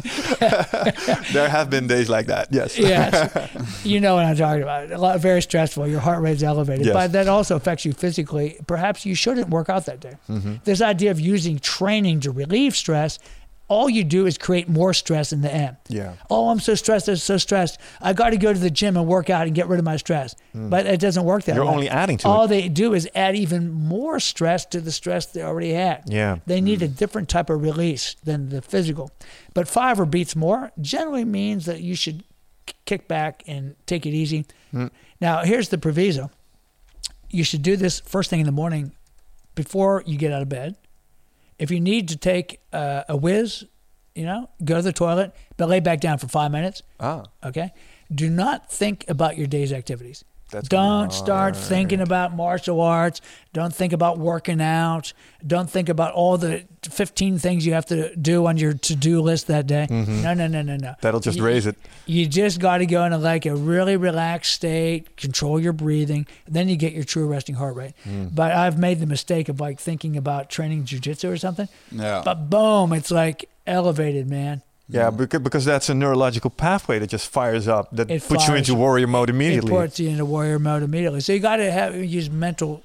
there have been days like that. Yes. Yes, you know what I'm talking about. A lot, very stressful. Your heart rate's elevated, Yes. but that also affects you physically. Perhaps you shouldn't work out that day. Mm-hmm. This idea of using training to relieve stress all you do is create more stress in the end. Yeah. Oh, I'm so stressed. I'm so stressed. I got to go to the gym and work out and get rid of my stress. But it doesn't work that You're way. only adding to all it. they do is add even more stress to the stress they already had. Yeah. They need a different type of release than the physical. But five or beats more generally means that you should k- kick back and take it easy. Now, here's the proviso. You should do this first thing in the morning before you get out of bed. If you need to take uh, a whiz, you know, go to the toilet, but lay back down for five minutes. Ah. Okay? Do not think about your day's activities. That's gonna Don't be start hard. thinking about martial arts. Don't think about working out. Don't think about all the fifteen things you have to do on your to-do list that day. No, no, no, no, no. That'll just You- raise it. You just got to go into like a really relaxed state, control your breathing, then you get your true resting heart rate. But I've made the mistake of like thinking about training jiu-jitsu or something. Yeah. But boom, it's like elevated, man. Yeah, because, because that's a neurological pathway that just fires up, that It puts you fires- into warrior mode It immediately. puts you into warrior mode immediately. So you got to have use mental,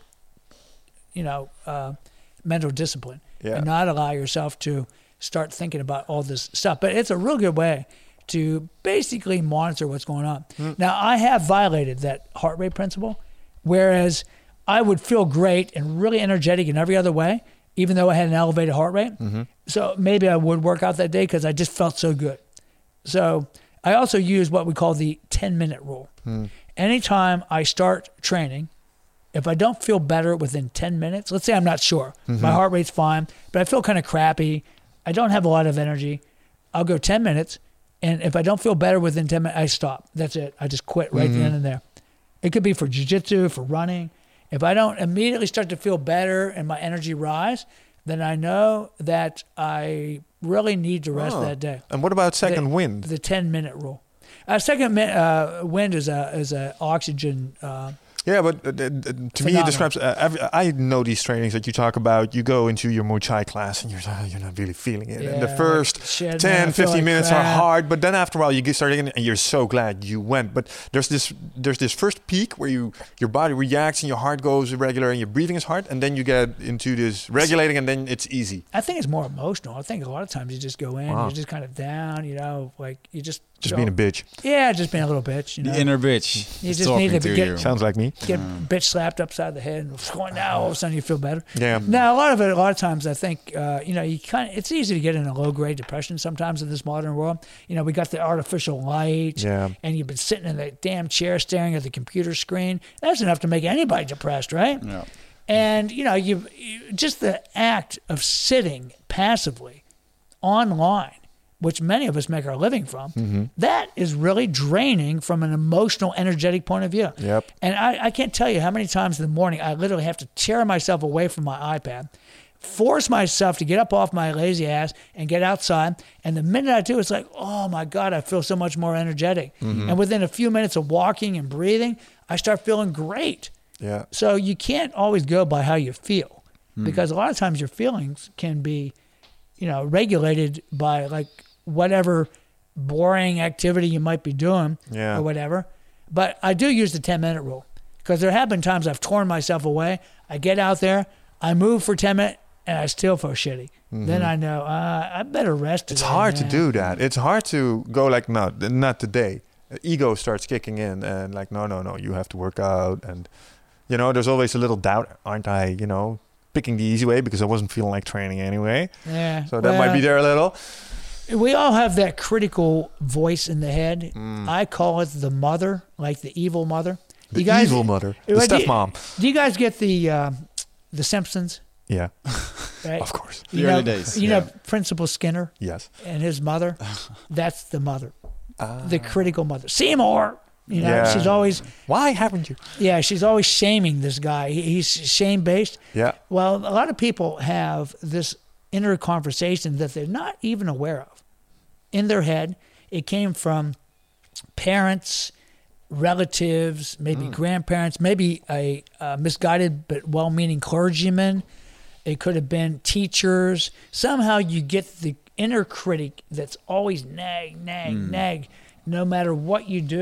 you know, uh, mental discipline, Yeah. and not allow yourself to start thinking about all this stuff. But it's a real good way to basically monitor what's going on. Now, I have violated that heart rate principle, whereas I would feel great and really energetic in every other way, even though I had an elevated heart rate. So maybe I would work out that day because I just felt so good. So I also use what we call the ten-minute rule. Anytime I start training, if I don't feel better within ten minutes, let's say I'm not sure, my heart rate's fine, but I feel kind of crappy, I don't have a lot of energy, I'll go ten minutes, and if I don't feel better within ten minutes, I stop. That's it. I just quit right then and there. It could be for jiu-jitsu, for running. If I don't immediately start to feel better and my energy rise, then I know that I really need to rest Oh. that day. And what about second The- wind? The ten-minute rule. Uh, second mi- uh, wind is a is a oxygen. Uh, Yeah, but uh, uh, to me it Phenomenal. describes. Uh, every, I know these trainings that you talk about. You go into your Muay Thai class and you're uh, you're not really feeling it. and the Yeah, first like, shit, man, I ten, feel fifteen like minutes are crap. hard, but then after a while you get started and you're so glad you went. But there's this there's this first peak where you your body reacts and your heart goes irregular and your breathing is hard, and then you get into this regulating and then it's easy. I think it's more emotional. I think a lot of times you just go in, Wow. you're just kind of down, you know, like you just Just so- being a bitch. Yeah, just being a little bitch. You know, The inner bitch. You is just talking need to to get- you. Sounds like me. get bitch slapped upside the head, and now all of a sudden you feel better. Yeah. Now, a lot of it, a lot of times, I think, uh, you know, you kind of, it's easy to get in a low grade depression sometimes in this modern world. You know, we got the artificial light, Yeah. and you've been sitting in that damn chair staring at the computer screen. That's enough to make anybody depressed, right? Yeah. And you know, you, you just the act of sitting passively online, which many of us make our living from, Mm-hmm. that is really draining from an emotional, energetic point of view. Yep. And I, I can't tell you how many times in the morning I literally have to tear myself away from my iPad, force myself to get up off my lazy ass and get outside. And the minute I do, it's like, oh my God, I feel so much more energetic. Mm-hmm. And within a few minutes of walking and breathing, I start feeling great. Yeah. So you can't always go by how you feel, because a lot of times your feelings can be, you know, regulated by like whatever boring activity you might be doing Yeah. or whatever. But I do use the ten minute rule, because there have been times I've torn myself away. I get out there, I move for ten minutes, and I still feel shitty. Then I know uh, I better rest. It's today, hard to man. do that. It's hard to go like, no, th- not today. Ego starts kicking in and like, no, no, no, you have to work out. And, you know, there's always a little doubt. Aren't I, you know, picking the easy way because I wasn't feeling like training anyway? Yeah. So that might be well, there a little. We all have that critical voice in the head. Mm. I call it the mother, like the evil mother. The You guys- evil mother. The Well, do you- stepmom. Do you guys get the uh, the Simpsons? Yeah, Right? of course. The You early know, days, You yeah. know, Principal Skinner Yes. and his mother. That's the mother, Ah. the critical mother. Seymour. You know, Yeah. she's always Why haven't you? yeah, she's always shaming this guy. He, he's shame based. Yeah. Well, a lot of people have this inner conversation that they're not even aware of. In their head, it came from parents, relatives, maybe grandparents, maybe a, uh misguided but well-meaning clergyman. It could have been teachers. Somehow you get the inner critic that's always nag, nag, nag. No matter what you do,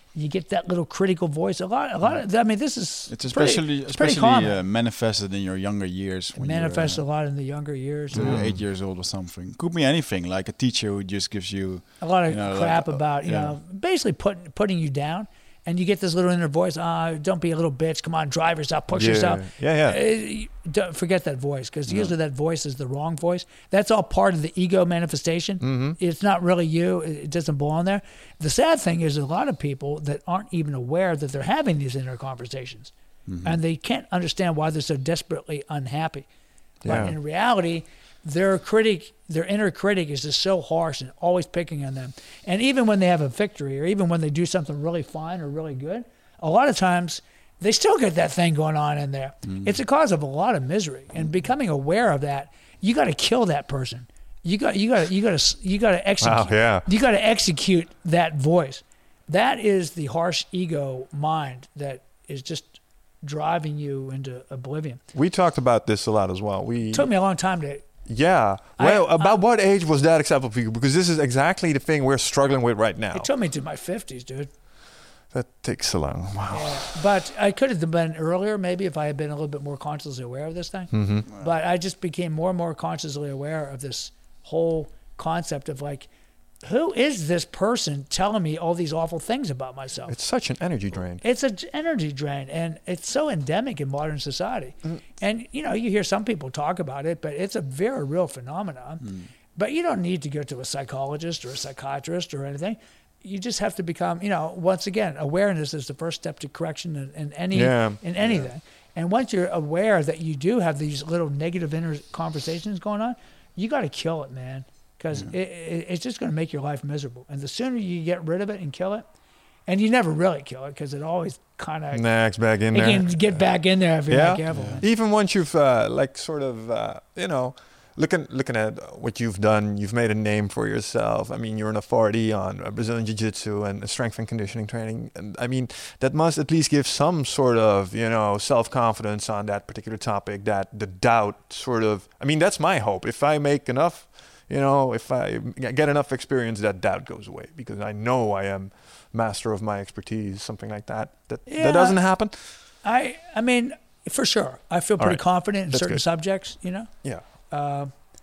you get that little critical voice. A lot, a lot of. I mean, this is It's pretty- especially it's pretty especially common. uh, manifested in your younger years. It when manifests you're, a lot in the younger years. uh, Uh, eight years old or something. Could be anything, like a teacher who just gives you. a lot of you know, crap like, uh, about you yeah. know basically putting putting you down, and you get this little inner voice. Ah, don't be a little bitch. Come on, drive yourself, push Yeah. yourself. Yeah, yeah. Uh, you don't forget that voice, because usually that voice is the wrong voice. That's all part of the ego manifestation. Mm-hmm. It's not really you. It it doesn't belong there. The sad thing is a lot of people that aren't even aware that they're having these inner conversations, and they can't understand why they're so desperately unhappy. Yeah. But in reality, their critic, their inner critic is just so harsh and always picking on them. And even when they have a victory, or even when they do something really fine or really good, a lot of times they still get that thing going on in there. It's a cause of a lot of misery. And becoming aware of that, you got to kill that person. You got, you got, you got to, you got to execute. Wow, yeah. You got to execute that voice. That is the harsh ego mind that is just driving you into oblivion. We talked about this a lot as well. We It took me a long time to. Yeah. I- Well, about I- what age was that acceptable for you? Because this is exactly the thing we're struggling with right now. It took me to my fifties, dude. That takes so long. Wow. Yeah. But I could have been earlier, maybe, if I had been a little bit more consciously aware of this thing. Mm-hmm. But I just became more and more consciously aware of this whole concept of like, who is this person telling me all these awful things about myself? It's such an energy drain. It's an energy drain, and it's so endemic in modern society. And, you know, you hear some people talk about it, but it's a very real phenomenon. But you don't need to go to a psychologist or a psychiatrist or anything. You just have to become, you know, once again, awareness is the first step to correction in, in any Yeah. in anything. And once you're aware that you do have these little negative inner conversations going on, you got to kill it, man, because it, it, it's just going to make your life miserable. And the sooner you get rid of it and kill it, and you never really kill it because it always kind of Next back in it there. can get back in there if you're Yeah. not careful. man. Even once you've uh, like sort of uh, you know looking looking at what you've done, you've made a name for yourself. I mean, you're an authority on uh, Brazilian Jiu-Jitsu and strength and conditioning training, and I mean that must at least give some sort of you know self-confidence on that particular topic. That the doubt sort of, I mean, that's my hope. If I make enough, you know, if I get enough experience, that doubt goes away because I know I am master of my expertise, something like that. That Yeah. that doesn't happen. I I mean, for sure, I feel All pretty right. confident in That's certain good. subjects, you know. Yeah. Uh,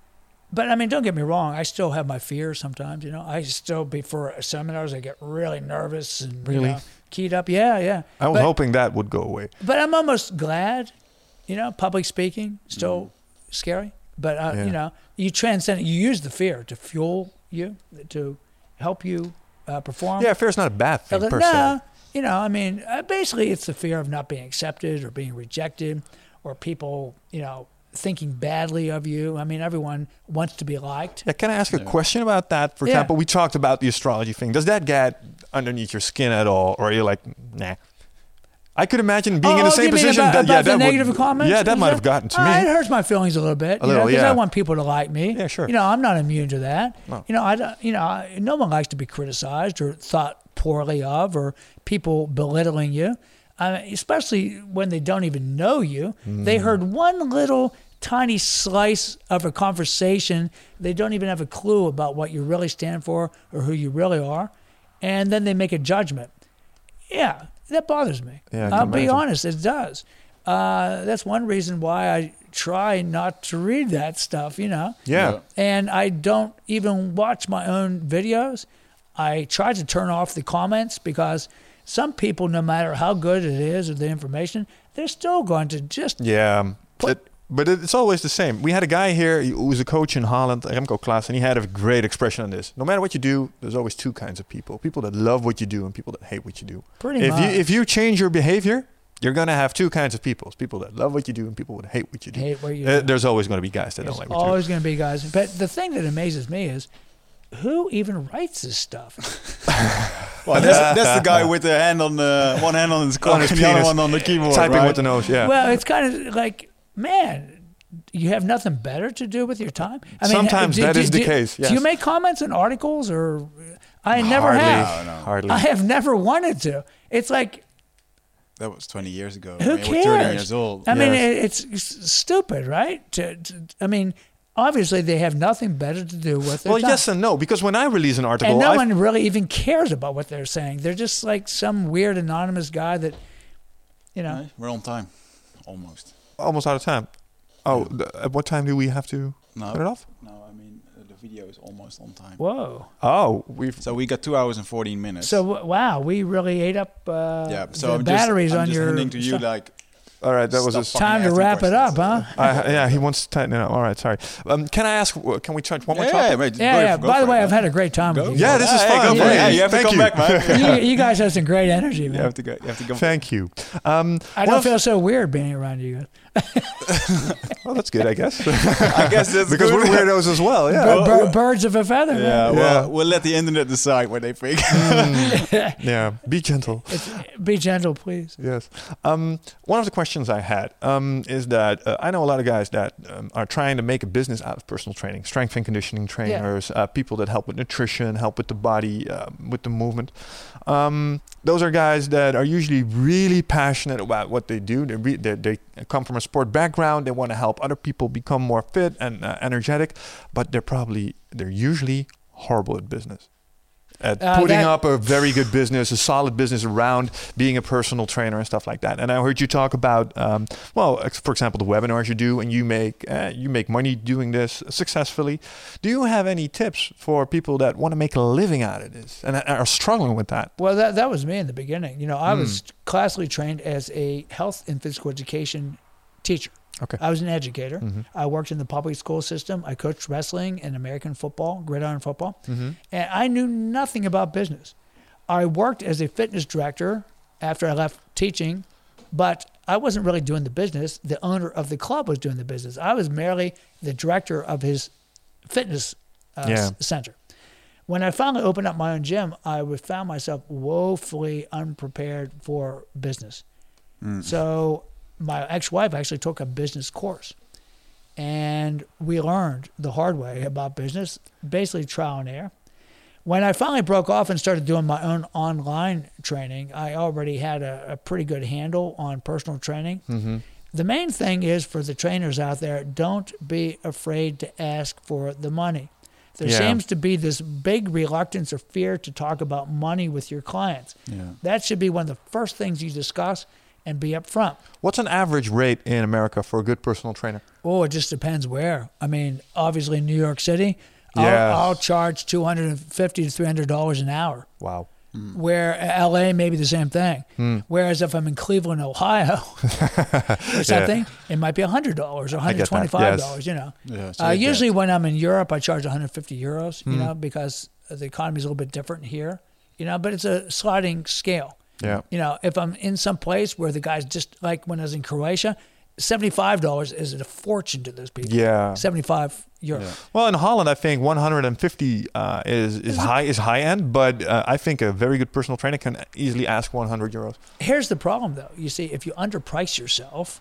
but I mean, don't get me wrong. I still have my fears sometimes. You know, I still before seminars I get really nervous and Really? you know, keyed up. Yeah, yeah. I was but, hoping that would go away. but I'm almost glad. You know, public speaking still scary, but uh, Mm. Yeah. you know, you transcend it. You use the fear to fuel you, to help you uh, perform. Yeah, fear is not a bad thing no, per se. you know, I mean, uh, basically, it's the fear of not being accepted or being rejected, or people, you know, thinking badly of you. I mean, everyone wants to be liked. Yeah, can I ask a question about that? For Yeah. example, we talked about the astrology thing. Does that get underneath your skin at all, or are you like, nah? I could imagine being in the Oh, same you mean position. about, that, about yeah, the that negative would, comments? Yeah, that Is might have gotten to Uh, me. It hurts my feelings a little bit. A you little, because yeah. I want people to like me. Yeah, sure. You know, I'm not immune to that. No. You know, I don't. You know, I, no one likes to be criticized or thought poorly of, or people belittling you, uh, especially when they don't even know you. Mm. They heard one little tiny slice of a conversation. They don't even have a clue about what you really stand for or who you really are, and then they make a judgment. Yeah, that bothers me. Yeah, I can I'll be imagine. honest, it does. Uh, that's one reason why I try not to read that stuff, you know. Yeah. And I don't even watch my own videos. I try to turn off the comments because some people, no matter how good it is or the information, they're still going to just Yeah. um, Put- It- but it's always the same. We had a guy here who was a coach in Holland, Remco Klaas, and he had a great expression on this. No matter what you do, there's always two kinds of people. People that love what you do and people that hate what you do. pretty If much. you if you change your behavior, you're going to have two kinds of people. People that love what you do and people that hate what you do. hate what you Uh, do. there's always going to be guys that There's don't like what you do. always going to be guys. But the thing that amazes me is who even writes this stuff? Well, that's, that's the guy with the hand on the one hand on his cock On his and the other penis. one on the keyboard, Typing right? with the nose, yeah. Well, it's kind of like, man, you have nothing better to do with your time. I Sometimes do- that do- is the do- case, Do you yes. make comments in articles, or I never Hardly. have. No, no. Hardly. I have never wanted to. It's like, That was twenty years ago. who I mean, we're thirty cares? years old. I mean, Yes. it, it's s- stupid, right? To, to, I mean, obviously they have nothing better to do with their Well, time. yes and no, because when I release an article, And no I one really even cares about what they're saying. They're just like some weird anonymous guy that, you know. Right, we're on time, almost. almost out of time. Oh, th- at what time do we have to No, cut it off? no, I mean uh, the video is almost on time. Whoa. Oh, we've So we got two hours and fourteen minutes. So w- wow, we really ate up uh, yeah, so the I'm batteries just, I'm on just your handing to you stuff. like all right. That was stop a fucking Time to asking wrap it up, questions. huh? I, yeah, he wants to tighten it up. All right, sorry. Um, can I ask? w- Can we touch one more Yeah, topic? yeah, mate, Yeah, go yeah. for- go By the for way, it, I've man. had a great time Go. with you. Yeah, this is Hey, fun. go for it. Yeah, Yeah, you have to thank come you. back, man. you, you guys have some great energy, You man. have to go. You have to go. Thank you. Um, I one don't of- feel so weird being around you guys. Well, that's good, I guess. I guess that's because good. we're weirdos as well. Yeah. Bir- bir- birds of a feather, man. Yeah, well, Yeah. we'll let the internet decide what they think. Yeah. Be gentle. It's, be gentle, please. Yes. Um, one of the questions I had um, is that uh, I know a lot of guys that um, are trying to make a business out of personal training, strength and conditioning trainers, uh, people that help with nutrition, help with the body, uh, with the movement. Um, those are guys that are usually really passionate about what they do. They, re- they, they come from a sport background. They want to help other people become more fit and uh, energetic, but they're probably, they're usually horrible at business. At Uh, putting that- up a very good business, a solid business around being a personal trainer and stuff like that. And I heard you talk about, um, well, ex- for example, the webinars you do, and you make uh, you make money doing this successfully. Do you have any tips for people that want to make a living out of this and are struggling with that? Well, that that was me in the beginning. You know, I Hmm. was classically trained as a health and physical education teacher. Okay. I was an educator. Mhm. I worked in the public school system. I coached wrestling and American football, gridiron football. Mm-hmm. And I knew nothing about business. I worked as a fitness director after I left teaching, but I wasn't really doing the business. The owner of the club was doing the business. I was merely the director of his fitness uh, Yeah. s- center. When I finally opened up my own gym, I was, found myself woefully unprepared for business. So my ex-wife actually took a business course, and we learned the hard way about business, basically trial and error. When I finally broke off and started doing my own online training, I already had a, a pretty good handle on personal training. Mm-hmm. The main thing is for the trainers out there, don't be afraid to ask for the money. There Yeah. seems to be this big reluctance or fear to talk about money with your clients. Yeah. That should be one of the first things you discuss and be upfront. What's an average rate in America for a good personal trainer? Oh, it just depends where. I mean, obviously in New York City, Yes. I'll, I'll charge two hundred fifty to three hundred dollars an hour. Wow. Where L A maybe the same thing. Hmm. Whereas if I'm in Cleveland, Ohio, or something, it might be one hundred dollars or I get that, one hundred twenty-five dollars. yes. You know. Yeah, so Uh, you get- usually when I'm in Europe, I charge one hundred fifty euros. You Hmm. know, because the economy is a little bit different here. You know, but it's a sliding scale. Yeah. You know, if I'm in some place where the guys just like when I was in Croatia, seventy-five dollars is a fortune to those people. Yeah. seventy-five euros. Yeah. Well, in Holland, I think one hundred fifty uh, is is high is high end, but uh, I think a very good personal trainer can easily ask one hundred euros. Here's the problem, though. You see, if you underprice yourself,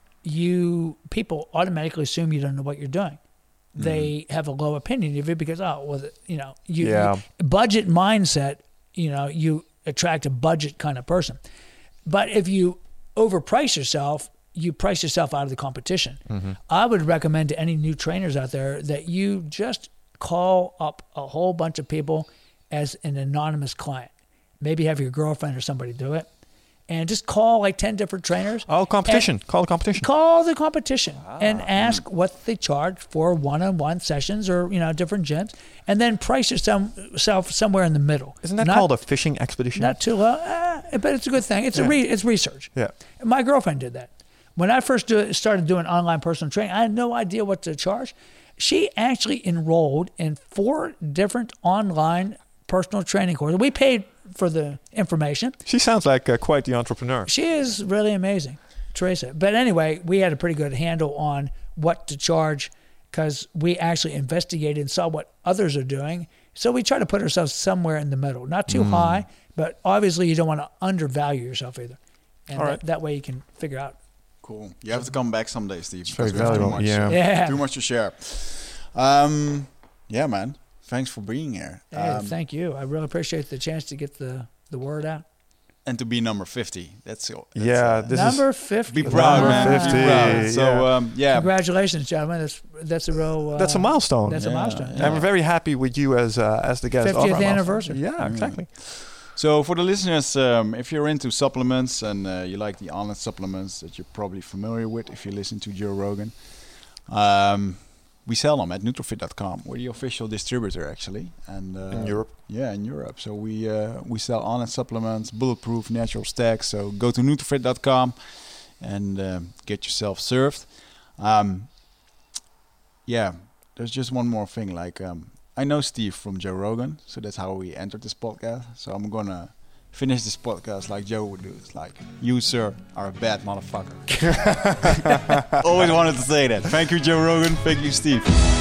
you people automatically assume you don't know what you're doing. They have a low opinion of you because, oh, well, you know, you, Yeah. you budget mindset. You know, you attract a budget kind of person. But if you overprice yourself, you price yourself out of the competition. I would recommend to any new trainers out there that you just call up a whole bunch of people as an anonymous client. Maybe have your girlfriend or somebody do it. And just call like ten different trainers. Oh, competition! Call the competition. Call the competition and ask what they charge for one-on-one sessions or, you know, different gyms. And then price yourself somewhere in the middle. Isn't that Not- called a fishing expedition? Not too low, uh, but it's a good thing. It's a Yeah. re, it's research. Yeah. My girlfriend did that. When I first do, started doing online personal training, I had no idea what to charge. She actually enrolled in four different online personal training courses. We paid for the information. She sounds like uh, quite the entrepreneur. She is really amazing, Teresa. But anyway, we had a pretty good handle on what to charge because we actually investigated and saw what others are doing. So we try to put ourselves somewhere in the middle, not too Mm. high, but obviously you don't want to undervalue yourself either. And All that, right. that way you can figure out. Cool. You have to come back someday, Steve. very because we have valuable, Too much, yeah. uh, Yeah. Too much to share. Um, yeah, man. Thanks for being here. Hey, Um, thank you. I really appreciate the chance to get the, the word out. and to be number fifty. That's, that's Yeah, uh, this Number is fifty. be proud, Number man. fifty, Be proud. So yeah. um, yeah, Congratulations, gentlemen. That's that's a real. Uh, that's a milestone. That's Yeah, a milestone. yeah. And we're very happy with you as uh, as the guest. of our fiftieth milestone. anniversary. Yeah, exactly. So for the listeners, um, if you're into supplements and uh, you like the Onnit supplements that you're probably familiar with if you listen to Joe Rogan, um, we sell them at Nutrofit dot com. We're the official distributor actually, and uh, In Europe. Yeah, in Europe. So we uh, we sell Onnit supplements, bulletproof, natural stacks. So go to Nutrofit dot com and um, get yourself served. Um, yeah, there's just one more thing. Like um, I know Steve from Joe Rogan, so that's how we entered this podcast. So I'm gonna finish this podcast like Joe would do. It's like, you, sir, are a bad motherfucker. Always wanted to say that. Thank you, Joe Rogan. Thank you, Steve.